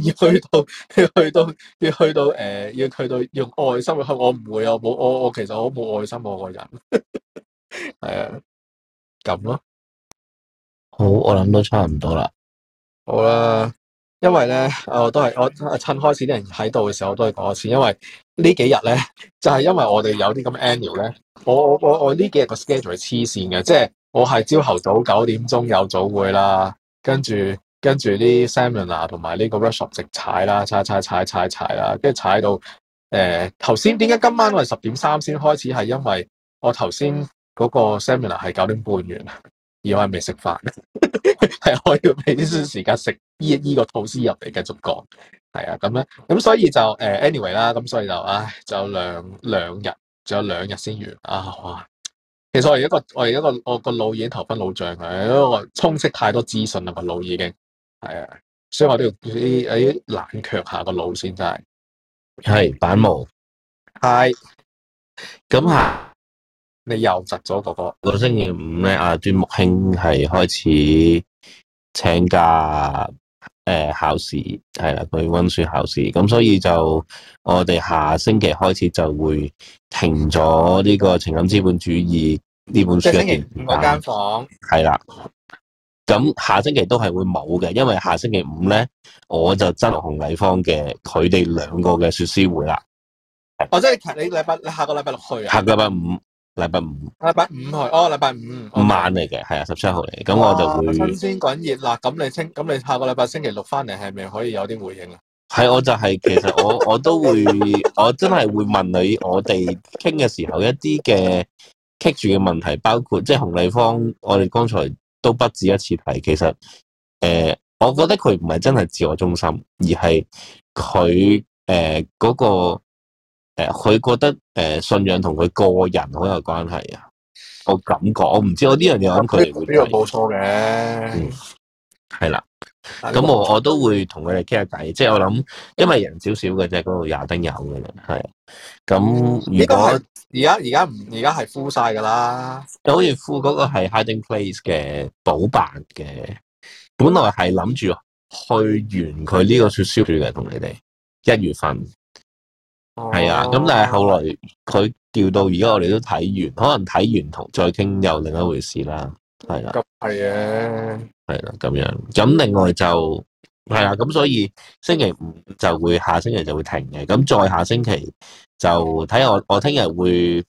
要去到用愛心去開，我唔會啊，我其實我冇愛心我個人，係啊，咁咯。 好，我諗都差唔多啦。 好啦，因為咧，我趁開始啲人喺度嘅時候，我都係講一次，因為呢幾日咧，就係因為我哋有啲咁 annual 咧，我呢幾日個 schedule 係黐線嘅，即係我係朝頭早9點鐘有早會啦，跟住啲 seminar 同埋呢個 workshop 直踩啦，踩啦，跟住踩到頭先點解今晚我係10點3先開始，係因為我頭先嗰個 seminar 係9點半完，而我係未食飯。係我要俾啲時間食呢個吐司入嚟繼續講，係啊咁咧，咁所以就anyway 啦，咁所以就就有兩日，仲有2日先完啊！哇，其實我而家個腦已經頭昏腦脹嘅，因為我充斥太多資訊啦，個腦已經係啊，所以我都要啲冷卻下個腦先，真係係板毛， 係咁下你又窒咗個星期五咧，阿端木興係開始請假考試，係啦，佢溫書考試，咁所以就我哋下星期開始就會停咗呢個情感資本主義呢本書一段時間。即係星期5嗰間房係啦，咁下星期都係會冇嘅，因為下星期5咧，我就真同洪麗芳嘅佢哋兩個嘅說書會啦。 哦，即係你下個禮拜6去啊？ 下個禮拜五。禮拜五去， 禮拜五晚嚟嘅，係啊，17號嚟，咁我就會新鮮滾熱辣。咁你下個禮拜星期6翻嚟，係咪可以有啲回應啊？ 係，我就係其實我都會，我真係會問你，我哋傾嘅時候一啲嘅棘住嘅問題，包括即係洪麗芳，我哋剛才都不止一次提，其實我覺得佢唔係真係自我中心，而係佢嗰個。佢覺得信仰同佢個人好有關係啊！我感覺，我唔知我呢樣嘢，我諗佢哋會睇。呢個冇錯嘅，係啦。咁我都會同佢哋傾下偈，即係我諗，因為人少少嘅啫，嗰度廿丁友嘅啫，係。咁如果而家係 full 晒噶啦，好似 full 嗰個係 Hiding Place 嘅補辦嘅，本來係諗住去完佢呢個說書會嘅，同你哋1月份。係啊，咁但係後來佢調到而家，我哋都睇完，可能睇完同再傾又另一回事啦。係啦，咁係嘅，係啦，咁樣。咁另外就係啦，咁所以星期5就會下星期就會停嘅。咁再下星期就睇下我聽日會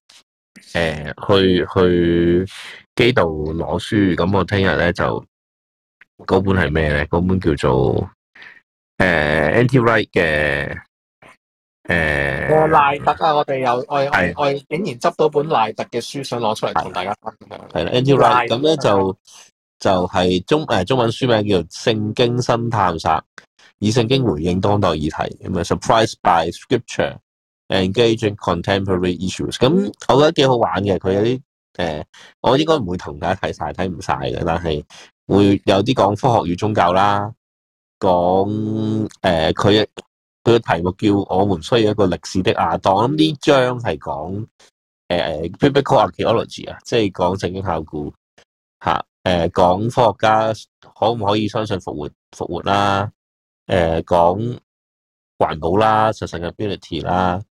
去基道攞書。咁我聽日咧就嗰本係咩咧？嗰本叫做Anti-Right 嘅。賴特啊！我哋我竟然執到本賴特嘅書，想攞出嚟同大家分享。係啦 Anti-Right 咁咧就係中文書名叫做《聖經新探索》，以聖經回應當代議題。咁啊 ，Surprised by Scripture, Engaging Contemporary Issues。咁我覺得幾好玩嘅，佢有啲我應該唔會同大家睇晒，睇唔晒嘅，但係會有啲講科學與宗教啦，講佢嘅題目叫我們需要一個歷史的亞當，咁呢章係講biblical archaeology 啊，即係講聖經考古嚇，講科學家可唔可以相信復活啦，講環保啦，sustainability啦，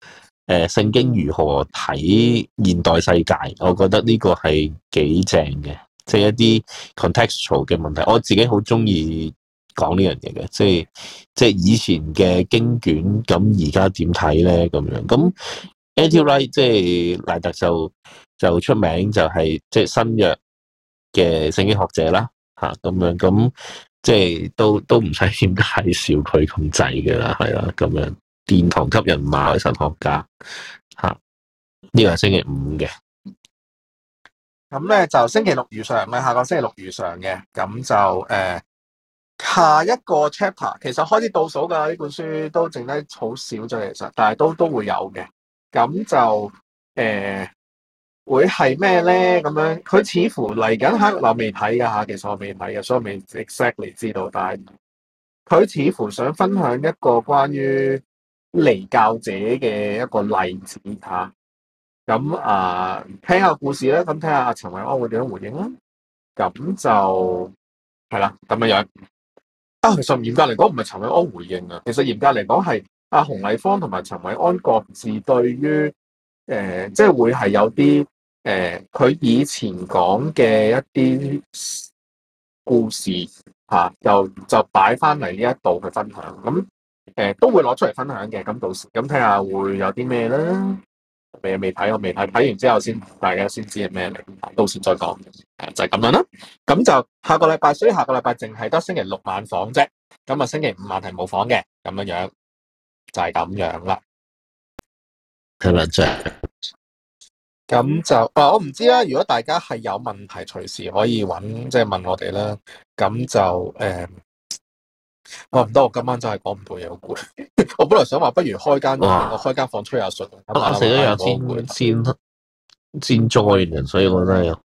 聖經如何睇現代世界，我覺得呢個係幾正嘅，即係一啲 contextual 嘅問題。我自己好中意講呢樣嘢嘅，即係以前嘅經卷，咁而家點睇咧？咁樣咁 N.T. Wright 即係賴特就出名就係即係新約嘅聖經學者啦，嚇咁樣咁即係都唔使點介紹佢咁滯嘅啦，係啦咁樣。殿堂級人馬神學家嚇，呢個係星期五嘅。 咁咧就星期六如常嘅，下個星期六如常嘅，咁就下一個 chapter 其實開始倒數㗎，呢本書都剩低好少啫，其實，但係都會有嘅。咁就會係咩咧？咁樣佢似乎嚟緊喺我未睇㗎嚇，其實我未睇嘅，所以我未 exactly 知道。但係佢似乎想分享一個關於離教者嘅一個例子嚇。咁聽下故事啦，咁睇下阿陳韋安會點樣回應啦。咁就係啦，咁樣樣。其實嚴格嚟講唔係陳韋安回應啊，其實嚴格嚟講係阿洪麗芳同埋陳韋安各自對於即係會係有啲佢以前講嘅一啲故事嚇，就擺翻嚟呢一度去分享。咁都會攞出嚟分享嘅。咁到時咁睇下會有啲咩啦。未睇，我未睇，睇完之後先大家先知係咩嚟，到時再講。就係咁樣啦。咁就下個禮拜，所以下個禮拜淨係得星期六晚房啫。咁啊，星期五晚係冇房嘅，咁樣樣就係咁樣啦。 係啦，就咁就我唔知啦。如果大家係有問題，隨時可以揾即係問我哋啦。咁就我唔得，我今晚真係講唔到嘢，好攰。我本來想話不如開間我開間房吹下水。 我食咗藥先 join 所以我覺得有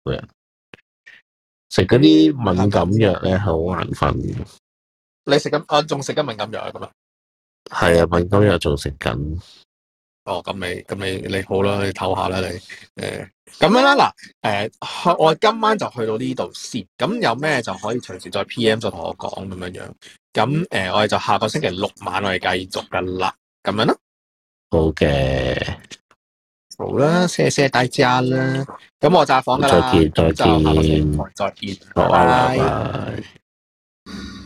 食嗰啲敏感藥咧，好眼瞓。 你食緊仲食緊敏感藥啊？咁啊？ 係啊，敏感藥仲食緊。 咁你好啦，你唞下啦，你咁樣啦。嗱，我今晚就去到呢度先。咁有咩就可以隨時再 PM 再同我講咁樣樣。咁我哋就下個星期六晚我哋繼續噶啦。咁樣啦。 好嘅， 好啦，謝謝大家啦。咁我炸房噶啦。 再見， 就下個星期再見。拜拜。